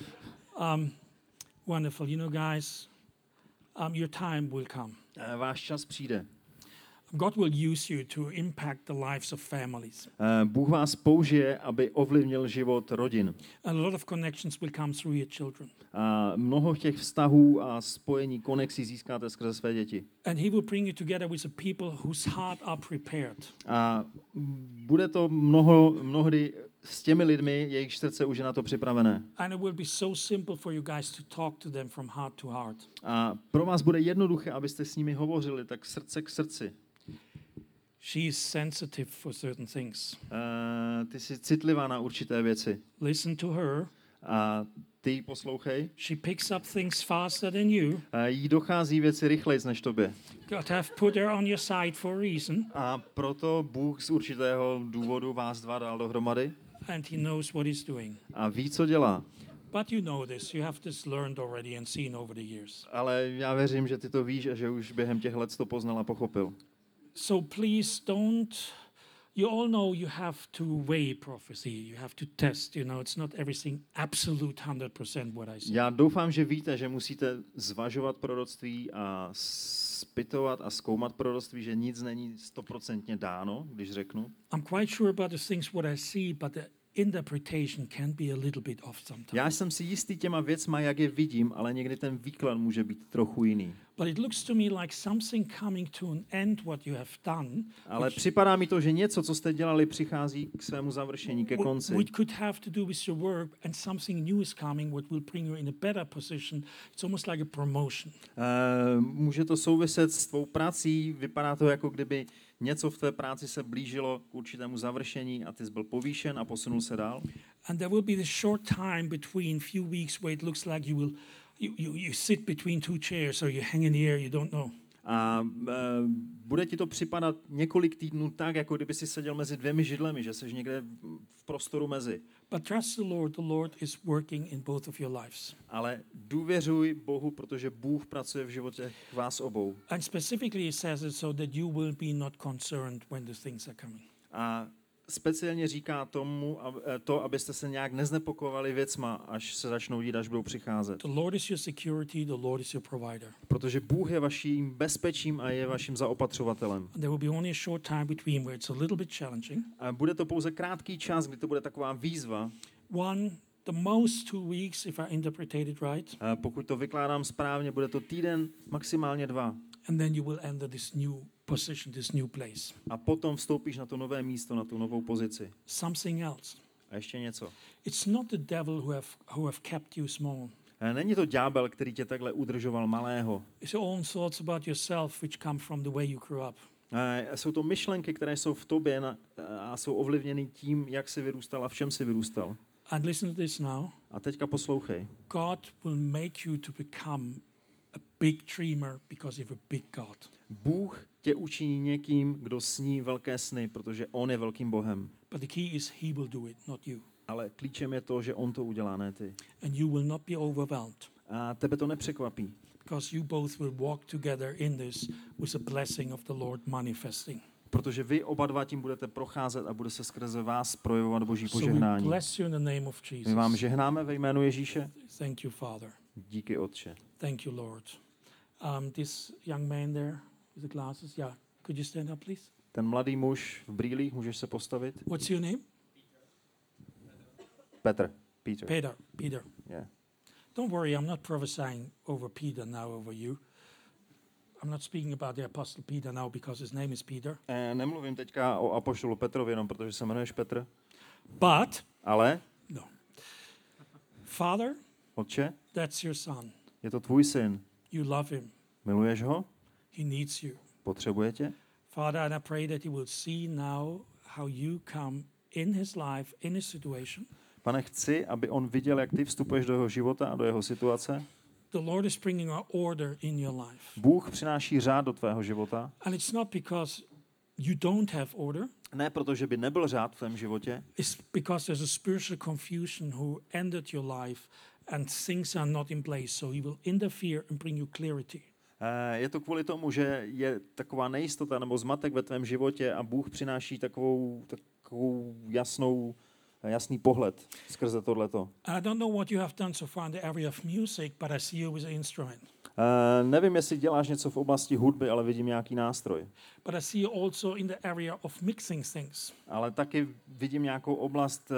um, wonderful. You know, guys, um, your time will come. Uh, váš čas přijde. God will use you to impact the lives of families. Uh, Bůh vás použije, aby ovlivnil život rodin. A lot of connections will come through your children. A mnoho těch vztahů a spojení, konexí získáte skrze své děti. And he will bring you together with the people whose heart are prepared. A bude to mnoho, mnohdy s těmi lidmi, jejich srdce už je na to připravené. And it will be so simple for you guys to talk to them from heart to heart. A pro vás bude jednoduché, abyste s nimi hovořili tak srdce k srdci. She is sensitive for certain things. Uh, ty jsi citlivá na určité věci. Listen to her. A ty ji poslouchej. She picks up things faster than you. A jí dochází věci rychleji než tobě. God have put her on your side for a reason. A proto Bůh z určitého důvodu vás dva dal dohromady. And he knows what he's doing. A ví, co dělá. But you know this. You have this learned already and seen over the years. Ale já věřím, že ty to víš a že už během těch let to poznal a pochopil. So please don't. You all know you have to weigh prophecy. You have to test. You know, it's not everything absolute one hundred percent what I say. Já doufám, že víte, že musíte zvažovat proroctví a zpytovat a zkoumat proroctví, že nic není stoprocentně dáno, když řeknu. I'm quite sure about the things what I see, but the interpretation can be a little bit off sometimes. Já jsem si jistý těma věcma, jak je vidím, ale někdy ten výklad může být trochu jiný. But it looks to me like something coming to an end what you have done. Ale which, připadá mi to, že něco, co jste dělali, přichází k svému završení, ke wh- konci. which could have to do with your work, and something new is coming what will bring you in a better position. It's almost like a promotion. Uh, může to souviset s tvou prací, vypadá to, jako kdyby něco v té práci se blížilo k určitému završení a ty jsi byl povýšen a posunul se dál. And there will be this short time between few weeks where it looks like you will you, you, you sit between two chairs or you hang in the air, you don't know. A uh, bude ti to připadat několik týdnů tak, jako kdyby si seděl mezi dvěmi židlemi, že jsi někde v prostoru mezi. But trust the Lord. The Lord is working in both of your lives. Ale důvěřuj Bohu, protože Bůh pracuje v životě vás obou. And specifically he says it so that you will be not concerned when the things are coming. A speciálně říká tomu to, abyste se nějak neznepokojovali věcma, až se začnou dít, až budou přicházet. The Lord is your security, the Lord is your provider. Protože Bůh je vaším bezpečím a je vaším zaopatřovatelem. And there will be only a short time between where it's a little bit challenging. A bude to pouze krátký čas, kdy to bude taková výzva. One, the most two weeks, if I interpreted it right. A pokud to vykládám správně, bude to týden, maximálně dva. And then you will enter this new position, this new place. A potom vstoupíš na to nové místo, na tu novou pozici. Something else. A ještě něco. It's not the devil who have, who have kept you small. A není to ďábel, který tě takhle udržoval malého. It's your own thoughts about yourself which come from the way you grew up. A jsou to myšlenky, které jsou v tobě na, a jsou ovlivněny tím, jak jsi vyrůstal a v čem jsi vyrůstal. And listen to this now. A teďka poslouchej. God will make you to become a big dreamer because you're a big God. Bůh tě učiní někým, kdo sní velké sny, protože on je velkým Bohem. But the key is he will do it, not you. Ale klíčem je to, že on to udělá, ne ty. And you will not be overwhelmed A tebe to nepřekvapí, because you both will walk together in this with the blessing of the Lord manifesting. protože vy oba dva tím budete procházet a bude se skrze vás projevovat Boží So we požehnání. bless you in the name of Jesus. My vám žehnáme ve jménu Ježíše. Thank you, Father. Díky, Otče. Thank you, Lord. Um, this young man there with the glasses, yeah. Could you stand up, please? Ten mladý muž v brýlích, můžeš se postavit? What's your name? Petr. Peter. Peter. Peter. Yeah. Don't worry, I'm not prophesying over Peter now over you. I'm not speaking about the Apostle Peter now because his name is Peter. E, nemluvím teďka o apoštolu Petrovi jenom, protože se jmenuješ Petr, But, ale no. Father, Otče, That's your son. je to tvůj syn. You love him. Miluješ ho? He needs you. Potřebuje tě? Father, and I pray that he will see now how you come in his life, in his situation. Pane, chci, aby on viděl, jak ty vstupuješ do jeho života a do jeho situace. The Lord is bringing an order in your life. Bůh přináší řád do tvého života. And it's not because you don't have order. Ne proto, že by nebyl řád v tvém životě, It's because there's a spiritual confusion who ended your life and things are not in place. So he will interfere and bring you clarity. Eh, je to kvůli tomu, že je taková nejistota nebo zmatek ve tvém životě a Bůh přináší takovou, takovou jasnou, jasný pohled skrze tohleto. I don't know what you have done so far in the area of music, but I see you with an instrument. Eh, nevím, jestli děláš něco v oblasti hudby, ale vidím nějaký nástroj. But I see you also in the area of mixing things. Ale taky vidím nějakou oblast eh,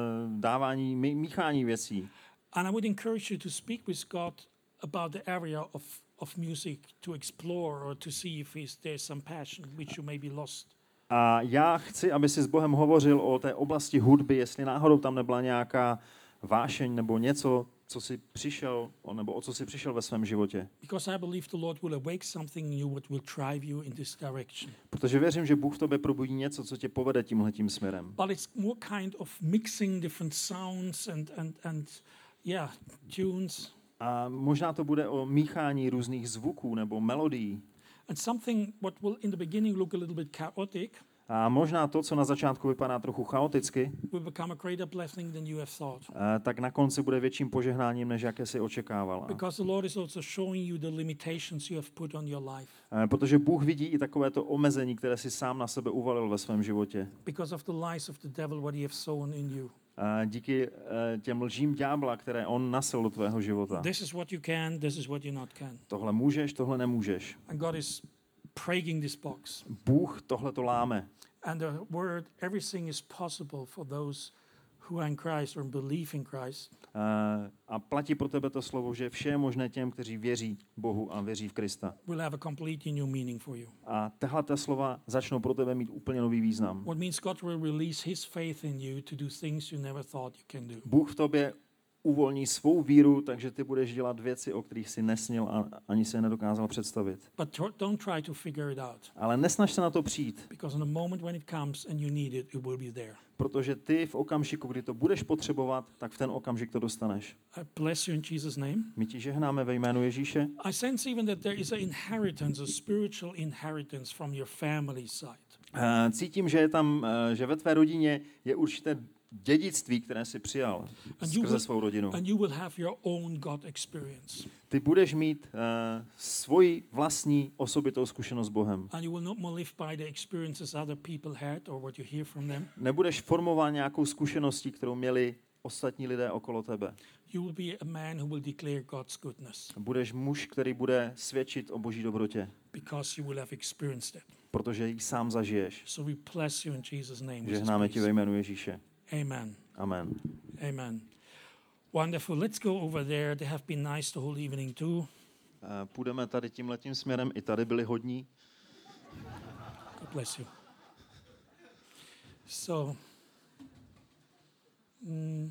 dávání, mí- míchání věcí. And I would encourage you to speak with God about the area of, of music to explore or to see if he's, there's some passion which you may be lost. A já chci, aby si s Bohem hovořil o té oblasti hudby, jestli náhodou tam nebyla nějaká vášeň nebo něco, co si přišel, nebo o co si přišel ve svém životě. Because I believe the Lord will awake something new what will drive you in this direction. Protože věřím, že Bůh v tobě probudí něco, co tě povede tímhletím směrem. But it's more kind of mixing different sounds and, and, and yeah, tunes. A možná to bude o míchání různých zvuků nebo melodií. And something what will in the beginning look a little bit chaotic A možná to, co na začátku vypadá trochu chaoticky, will become a greater blessing than you have thought. eh, tak na konci bude větším požehnáním, než jaké si očekával. Because the Lord is also showing you the limitations you have put on your life. Eh, Protože Bůh vidí i takovéto omezení, které si sám na sebe uvalil ve svém životě. Because of the lies of the devil, what he have sown in you. Eh, Díky eh, těm lžím ďábla, které on nasel do tvého života. This is what you can, this is what you not can. Tohle můžeš, tohle nemůžeš. And God is breaking this box. Bůh tohle to láme. And the word, everything is possible for those who are in Christ or believe in Christ. Eh, A platí pro tebe to slovo, že vše je možné těm, kteří věří Bohu a věří v Krista. Will have a completely new meaning for you. A tahle slova začnou pro tebe mít úplně nový význam. What means God will release his faith in you to do things you never thought you can do. Bůh v tobě uvolní svou víru, takže ty budeš dělat věci, o kterých si nesnil a ani se je nedokázal představit. But tr- don't try to figure it out. Ale nesnaž se na to přijít, Because in the moment when it comes and you need it, it will be there. protože ty v okamžiku, kdy to budeš potřebovat, tak v ten okamžik to dostaneš. I bless you in Jesus' name. My ti žehnáme ve jménu Ježíše. I sense even that there is an inheritance, a spiritual inheritance from your family side. Eh, Cítím, že je tam, eh, že ve tvé rodině je určité dědictví, které jsi přijal And you skrze will- svou rodinu. And you will have your own God experience. Ty budeš mít uh, svoji vlastní osobitou zkušenost s Bohem. And you will not more live by the experiences other people had or what you hear from them. Nebudeš formovat nějakou zkušeností, kterou měli ostatní lidé okolo tebe. You will be a man who will declare God's goodness Budeš muž, který bude svědčit o Boží dobrotě, because you will have experienced it. protože ji sám zažiješ. So we bless you in Jesus' name. with this Žehnáme ti ve peace. jménu Ježíše. Amen. Amen. Amen. Wonderful. Let's go over there. They have been nice the whole evening too. Uh, půjdeme tady tímhletím směrem, i tady byli hodní. God bless you. So, mm,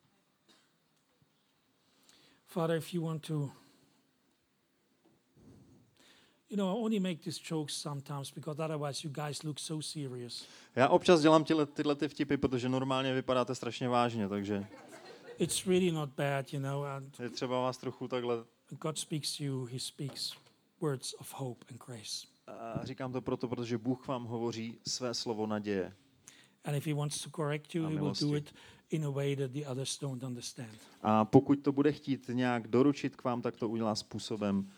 Father, if you want to, you know, I only make these jokes sometimes because otherwise you guys look so serious. Já občas dělám tyhle, tyhle ty vtipy, protože normálně vypadáte strašně vážně, takže It's really not bad, you know, and je třeba vás trochu takhle. when God speaks to you, he speaks words of hope and grace. A říkám to proto, protože Bůh vám hovoří své slovo naděje. And if he wants to correct you, A he will milosti. do it in a way that the others don't understand. A pokud to bude chtít nějak doručit k vám, tak to udělá způsobem, uh,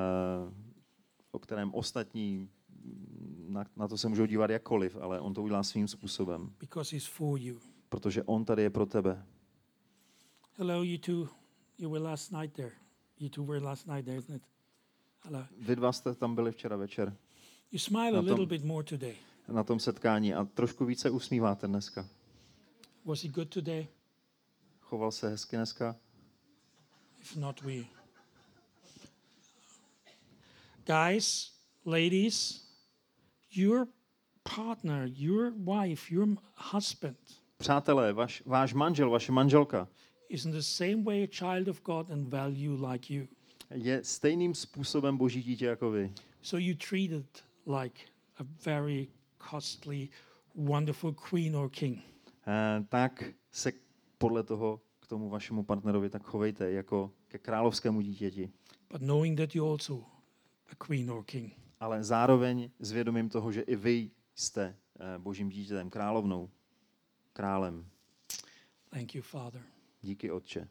o kterém ostatní na, na to se můžou dívat jakkoliv, ale on to udělá svým způsobem, Because he's for you. protože on tady je pro tebe. Hello, you two. You were last night there. You two were last night there, isn't it? Hello. Vy dva jste tam byli včera večer You smile Na a little tom- bit more today. na tom setkání a trošku více usmíváte dneska. Was he good today? Choval se hezky dneska? If not, we. Guys, ladies, your partner, your wife, your husband Přátelé, vaš, váš manžel, vaše manželka is in the same way a child of God and value like you. Je stejným způsobem boží dítě jako vy. So you treat it like a very costly, wonderful queen or king. Eh, tak se podle toho k tomu vašemu partnerovi tak chovejte jako ke královskému dítěti. But knowing that you're also a queen or king. Ale zároveň s vědomím toho, že i vy jste eh, božím dítětem, královnou, králem. Thank you, Father. Díky, Otče.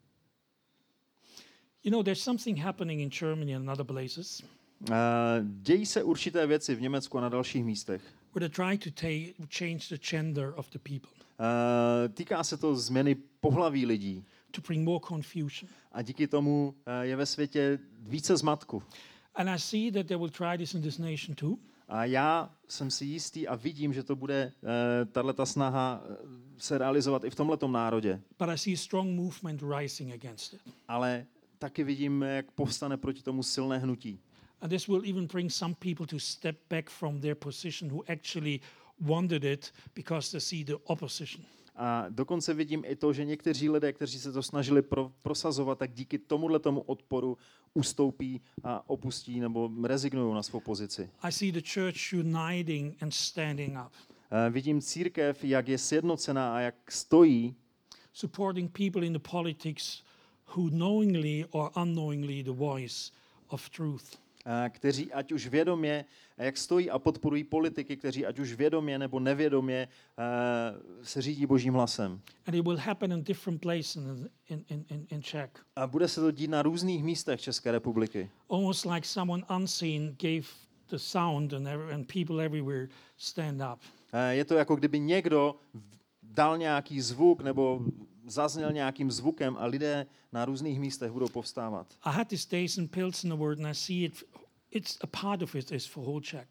You know, there's something happening in Germany and other places Eh, dějí se určité věci v Německu a na dalších místech. where they try to ta- change the gender of the people Eh, týká se to změny pohlaví lidí. to bring more confusion. A díky tomu eh, je ve světě více zmatku. And I see that they will try this in this nation too. A já jsem si jistý a vidím, že to bude uh, tato snaha eh, se realizovat i v tomhletom národě. But I see a strong movement rising against it. Ale taky vidím, jak povstane proti tomu silné hnutí. And this will even bring some people to step back from their position who actually wanted it because they see the opposition. A dokonce vidím i to, že někteří lidé, kteří se to snažili pro, prosazovat, tak díky tomuhle tomu odporu ustoupí a opustí nebo rezignují na svou pozici. I see the church uniting and standing up, Eh, vidím církev, jak je sjednocená a jak stojí, supporting people in the politics who knowingly or unknowingly the voice of truth. eh, kteří ať už vědomě, jak stojí a podporují politiky, kteří ať už vědomě nebo nevědomě eh, se řídí božím hlasem. And it will happen in different places in, in, in, in, in Czech. A bude se to dít na různých místech České republiky. Almost like someone unseen gave the sound and, every, and people everywhere stand up. Eh, Je to jako kdyby někdo v- dal nějaký zvuk nebo zazněl nějakým zvukem a lidé na různých místech budou povstávat. I had these days in Pilsen word, and I see it. It's a part of it is for whole Czech.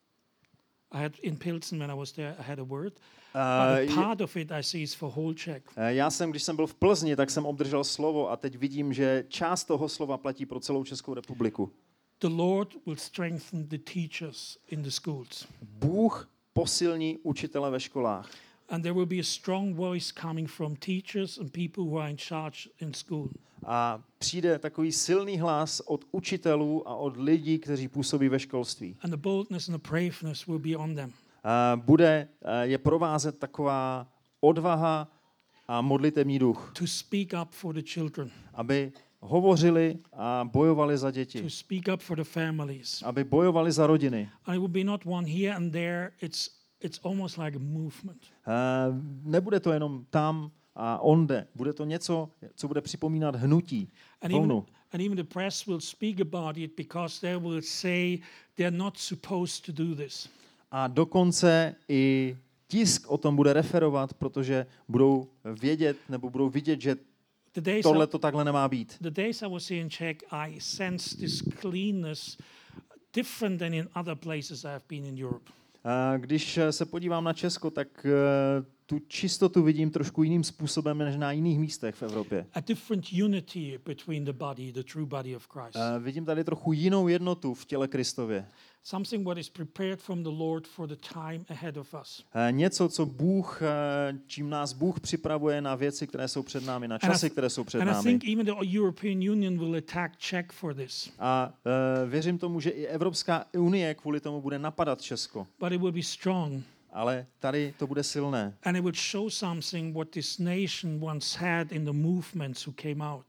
I had in Pilsen when I was there, I had a word, but Eh, a je- part of it I see is for whole Czech. eh, Já jsem, když jsem byl v Plzni, tak jsem obdržel slovo a teď vidím, že část toho slova platí pro celou Českou republiku. The Lord will strengthen the teachers in the schools, Bůh posilní učitele ve školách. and there will be a strong voice coming from teachers and people who are in charge in school. A přijde takový silný hlas od učitelů a od lidí, kteří působí ve školství. And the boldness and the braveness will be on them. A bude eh, je provázet taková odvaha a modlitevní duch, To speak up for the children, aby hovořili a bojovali za děti, to speak up for the families. aby bojovali za rodiny. And it will be not one here and there. It's it's almost like a movement. Eh, Nebude to jenom tam a onde, bude to něco, co bude připomínat hnutí, And even, vlnu. and even the press will speak about it because they will say they're not supposed to do this. A dokonce i tisk o tom bude referovat, protože budou vědět nebo budou vidět, že The days, tohle I, to takhle nemá být. the days I was here in Czech, I sensed this cleanness different than in other places I've been in Europe. A když se podívám na Česko, tak eh, tu čistotu vidím trošku jiným způsobem než na jiných místech v Evropě. A different unity between the body, the true body of Christ. Eh, Vidím tady trochu jinou jednotu v těle Kristově. Something what is prepared from the Lord for the time ahead of us. Eh, Něco, co Bůh, eh, čím nás Bůh připravuje na věci, které jsou před námi, na And I časy, th- které jsou před And I námi. think even the European Union will attack Czech for this. A eh, věřím tomu, že i Evropská unie kvůli tomu bude napadat Česko. But it will be strong. Ale tady to bude silné. And it would show something what this nation once had in the movements who came out.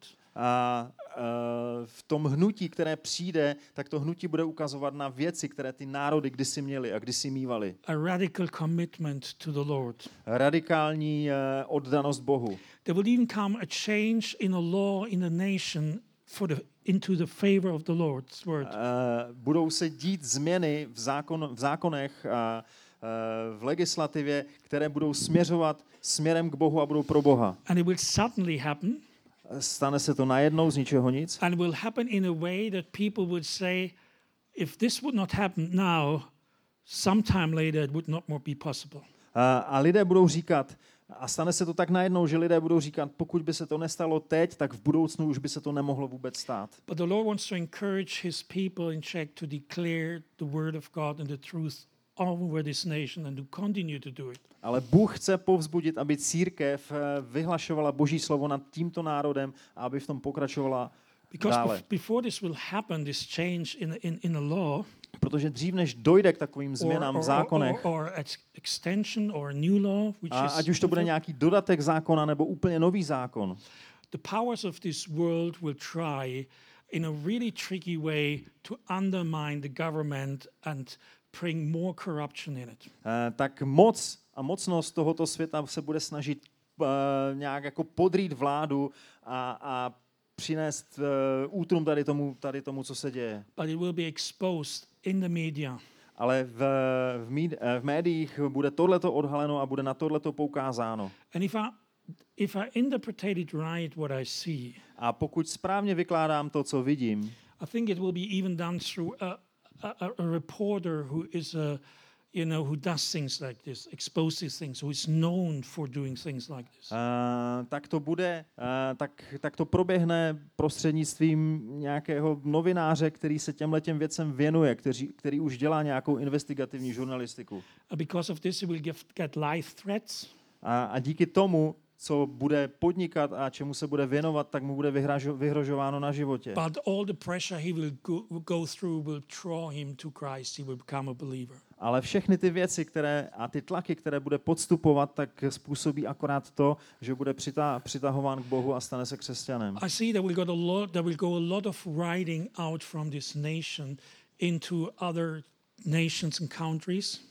A uh, v tom hnutí, které přijde, tak to hnutí bude ukazovat na věci, které ty národy kdysi měly a kdysi mívali. A radical commitment to the Lord. Radikální uh, oddanost Bohu. There will even come a change in a law in a nation for the into the favor of the Lord's word. Uh, budou se dít změny v, zákon, v zákonech a uh, v legislativě, které budou směřovat směrem k Bohu a budou pro Boha. And it will suddenly happen. Stane se to najednou z ničeho nic. And will happen in a way that people would say, if this would not happen now, sometime later it would not more be possible. A, a lidé budou říkat, a stane se to tak najednou, že lidé budou říkat, pokud by se to nestalo teď, tak v budoucnu už by se to nemohlo vůbec stát. But the Lord wants to encourage his people in Czech to declare the word of God and the truth over this nation and to continue to do it. Ale Bůh chce povzbudit, aby církev eh, vyhlašovala Boží slovo nad tímto národem a aby v tom pokračovala Because dále. bef- before this will happen, this change in, in, in a law, Protože dřív, než dojde k takovým or, změnám or, v zákonech, or, or ex- extension or a new law, which a is ať už to bude nějaký dodatek zákona nebo úplně nový zákon, the powers of this world will try in a really tricky way to undermine the government and bring more corruption in it. eh, tak moc a mocnost tohoto světa se bude snažit eh, nějak jako podrýt vládu a, a přinést uh, útrum tady tomu, tady tomu, co se děje. But it will be exposed in the media. Ale v, v, míd, v médiích bude tohleto odhaleno a bude na tohleto poukázáno. And if I, if I interpreted it right, what I see, A pokud správně vykládám to, co vidím, I think it will be even done through a, a, a reporter who is a, you know, who does things like this, exposes things, who is known for doing things like this. uh, tak to bude, uh, tak, tak to proběhne prostřednictvím nějakého novináře, který se těmhletěm věcem věnuje, který, který už dělá nějakou investigativní žurnalistiku. And because of this, he will give, get live threats. A, a díky tomu, co bude podnikat a čemu se bude věnovat, tak mu bude vyhražo, vyhrožováno na životě. But all the pressure he will go, go through will draw him to Christ. He will become a believer. Ale všechny ty věci, které a ty tlaky, které bude podstupovat, tak způsobí akorát to, že bude přita, přitahován k Bohu a stane se křesťanem. I see that we got a lot. There will go a lot of writing out from this nation into other nations and countries.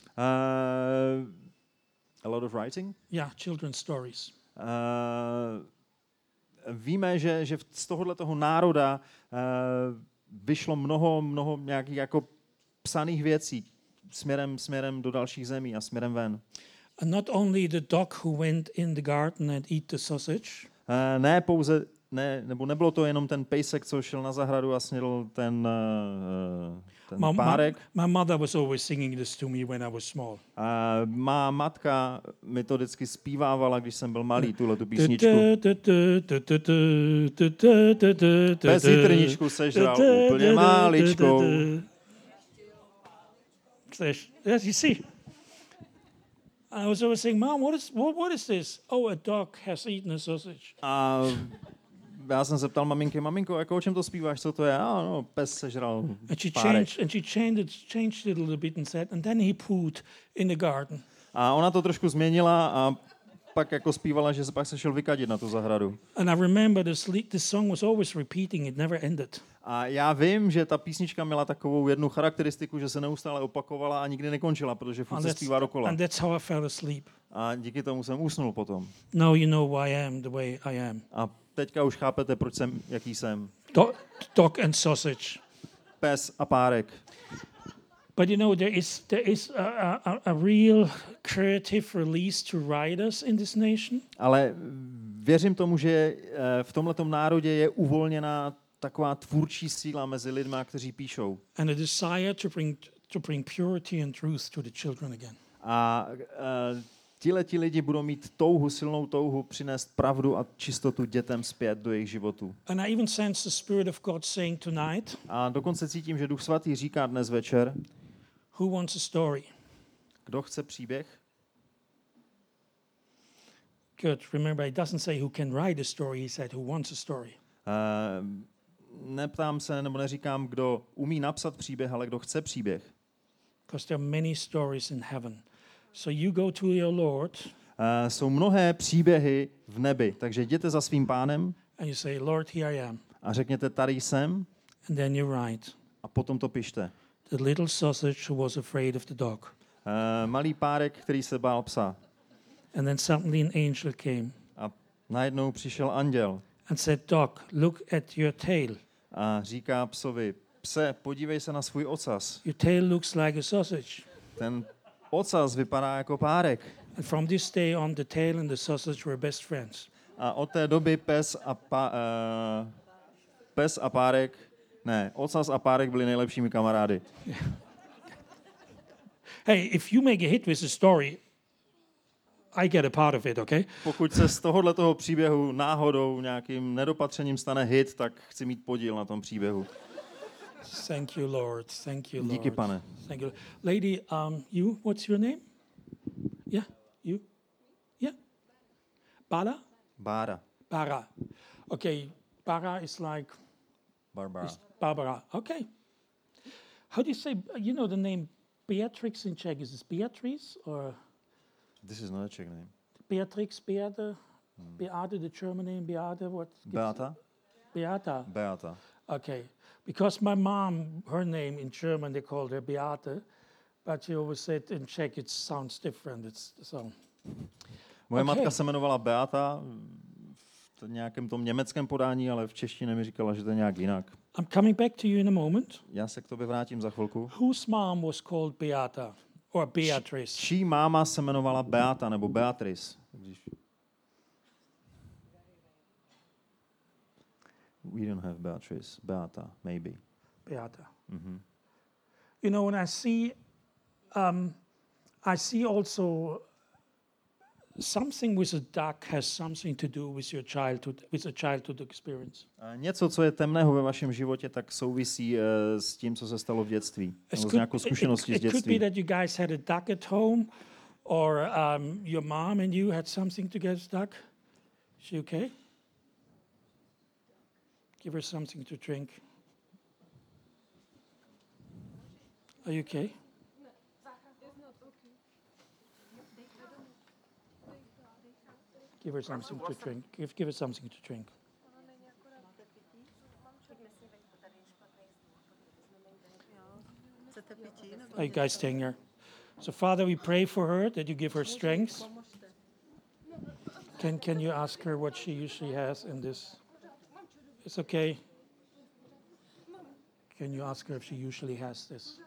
Uh, a lot of writing. Yeah, children's stories. Uh, víme, že, že z tohohle toho národa uh, vyšlo mnoho, mnoho nějakých jako psaných věcí směrem, směrem do dalších zemí a směrem ven. And not only the dog who went in the garden and eat the sausage. Uh, ne pouze, ne, nebo nebylo to jenom ten pejsek, co šel na zahradu a snědl ten, uh, ten My, párek. my, my mother was always singing this to me when I was small. Uh, má matka mi to vždycky zpívávala, když jsem byl malý, tuhle tu písničku. Bez jitrničku sežral úplně máličkou. Yes, you see. I was always saying, Mom, what is what, what is this? Oh, a dog has eaten a sausage. A já jsem se ptal maminky, maminko, jako o čem to zpíváš, co to je? A no, pes sežral And she párek. changed and she changed it, changed it a little bit and said, and then he pooed in the garden. A ona to trošku změnila a pak jako zpívala, že se pak se šel vykadit na tu zahradu. And I remember this, le- this song was always repeating, it never ended. A já vím, že ta písnička měla takovou jednu charakteristiku, že se neustále opakovala a nikdy nekončila, protože furt And se that's, zpívá dokola. and that's how I fell asleep. A díky tomu jsem usnul potom. Now you know why I am the way I am. A teďka už chápete, proč jsem, jaký jsem. Do- dog and sausage. Pes a párek. But you know, there is there is a, a, a real creative release to writers in this nation. Ale věřím tomu, že eh, v tomhletom národě je uvolněná taková tvůrčí síla mezi lidmi, kteří píšou. And a desire to bring to bring purity and truth to the children again. A uh, tihleti lidi budou mít touhu, silnou touhu přinést pravdu a čistotu dětem zpět do jejich životů. And I even sense the Spirit of God saying tonight, A dokonce cítím, že Duch Svatý říká dnes večer, who wants a story? kdo chce příběh? Good. Remember, it doesn't say who can write a story. He said who wants a story. Uh, neptám se, nebo neříkám, kdo umí napsat příběh, ale kdo chce příběh. Because there are many stories in heaven. So you go to your Lord Uh, jsou mnohé příběhy v nebi, takže jděte za svým pánem and you say, Lord, here I am. a řekněte, tady jsem, And then you write, a potom to pište. the little sausage who was afraid of the dog. Uh, malý párek, který se bál psa. And then suddenly an angel came A najednou přišel anděl and said, Dog, look at your tail. a říká psovi, pse, podívej se na svůj ocas. Your tail looks like a sausage. Ten ocas vypadá jako párek. And from this day on, the tail and the sausage were best friends. A od té doby pes a, pa, uh, pes a párek, ne, ocas a párek byli nejlepšími kamarády. Hey, if you make a hit with a story, I get a part of it, okay? Pokud se z tohohle toho příběhu náhodou nějakým nedopatřením stane hit, tak chci mít podíl na tom příběhu. Thank you, Lord. Thank you, Lord. Díky, pane. Thank you. Lady, um, you, what's your name? Yeah, you? Yeah? Bala? Bára. Bara. Okay, Bara is like Barbara. is Barbara. Okay. How do you say, you know the name Beatrix in Czech? Is this Beatrice or This is not a Czech name. Beatrix, Beate? Beate, the German name, Beate, what? Beata? Beata. Beata. Okay. Because my mom, her name in German, they called her Beate, but she always said in Czech it sounds different. It's so. Moje Okay. matka se jmenovala Beata v nějakém tom německém podání, ale v češtině mi říkala, že to je nějak jinak. I'm coming back to you in a moment. Já se k tobě vrátím za chvilku. Whose mom was called Beata or Beatrice? Čí máma se jmenovala Beata nebo Beatrice? Když... We don't have Beatrice. Beata, maybe. Beata. Mm-hmm. You know, when I see, um, I see also something with a duck has something to do with your childhood, with a childhood experience. Něco, co je temného ve vašem životě, tak souvisí uh, s tím, co se stalo v dětství. Nebo s nějakou zkušeností z it, it could be dětství. that you guys had a duck at home, or um, your mom and you had something together with duck. Is she okay? Give her something to drink. Are you okay? Give her something to drink. Give, give her something to drink. Are you guys staying here? So, Father, we pray for her that you give her strength. Can Can you ask her what she usually has in this? It's okay. Can you ask her if she usually has this?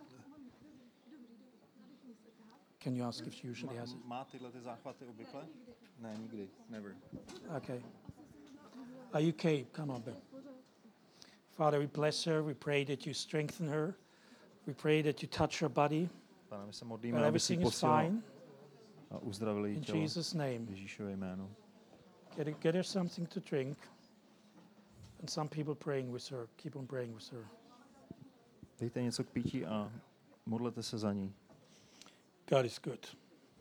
Can you ask if she usually has it? Má tyhle ty záchvaty obvykle? Ne, nikdy. Never. Okay. Are you okay? Come on, Ben. Father, we bless her. We pray that you strengthen her. We pray that you touch her body. Pane, my se That modlíme, aby si everything is posílal fine. a uzdravil jí In tělo. Jesus' name. V Ježíšově jménu. Get her, get her something to drink. And some people praying with her. Keep on praying with her. Dejte něco k pití a modlete se za ní. God is good.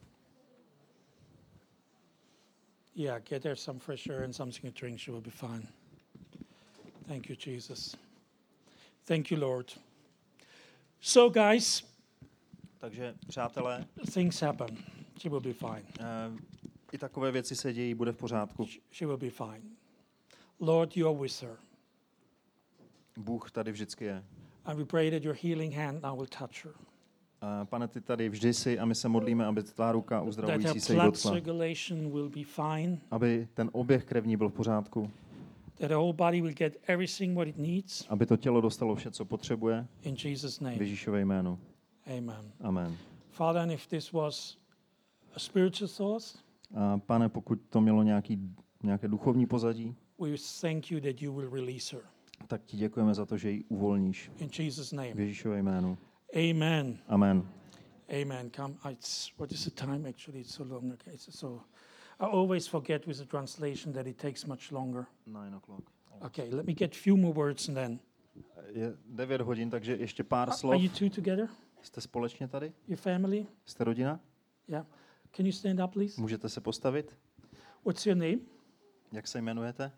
Yeah, get her some fresh air and something to drink. She will be fine. Thank you, Jesus. Thank you, Lord. So, guys, Takže, přátelé, things happen. She will be fine. uh, i takové věci se dějí, bude v pořádku. She will be fine. Lord, you are with her. Bůh tady vždycky je. And we pray that your healing hand now will touch her. Uh, pane, ty tady vždy jsi a my se modlíme, aby tvá ruka That uzdravující her se jí blood dotkla. circulation will be fine. Aby ten oběh krevní byl v pořádku. That her whole body will get everything what it needs. Aby to tělo dostalo vše, co potřebuje. In Jesus' V name. Ježíšové jménu. Amen. Amen. Father, and if this was a spiritual source, A pane, pokud to mělo nějaký, nějaké duchovní pozadí, we thank you that you will release her. tak ti děkujeme za to, že ji uvolníš. In Jesus' V name. Ježíšové jménu. Amen. Amen. Amen. Come. It's, what is the time? Actually, it's so long. Okay, it's so I always forget with the translation that it takes much longer. Nine o'clock. Okay, let me get few more words and then. Je devět hodin, takže ještě pár Are slov. you two together? Jste společně tady? Your family? Jste rodina? Yeah. Can you stand up, please? Můžete se postavit? What's your name? Jak se jmenujete?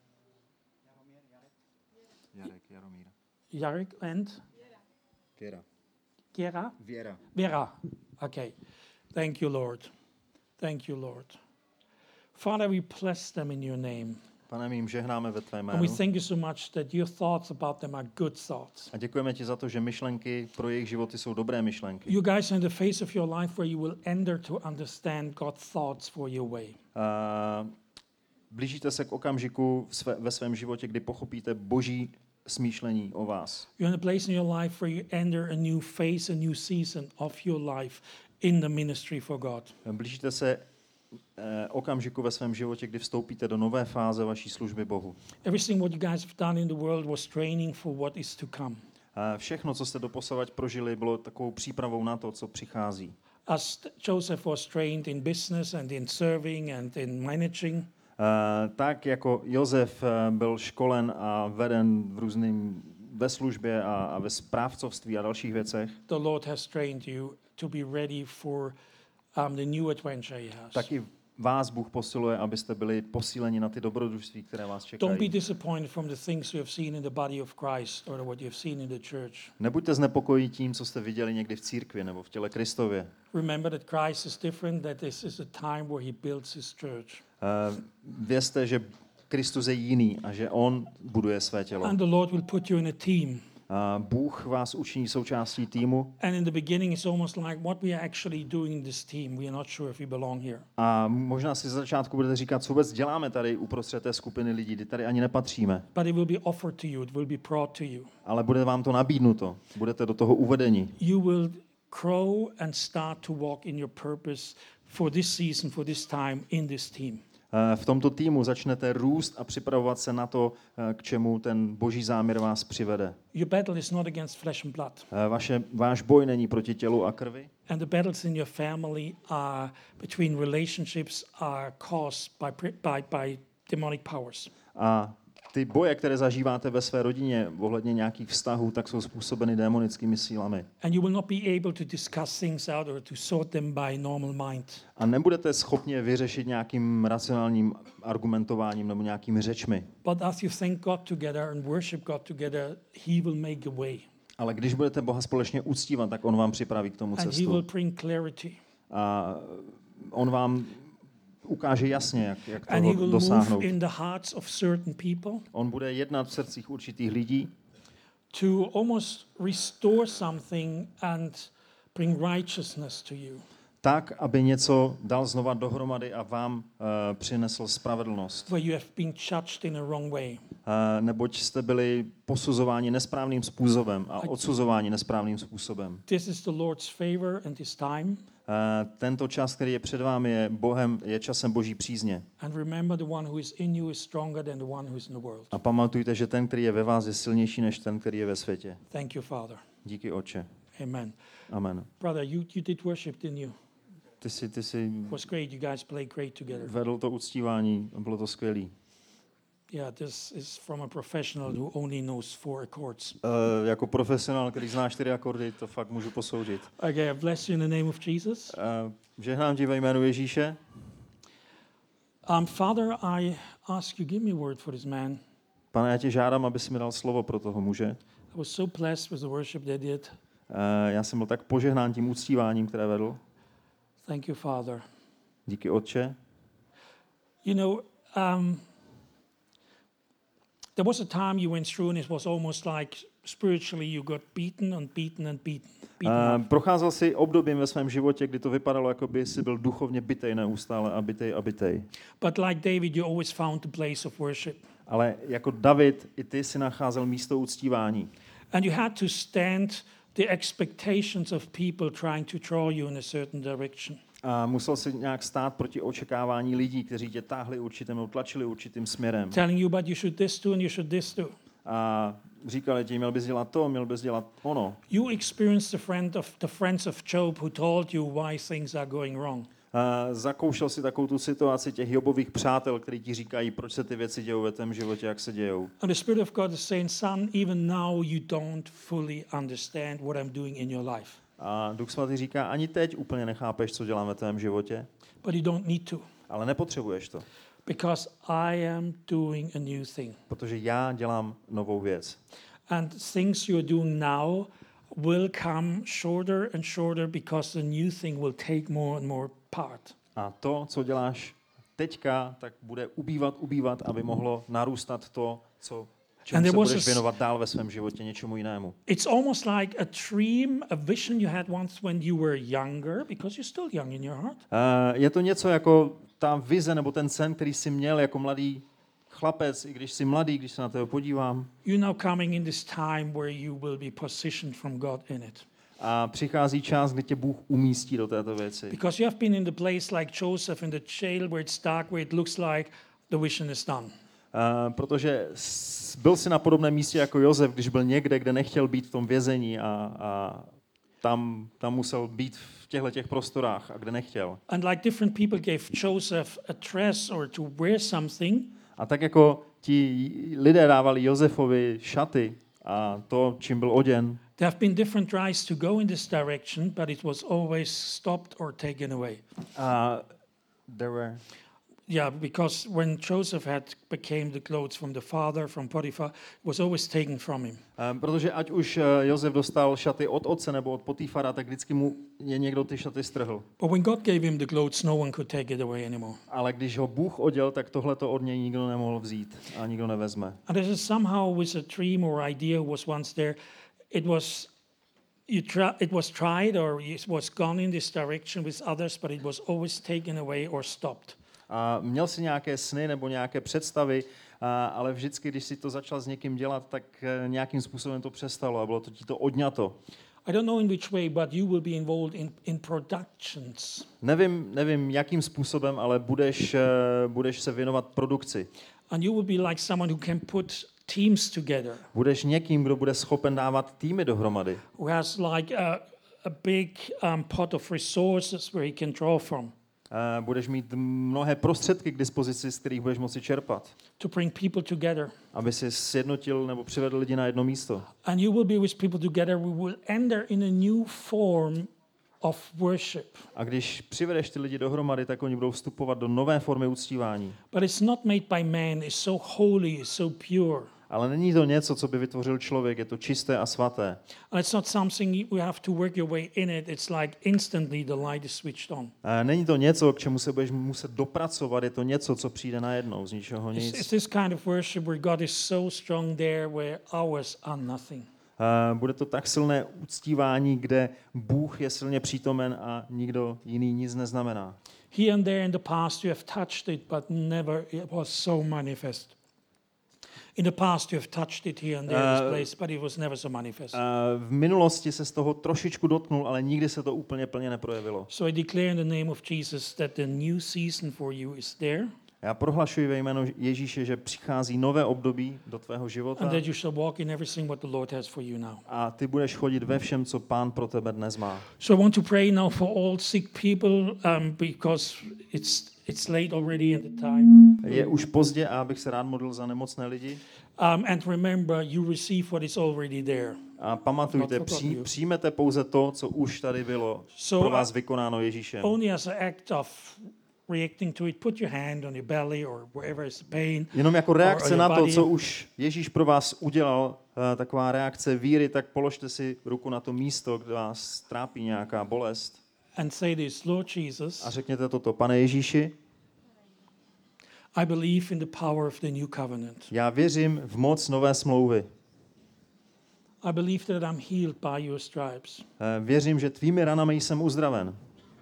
Jarek, Jaromír. Jarek and Kira. Gera? Věra. Vera. Okay. Thank you, Lord. Thank you, Lord. Father, we bless them in your name. Pane, my jim žehnáme ve tvé And jménu. we thank you so much that your thoughts about them are good thoughts. A děkujeme ti za to, že myšlenky pro jejich životy jsou dobré myšlenky. You guys are in the phase of your life where you will enter to understand God's thoughts for your way. Uh, blížíte se k okamžiku v své, ve svém životě, kdy pochopíte boží smýšlení o vás. You're in a place in your life where you enter a new phase, a new season of your life in the ministry for God. Blížíte se eh, okamžiku ve svém životě, kdy vstoupíte do nové fáze vaší služby Bohu. Everything what you guys have done in the world was training for what is to come. Eh, všechno, co jste doposavať prožili, bylo takovou přípravou na to, co přichází. As Joseph was trained in business and in serving and in managing, Uh, tak jako Josef uh, byl školen a veden v, různým, v ve službě a, a ve správcovství a dalších věcech, the Lord has trained you to be ready for um, the new adventure He has. tak i vás Bůh posiluje, abyste byli posíleni na ty dobrodružství, které vás Don't be čekají. disappointed from the things you have seen in the body of Christ or what you have seen in the church. Nebuďte znepokojeni tím, co jste viděli někdy v církvi nebo v těle Kristově. Remember that Christ is different, that this is a time where He builds His church. Uh, vězte, že Kristus je jiný a že on buduje své tělo. And the Lord will put you in a team. A Bůh vás učiní součástí týmu And in the beginning, it's almost like what we are actually doing in this team. We are not sure if we belong here. a možná si ze začátku budete říkat, co vůbec děláme tady uprostřed té skupiny lidí, kdy tady ani nepatříme, But it will be offered to you. It will be brought to you. ale bude vám to nabídnuto, budete do toho uvedeni. You will grow and start to walk in your purpose for this season, for this time, in this team. Eh, V tomto týmu začnete růst a připravovat se na to, eh, k čemu ten boží záměr vás přivede. Your battle is not against flesh and blood. Eh, Vaše, váš boj není proti tělu a krvi, And the battles in your family are between relationships are caused by, pri- by, by demonic powers. a ty boje, které zažíváte ve své rodině ohledně nějakých vztahů, tak jsou způsobeny démonickými sílami. And you will not be able to discuss things out or to sort them by normal mind. A nebudete schopni je vyřešit nějakým racionálním argumentováním nebo nějakými řečmi. But as you thank God together and worship God together, He will make a way. Ale když budete Boha společně uctívat, tak on vám připraví k tomu And He will cestu. bring clarity. A on vám ukáže jasně, jak, jak And He toho will dosáhnout. move in the hearts of certain people On bude jednat v srdcích určitých lidí, to almost restore something and bring righteousness to you. tak, aby něco dal znova dohromady a vám uh, přinesl spravedlnost. Where you have been judged in a wrong way. Uh, neboť jste byli posuzováni nesprávným způsobem a odsuzováni nesprávným způsobem. This is the Lord's favor and His time. Uh, tento čas, který je před vámi, je Bohem, je časem Boží přízně. And remember, the one who is in you is stronger than the one who is in the world. A pamatujte, že ten, který je ve vás, je silnější než ten, který je ve světě. Thank you, Father. Díky, Otče. Amen. Amen. Brother, you, you did worship, didn't you? Ty jsi, ty jsi It was great. You guys played great together. vedl to uctívání, bylo to skvělý. Yeah, this is from a professional who only knows four chords. Uh, jako profesionál, který zná čtyři akordy, to fakt můžu posoudit. Okay, I bless you in the name of Jesus. Uh, žehnám ti ve jménu Ježíše. Um, Father, I ask you, give me a word for this man. Pane, já tě žádám, aby si mi dal slovo pro toho muže. I was so blessed with the worship they did. Uh, já jsem byl tak požehnán tím uctíváním, které vedl. Thank you, Father. Díky, Otče. You know, um, there was a time you went through and it was almost like spiritually you got beaten and beaten and beaten. beaten Uh, up. procházel jsi obdobím ve svém životě, kdy to vypadalo, jako by jsi byl duchovně bitej neustále a bitej a bitej. But like David, you always found the place of worship. Ale jako David, i ty si nacházel místo uctívání. And you had to stand the expectations of people trying to draw you in a certain direction. A musel si nějak stát proti očekávání lidí, kteří tě táhli určitým, nebo tlačili určitým směrem. Telling you, but you should this do and you should this do. A říkali ti, měl bys dělat to, měl bys dělat ono. You experienced the friend of the friends of Job who told you why things are going wrong. A zakoušel si takovou tu situaci těch Jobových přátel, kteří ti říkají, proč se ty věci dějou ve tvém životě, jak se dějou. And the Spirit of God is saying, son, even now you don't fully understand what I'm doing in your life. A Duch Svatý říká, ani teď úplně nechápeš, co dělám ve tvém životě, But you don't need to, ale nepotřebuješ to, because I am doing a new thing. protože já dělám novou věc. And things you're doing now will come shorter and shorter because the new thing will take more and more part. A to, co děláš teďka, tak bude ubývat, ubývat, aby mohlo narůstat to, co čemu And se there was budeš a s- věnovat dál ve svém životě, něčemu jinému. It's almost like a dream, a vision you had once when you were younger, because you're still young in your heart. Uh, je to něco jako ta vize nebo ten sen, který jsi měl jako mladý chlapec, i když jsi mladý, když se na tebe podívám. You're now coming in this time where you will be positioned from God in it. A přichází čas, kdy tě Bůh umístí do této věci. Because you have been in the place like Joseph in the jail where it's dark, where it looks like the vision is done. Uh, protože s- byl jsi na podobném místě jako Josef, když byl někde, kde nechtěl být v tom vězení a, a tam, tam musel být v těchto těch prostorách a kde nechtěl. And like different people gave Joseph a dress or to wear something, A tak jako ti lidé dávali Josefovi šaty, a to, čím byl oděn. There have been different tries to go in this direction, but it was always stopped or taken away. A there were Yeah, because when Joseph had became the clothes from the father, from Potiphar, it was always taken from him. Um, protože ať už uh, Josef dostal šaty od otce nebo od Potifara, tak vždycky mu je někdo ty šaty strhl. But when God gave him the clothes, no one could take it away anymore. Ale když ho Bůh oděl, tak tohle to od něj nikdo nemohl vzít a nikdo nevezme. And this is somehow with a dream or idea was once there. It was you try, it was tried or it was gone in this direction with others, but it was always taken away or stopped. A měl si nějaké sny nebo nějaké představy, a, ale vždycky, když si to začal s někým dělat, tak nějakým způsobem to přestalo a bylo to ti to odňato. I don't know in which way, but you will be involved in, in productions. Nevím, nevím, jakým způsobem, ale budeš, budeš se věnovat produkci. And you will be like someone who can put teams together. Budeš někým, kdo bude schopen dávat týmy dohromady. Who has like a, a big um, pot of resources where he can draw from. Uh, budeš mít mnohé prostředky k dispozici, z kterých budeš moci čerpat. To bring people together. Aby si sjednotil nebo přivedl lidi na jedno místo. And you will be with people together. We will enter in a new form of worship. A když přivedeš ty lidi dohromady, tak oni budou vstupovat do nové formy uctívání. But it's not made by man. It's so holy, it's so pure. Ale není to něco, co by vytvořil člověk, je to čisté a svaté. And it's not something you have to work your way in it. It's like instantly the light is switched on. A není to něco, k čemu se budeš muset dopracovat, je to něco, co přijde najednou, z ničeho It's, nic. it's this kind of worship where God is so strong there where hours are nothing. A bude to tak silné uctívání, kde Bůh je silně přítomen a nikdo jiný nic neznamená. Here and there in the past you have touched it, but never it was so manifest. In the past you have touched it here and there in this place, but it was never so manifest. Uh, v minulosti se z toho trošičku dotknul, ale nikdy se to úplně plně neprojevilo. So I declare in the name of Jesus that the new season for you is there. Já prohlašuji ve jménu Ježíše, že přichází nové období do tvého života. And that you shall walk in everything what the Lord has for you now. A ty budeš chodit ve všem, co Pán pro tebe dnes má. So I want to pray now for all sick people um, because it's it's late already in the time. Je už pozdě a abych se rád modlil za nemocné lidi. Um, and remember, you receive what is already there. A pamatujte, při, přijmete pouze to, co už tady bylo So, pro vás vykonáno Ježíšem. Only as an act of reacting to it, put your hand on your belly or wherever is the pain. Jenom jako reakce or, or na to, body. co už Ježíš pro vás udělal, taková reakce víry, tak položte si ruku na to místo, kde vás trápí nějaká bolest. And say this, Lord Jesus, A řekněte toto, Pane Ježíši, I believe in the power of the new covenant. já věřím v moc nové smlouvy. I believe that I'm healed by your stripes. Věřím, že tvými ranami jsem uzdraven.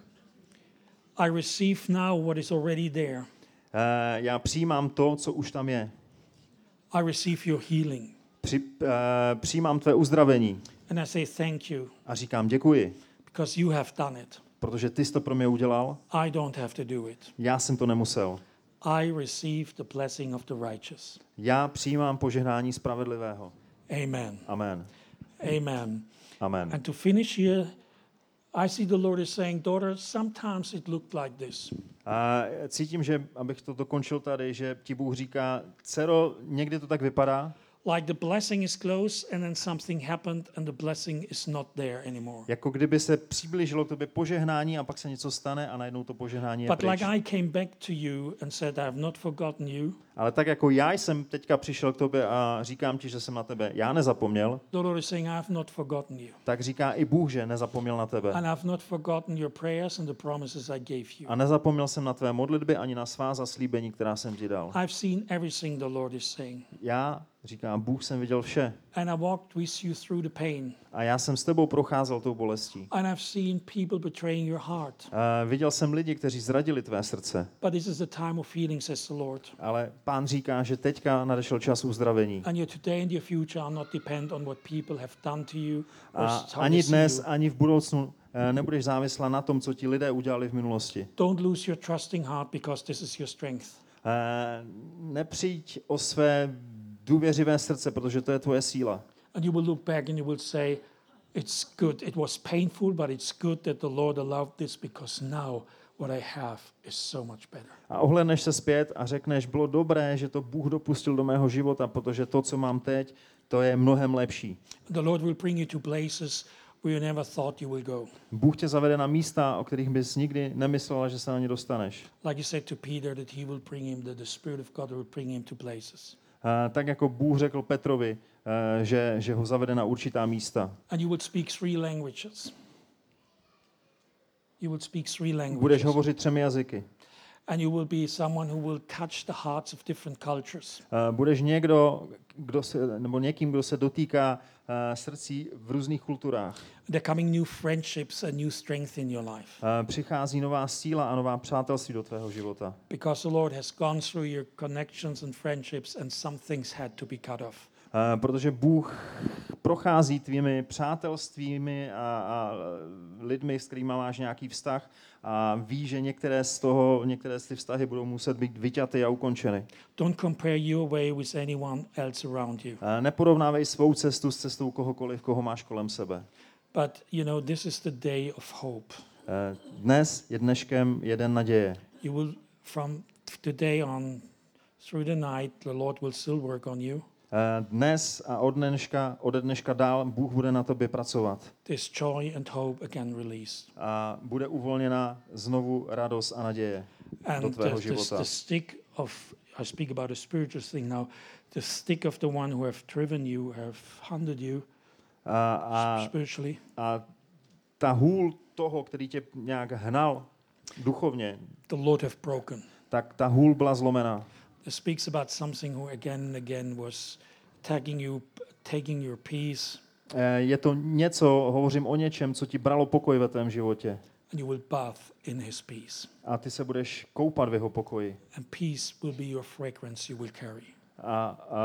I receive now what is already there. Já přijímám to, co už tam je. I receive your healing. Při, uh, přijímám tvé uzdravení. And I say thank you A říkám děkuji, because you have done it. protože ty jsi to pro mě udělal. I don't have to do it. Já jsem to nemusel. I receive the blessing of the righteous. Já přijímám požehnání spravedlivého. Amen. Amen. Amen. Amen. And to finish here, I see the Lord is saying, daughter, sometimes it looked like this. A cítím, že, abych to dokončil tady, že ti Bůh říká, dcero, někdy to tak vypadá, Like the blessing is close and then something happened and the blessing is not there anymore. jako kdyby se přiblížilo k tobě požehnání a pak se něco stane a najednou to požehnání je But pryč. like I came back to you and said, I have not forgotten you, Ale tak jako já jsem teďka přišel k tobě a říkám ti, že jsem na tebe já nezapomněl, the Lord is saying, I have not forgotten you. tak říká i Bůh, že nezapomněl na tebe. And I have not forgotten your prayers and the promises I gave you. A nezapomněl jsem na tvé modlitby ani na svá zaslíbení, která jsem ti dal. I've seen everything the Lord is saying. Já, říká Bůh, jsem viděl vše. And I walked with you through the pain. A já jsem s tebou procházel tou bolestí. And I've seen people betraying your heart. A viděl jsem lidi, kteří zradili tvé srdce. But this is the time of healing, says the Lord. Ale Pán říká, že teďka nadešel čas uzdravení. And your today and your future are not depend on what people have done to you. Or A how they ani see dnes, you. ani v budoucnu eh, nebudeš závislá na tom, co ti lidé udělali v minulosti. Don't lose your trusting heart because this is your strength. Eh, Nepřijď o své důvěřivé srdce, protože to je tvoje síla. And you will look back and you will say, it's good. It was painful, but it's good that the Lord allowed this because now what I have is so much better. A ohlédneš se zpět a řekneš, bylo dobré, že to Bůh dopustil do mého života, protože to, co mám teď, to je mnohem lepší. The Lord will bring you to places where you never thought you will go. Bůh tě zavede na místa, o kterých bys nikdy nemyslela, že se na ně dostaneš. Like you said to Peter, that he will bring him, that the Spirit of God will bring him to places. Uh, tak jako Bůh řekl Petrovi, uh, že, že ho zavede na určitá místa. And you will speak three languages. You will speak three languages. Budeš hovořit třemi jazyky. And you will be someone who will touch the hearts of different cultures. Uh, budeš někdo, kdo se, nebo někým, kdo se dotýká uh, srdcí v různých kulturách. There coming new friendships and new strength in your life. Uh, přichází nová síla a nová přátelství do tvého života. Because the Lord has gone through your connections and friendships and some things had to be cut off. Uh, protože Bůh prochází tvými přátelstvími a, a lidmi, s kterými máš nějaký vztah a ví, že některé z toho, některé z ty vztahy budou muset být vyťaty a ukončeny. Don't compare your way with anyone else around you. Uh, neporovnávej svou cestu s cestou kohokoliv, koho máš kolem sebe. But you know, this is the day of hope. Uh, dnes je dneškem je den naděje. You will, from today on, through the night, the Lord will still work on you. Dnes a od dneška, ode dneška dál Bůh bude na tobě pracovat. This joy and hope again released. A bude uvolněna znovu radost a naděje do And tvého the, the, života. the stick of, I speak about a spiritual thing now, the stick of the one who have driven you, have hunted you A, a, spiritually. a ta hůl toho, který tě nějak hnal duchovně, The Lord have broken. tak ta hůl byla zlomená. It speaks about something who again and again was tagging you, taking your peace, Je to něco, hovořím o něčem, co ti bralo pokoj ve tvém životě. and you will bath in his peace. A ty se budeš koupat v jeho pokoji. And peace will be your fragrance you will carry. A,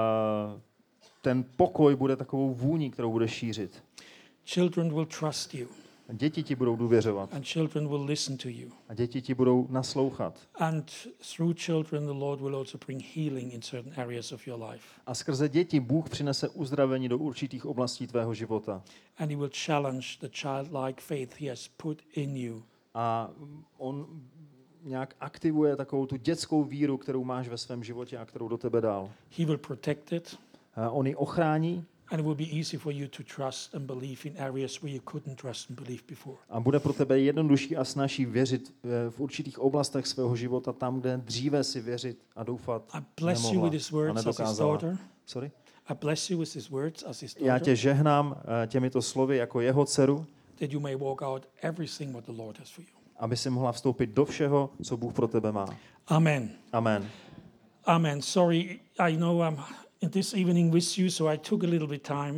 a ten pokoj bude takovou vůní, kterou budeš šířit. Children will trust you, A děti ti budou důvěřovat. and children will listen to you. A děti ti budou naslouchat. And through children, the Lord will also bring healing in certain areas of your life. A skrze děti Bůh přinese uzdravení do určitých oblastí tvého života. And he will challenge the childlike faith he has put in you. A on nějak aktivuje takovou tu dětskou víru, kterou máš ve svém životě a kterou do tebe dal. He will protect it, A on ji ochrání and it will be easy for you to trust and believe in areas where you couldn't trust and believe before. a bude pro tebe jednodušší a snazší věřit v určitých oblastech svého života tam, kde dříve si věřit a doufat I bless you nemohla with his a words as his nedokázala. daughter. Sorry? I bless you with his words as his Já daughter, tě žehnám eh, těmito slovy jako jeho dceru, that you may walk out everything what the Lord has for you. aby si mohla vstoupit do všeho, co Bůh pro tebe má. Amen. Amen. Amen. Sorry, I know I'm in this evening with you, so I took a little bit time.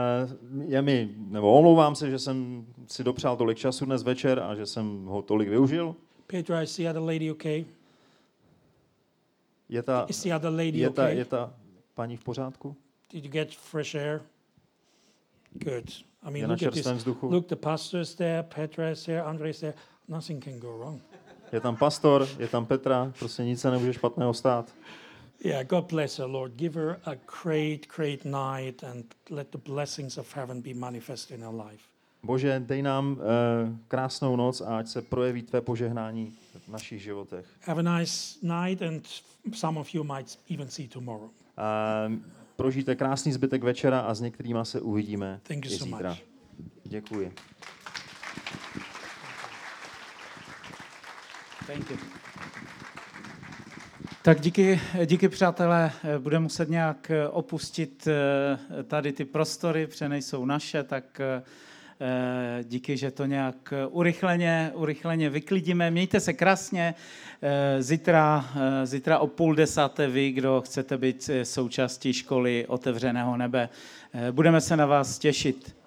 Uh, je mi, nebo omlouvám se, že jsem si dopřál tolik času dnes večer a že jsem ho tolik využil. Petra, is the other lady okay? Je ta, Is the other lady je ta, okay? je ta paní v pořádku? Did you get fresh air? Good. I mean, Je na look at this. čerstvém vzduchu? Look, the pastor is there, Petra is there, Andre is there. Nothing can go wrong. Je tam pastor, je tam Petra, prostě nic se nemůže špatného stát. Yeah, God bless her, Lord. Give her a great, great night and let the blessings of heaven be manifest in her life. Bože, dej nám uh, krásnou noc a ať se projeví tvé požehnání v našich životech. Have a nice night, and some of you might even see tomorrow. Uh, prožijte krásný zbytek večera a s některýma se uvidíme Thank you i so zítra. much. Děkuji. Thank you. Tak díky, díky přátelé, budeme muset nějak opustit tady ty prostory, protože nejsou naše, tak díky, že to nějak urychleně, urychleně vyklidíme. Mějte se krásně, zítra, zítra o půl desáté vy, kdo chcete být součástí školy Otevřeného nebe. Budeme se na vás těšit.